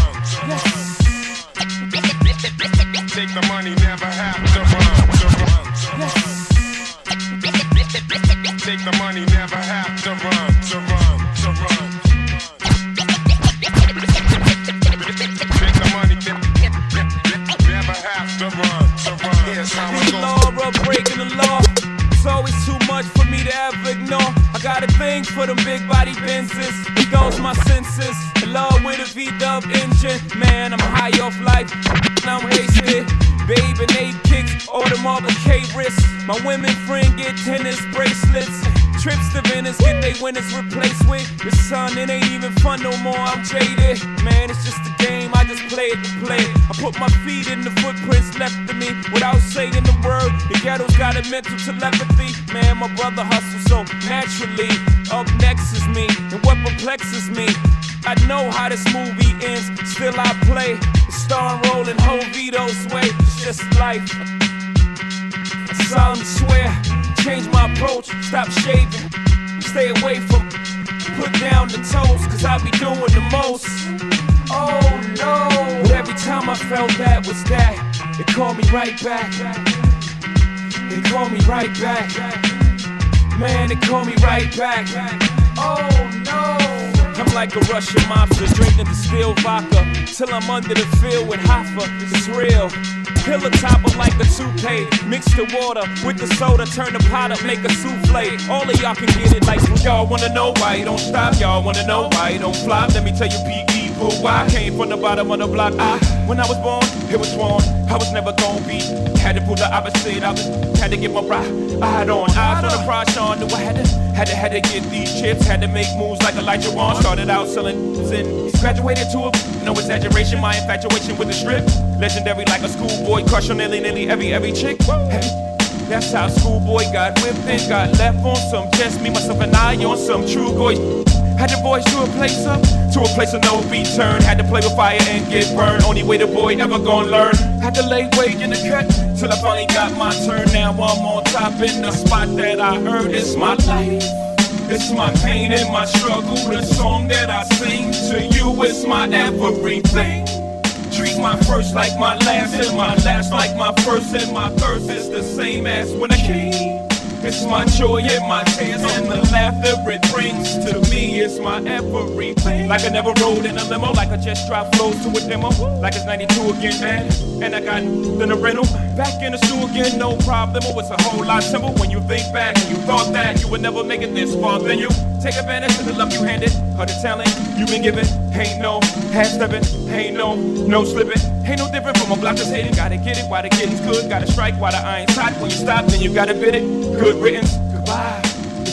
Take the money, never have to run. Take the money, never have to run. Take the money, never have to run. Here's how it goes. Law, breaking the law. It's always too much for me to ever ignore. I got a thing for them big body Benzes. It goes my senses. In love with a V-dub engine. Man, I'm high off life. I'm wasted. Babe and 8 kicks, Audemars K-wrists. My women friend get tennis bracelets. Trips to Venice, get they winners replaced with the sun. It ain't even fun no more, I'm jaded. Man, it's just a game, I just play it to play it. I put my feet in the footprints left of me without saying the word. The ghetto's got a mental telepathy. Man, my brother hustles so naturally. Up next is me, and what perplexes me, I know how this movie ends, still I play the star and rolling whole Vito's way. It's just life. I solemnly swear, change my approach, stop shaving, stay away from, put down the toes, cause I be doing the most. Oh no, but every time I felt that was that, it called me right back. It called me right back. Man, it called me right back. Oh no. I'm like a Russian mobster, drinking distilled vodka till I'm under the field with Hoffa. It's real. Pillow topper like a toupee. Mix the water with the soda, turn the pot up, make a souffle. All of y'all can get it like y'all wanna know why you don't stop. Y'all wanna know why you don't flop. Let me tell you, P.E. why I came from the bottom of the block. When I was born, it was sworn I was never gonna be. Had to prove the opposite. Had to get my ride on. Eyes on the prize, Sean. Knew I had to get these chips. Had to make moves like Elijah Wan. Started out selling and graduated to a no exaggeration. My infatuation with the strip. Legendary like a schoolboy. Crush on nearly every chick. That's how schoolboy got whipped and got left on some just me, myself, and I on some true boy. Had to voice to a place of no return. Had to play with fire and get burned. Only way the boy ever gonna learn. Had to lay weight in the cut till I finally got my turn. Now I'm on top in the spot that I earned. It's my life. It's my pain and my struggle. The song that I sing to you is my everything. Treat my first like my last, and my last like my first, and my first is the same as when I came. It's my joy and my tears and the laughter it brings to me. It's my everything. Like I never rode in a limo, like I just dropped flows to a demo. Like it's 92 again, man, and I got then a rental. Back in the stew again, no problem. It's a whole lot simple when you think back and you thought that you would never make it this far. Then you take advantage of the love you handed, or the talent you been given. Ain't no half-stepping, ain't no slipping. Ain't no different from a block that's hitting. Gotta get it while the getting's good. Gotta strike while the iron's hot. When you stop, then you gotta bid it. Good riddance, goodbye. This is my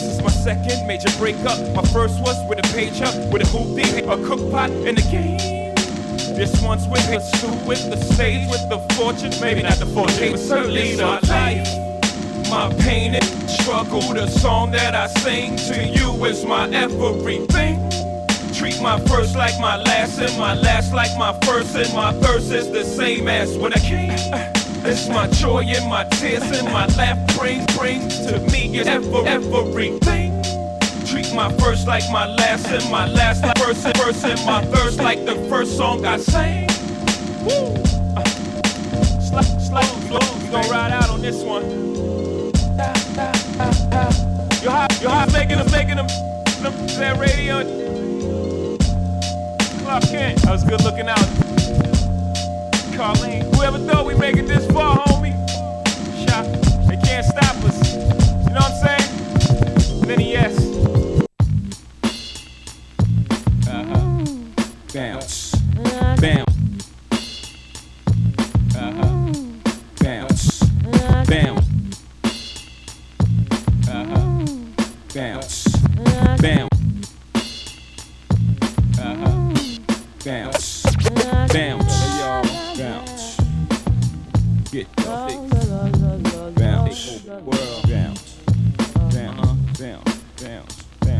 second major breakup. My first was with a pager, with a hoopty, a cook pot, and a game. This one's with the stew, with the stage, with the fortune. Maybe not the fortune, but certainly my life. My pain and struggle, the song that I sing to you is my everything. Treat my first like my last, and my last like my first, and my thirst is the same as when I came. It's my joy and my tears and my laugh brings to me is everything. Treat my first like my last, and my last like first, and my thirst like the first song I sang. Woo! Slow, we gon' ride out on this one. Yo, how making them that radio? Clark Kent, I was good looking out. Carlene, whoever thought we make it this far, homie? Shot, they can't stop us. You know what I'm saying? Then yes. Bounce, bounce. Bounce, bounce. Bounce, bounce. Bounce, bounce. Hey y'all, bounce. Get the bounce, world bounce, bounce, bounce,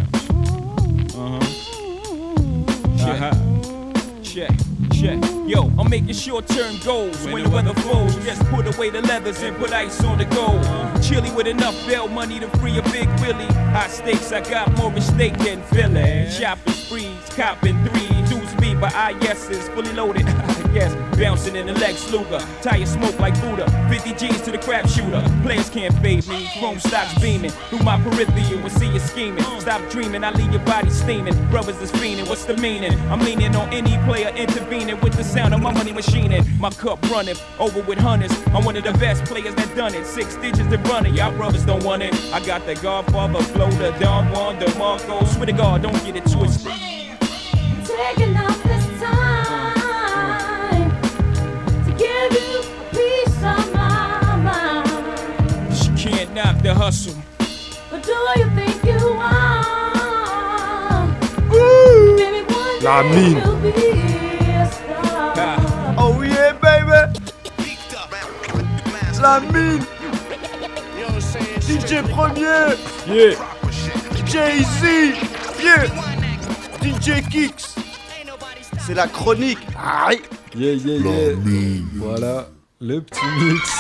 bounce. Check. Yo, I'm making short-term goals. When the weather falls, just put away the leathers and put ice on the gold. Chilly with enough bail money to free a big Willie. High stakes, I got more at stake than Philly. Shopping sprees, copping threes. Speed, but IS is fully loaded. Yes, bouncing in the Lex Luger. Tire smoke like Buddha. 50 G's to the crap shooter. Players can't fade me. Chrome stocks beaming through my peripheral and see you scheming. Stop dreaming, I leave your body steaming. Brothers is fiending, what's the meaning? I'm leaning on any player intervening with the sound of my money machining. My cup running over with hundreds. I'm one of the best players that done it. 6 digits to run it. Y'all brothers don't want it. I got the Godfather flow, the Don Juan, the Marco. Swear to God, don't get it twisted. Taking up this time to give you a piece of my mind. She can't knock the hustle. But do you think you are? Maybe one La day mine. you'll be a star. Oh yeah, baby. La mine. DJ Premier. Yeah. Jay-Z. Yeah. DJ Kicks. C'est la chronique. Aïe. Yeah. Voilà, le petit mix,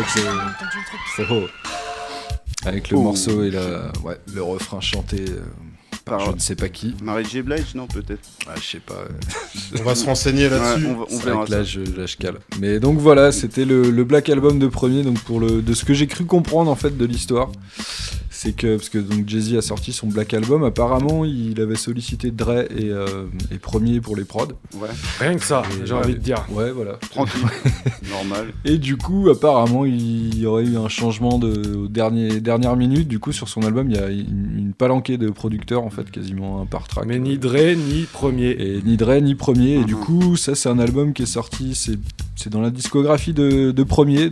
avec le morceau et le refrain chanté par je ne sais pas qui. Mary J. Blige, non, peut-être. Je sais pas. On va se renseigner là-dessus. On verra ça. Là, je cale. Mais donc voilà, c'était le Black Album de premier, donc de ce que j'ai cru comprendre en fait de l'histoire. C'est que, parce que donc Jay-Z a sorti son Black Album, apparemment il avait sollicité Dre et Premier pour les prods. Ouais. Rien que ça, j'ai envie de dire. Ouais, voilà. Tranquille. Normal. Et du coup, apparemment, il y aurait eu un changement aux dernières minutes. Du coup, sur son album, il y a une palanquée de producteurs, en fait, quasiment un par track. Mais ni Dre, ni Premier. Et ni Dre, ni Premier. Et du coup, ça, c'est un album qui est sorti, c'est dans la discographie de Premier,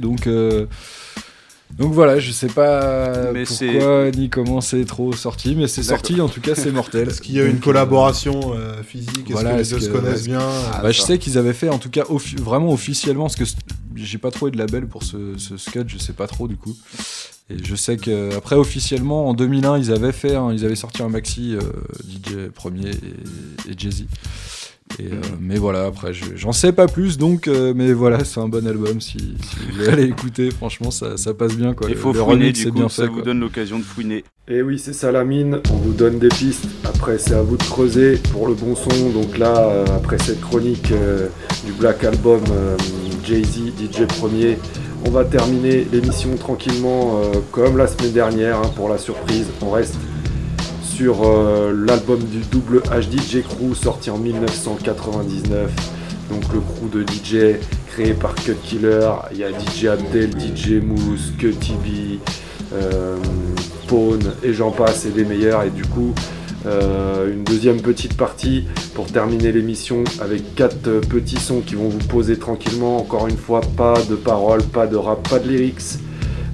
donc voilà, je sais pas pourquoi ni comment c'est trop sorti, mais c'est sorti, en tout cas c'est mortel. Est-ce qu'il y a une collaboration physique? Est-ce que les deux se connaissent bien? Je sais qu'ils avaient fait, en tout cas vraiment officiellement, parce que j'ai pas trouvé de label pour ce sketch, je sais pas trop du coup. Et je sais qu'après officiellement en 2001 ils avaient sorti un maxi DJ Premier et Jay-Z. Mais voilà, après j'en sais pas plus, donc mais voilà, c'est un bon album si vous voulez aller écouter, franchement ça passe bien quoi. Il faut fouiner, du coup, ça vous donne l'occasion de fouiner. Et oui, c'est ça la mine, on vous donne des pistes, après c'est à vous de creuser pour le bon son. Donc là, après cette chronique du Black Album Jay-Z, DJ Premier, on va terminer l'émission tranquillement comme la semaine dernière, pour la surprise. On reste sur l'album du double HDJ Crew sorti en 1999, donc le crew de DJ créé par Cut Killer. Il y a DJ Abdel, DJ Mousse, Cutty B, Pawn et j'en passe, et des meilleurs. Et du coup une deuxième petite partie pour terminer l'émission avec 4 petits sons qui vont vous poser tranquillement. Encore une fois, pas de paroles, pas de rap, pas de lyrics,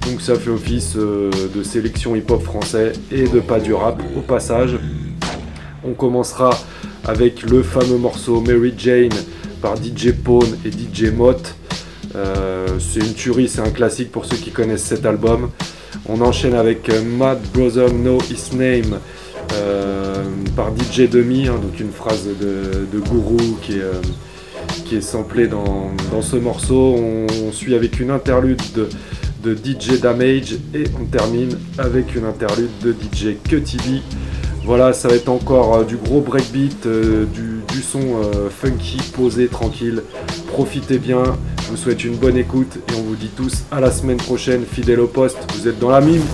Donc ça fait office de sélection hip-hop français et de pas du rap au passage. On commencera avec le fameux morceau Mary Jane par DJ Pone et DJ Mott. C'est une tuerie, c'est un classique pour ceux qui connaissent cet album. On enchaîne avec Mad Brother Know His Name par DJ Demi, donc une phrase de Guru qui est samplée dans ce morceau. On suit avec une interlude de DJ Damage et on termine avec une interlude de DJ Cutty B. Voilà, ça va être encore du gros breakbeat, du son funky, posé, tranquille. Profitez bien, je vous souhaite une bonne écoute et on vous dit tous à la semaine prochaine, fidèles au poste, vous êtes dans la mine.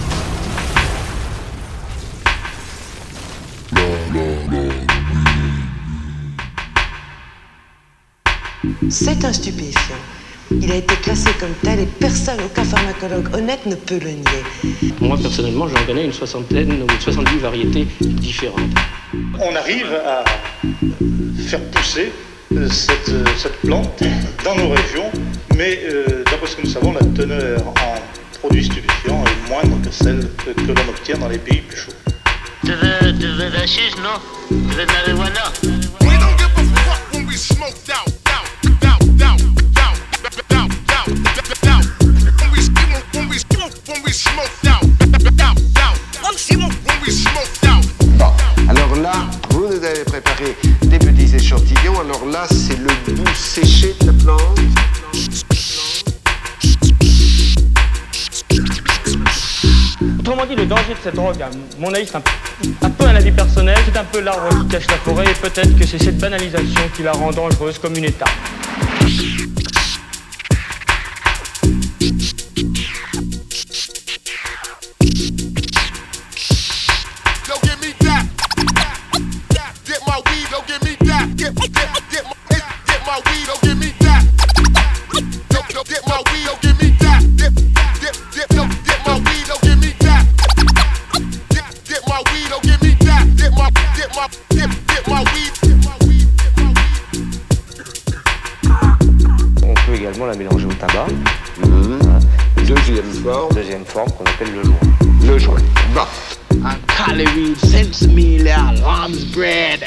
C'est un stupéfiant. Il a été classé comme tel et personne, aucun pharmacologue honnête ne peut le nier. Moi, personnellement, j'en connais une 60aine ou 70 variétés différentes. On arrive à faire pousser cette plante dans nos régions, mais d'après ce que nous savons, la teneur en produits stupéfiants est moindre que celle que l'on obtient dans les pays plus chauds. Tu veux de la chiche, non? Tu veux de la marijuana? We don't give a fuck when we smoked out. Bon, alors là, vous nous avez préparé des petits échantillons. Alors là, c'est le bout séché de la plante. Autrement dit, le danger de cette drogue, à mon avis, c'est un peu un avis personnel, c'est un peu l'arbre qui cache la forêt, et peut-être que c'est cette banalisation qui la rend dangereuse comme une étape. La mélanger au tabac. Deuxième forme qu'on appelle le joint. Le joint. Bon. Un calorie, sense-meal, lamb's bread.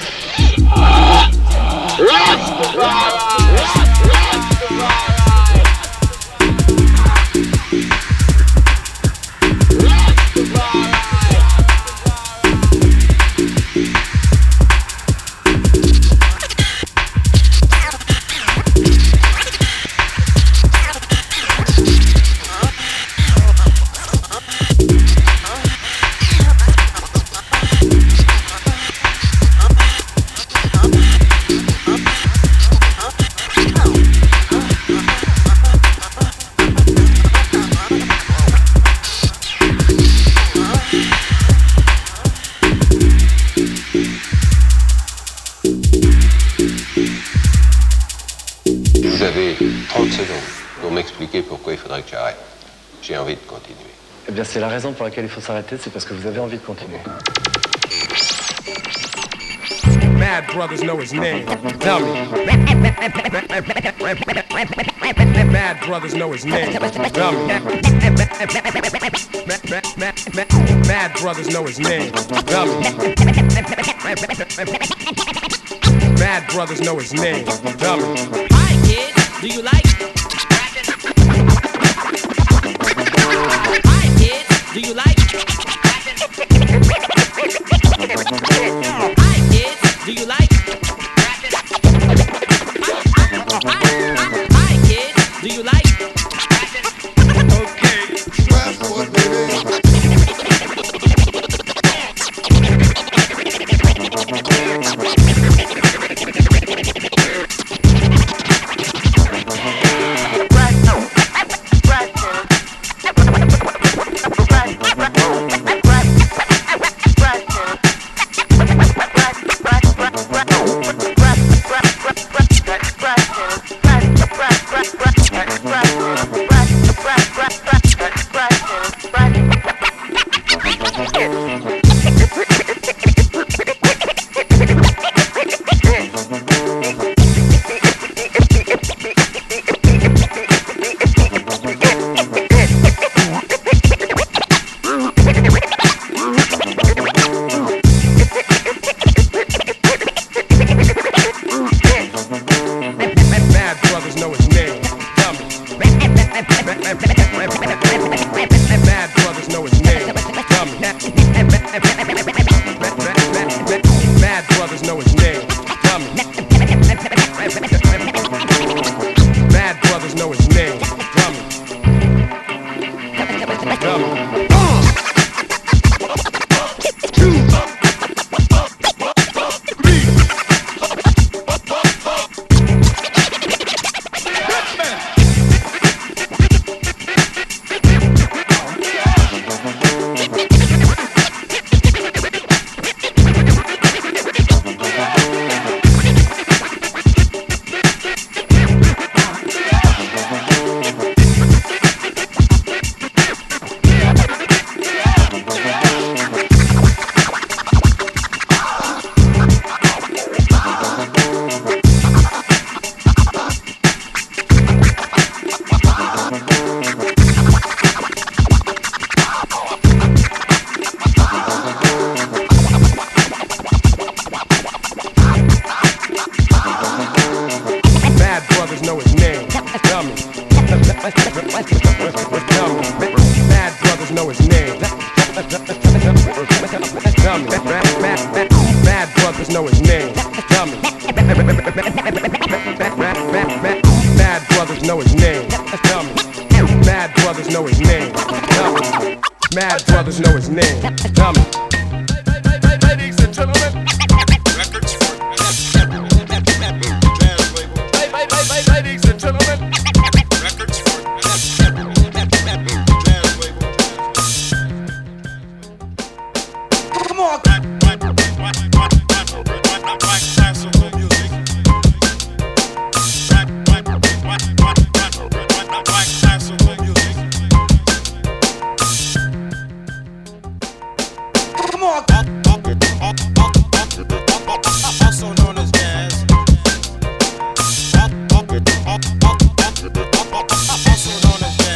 Vous avez 30 secondes pour m'expliquer pourquoi il faudrait que j'arrête. J'ai envie de continuer. Eh bien, c'est la raison pour laquelle il faut s'arrêter, c'est parce que vous avez envie de continuer. Mad brothers know his name. Tell me. Mad brothers know his name. Tell me. Mad brothers know his name. Tell me. Mad brothers know his name. Tell me. Hi kids, do you like rapping? Hi kids, do you like rapping? Hi kids, do you like rapping? Hi kids, do you like rapping? Okay, fast forward, baby. Mad brothers know his name. Dummy. Mad brothers know his name. Dummy. Dummy.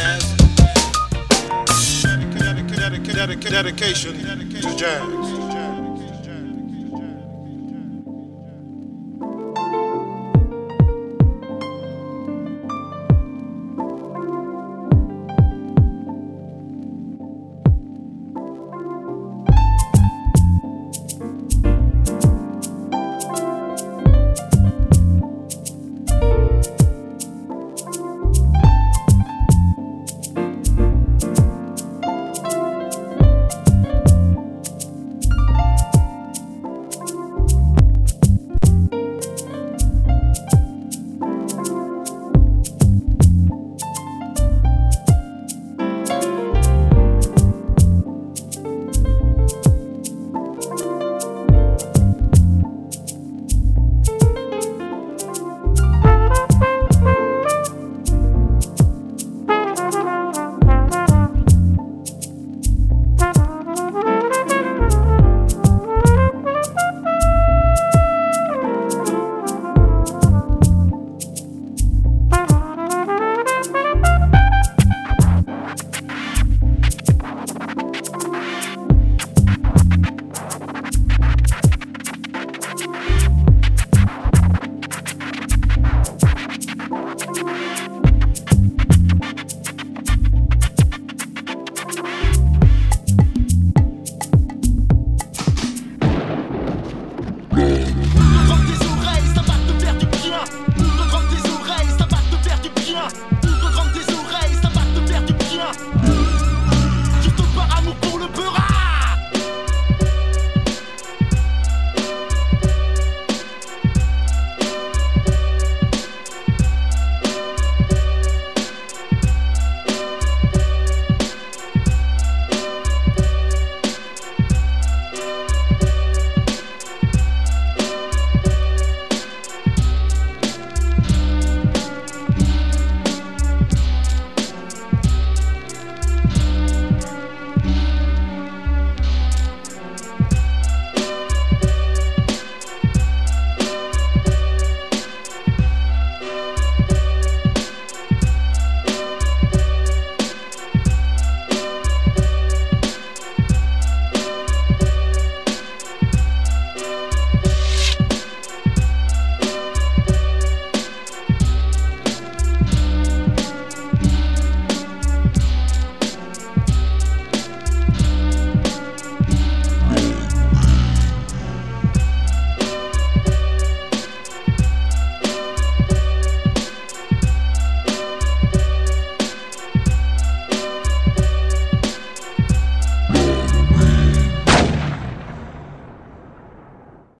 Dedication to jazz.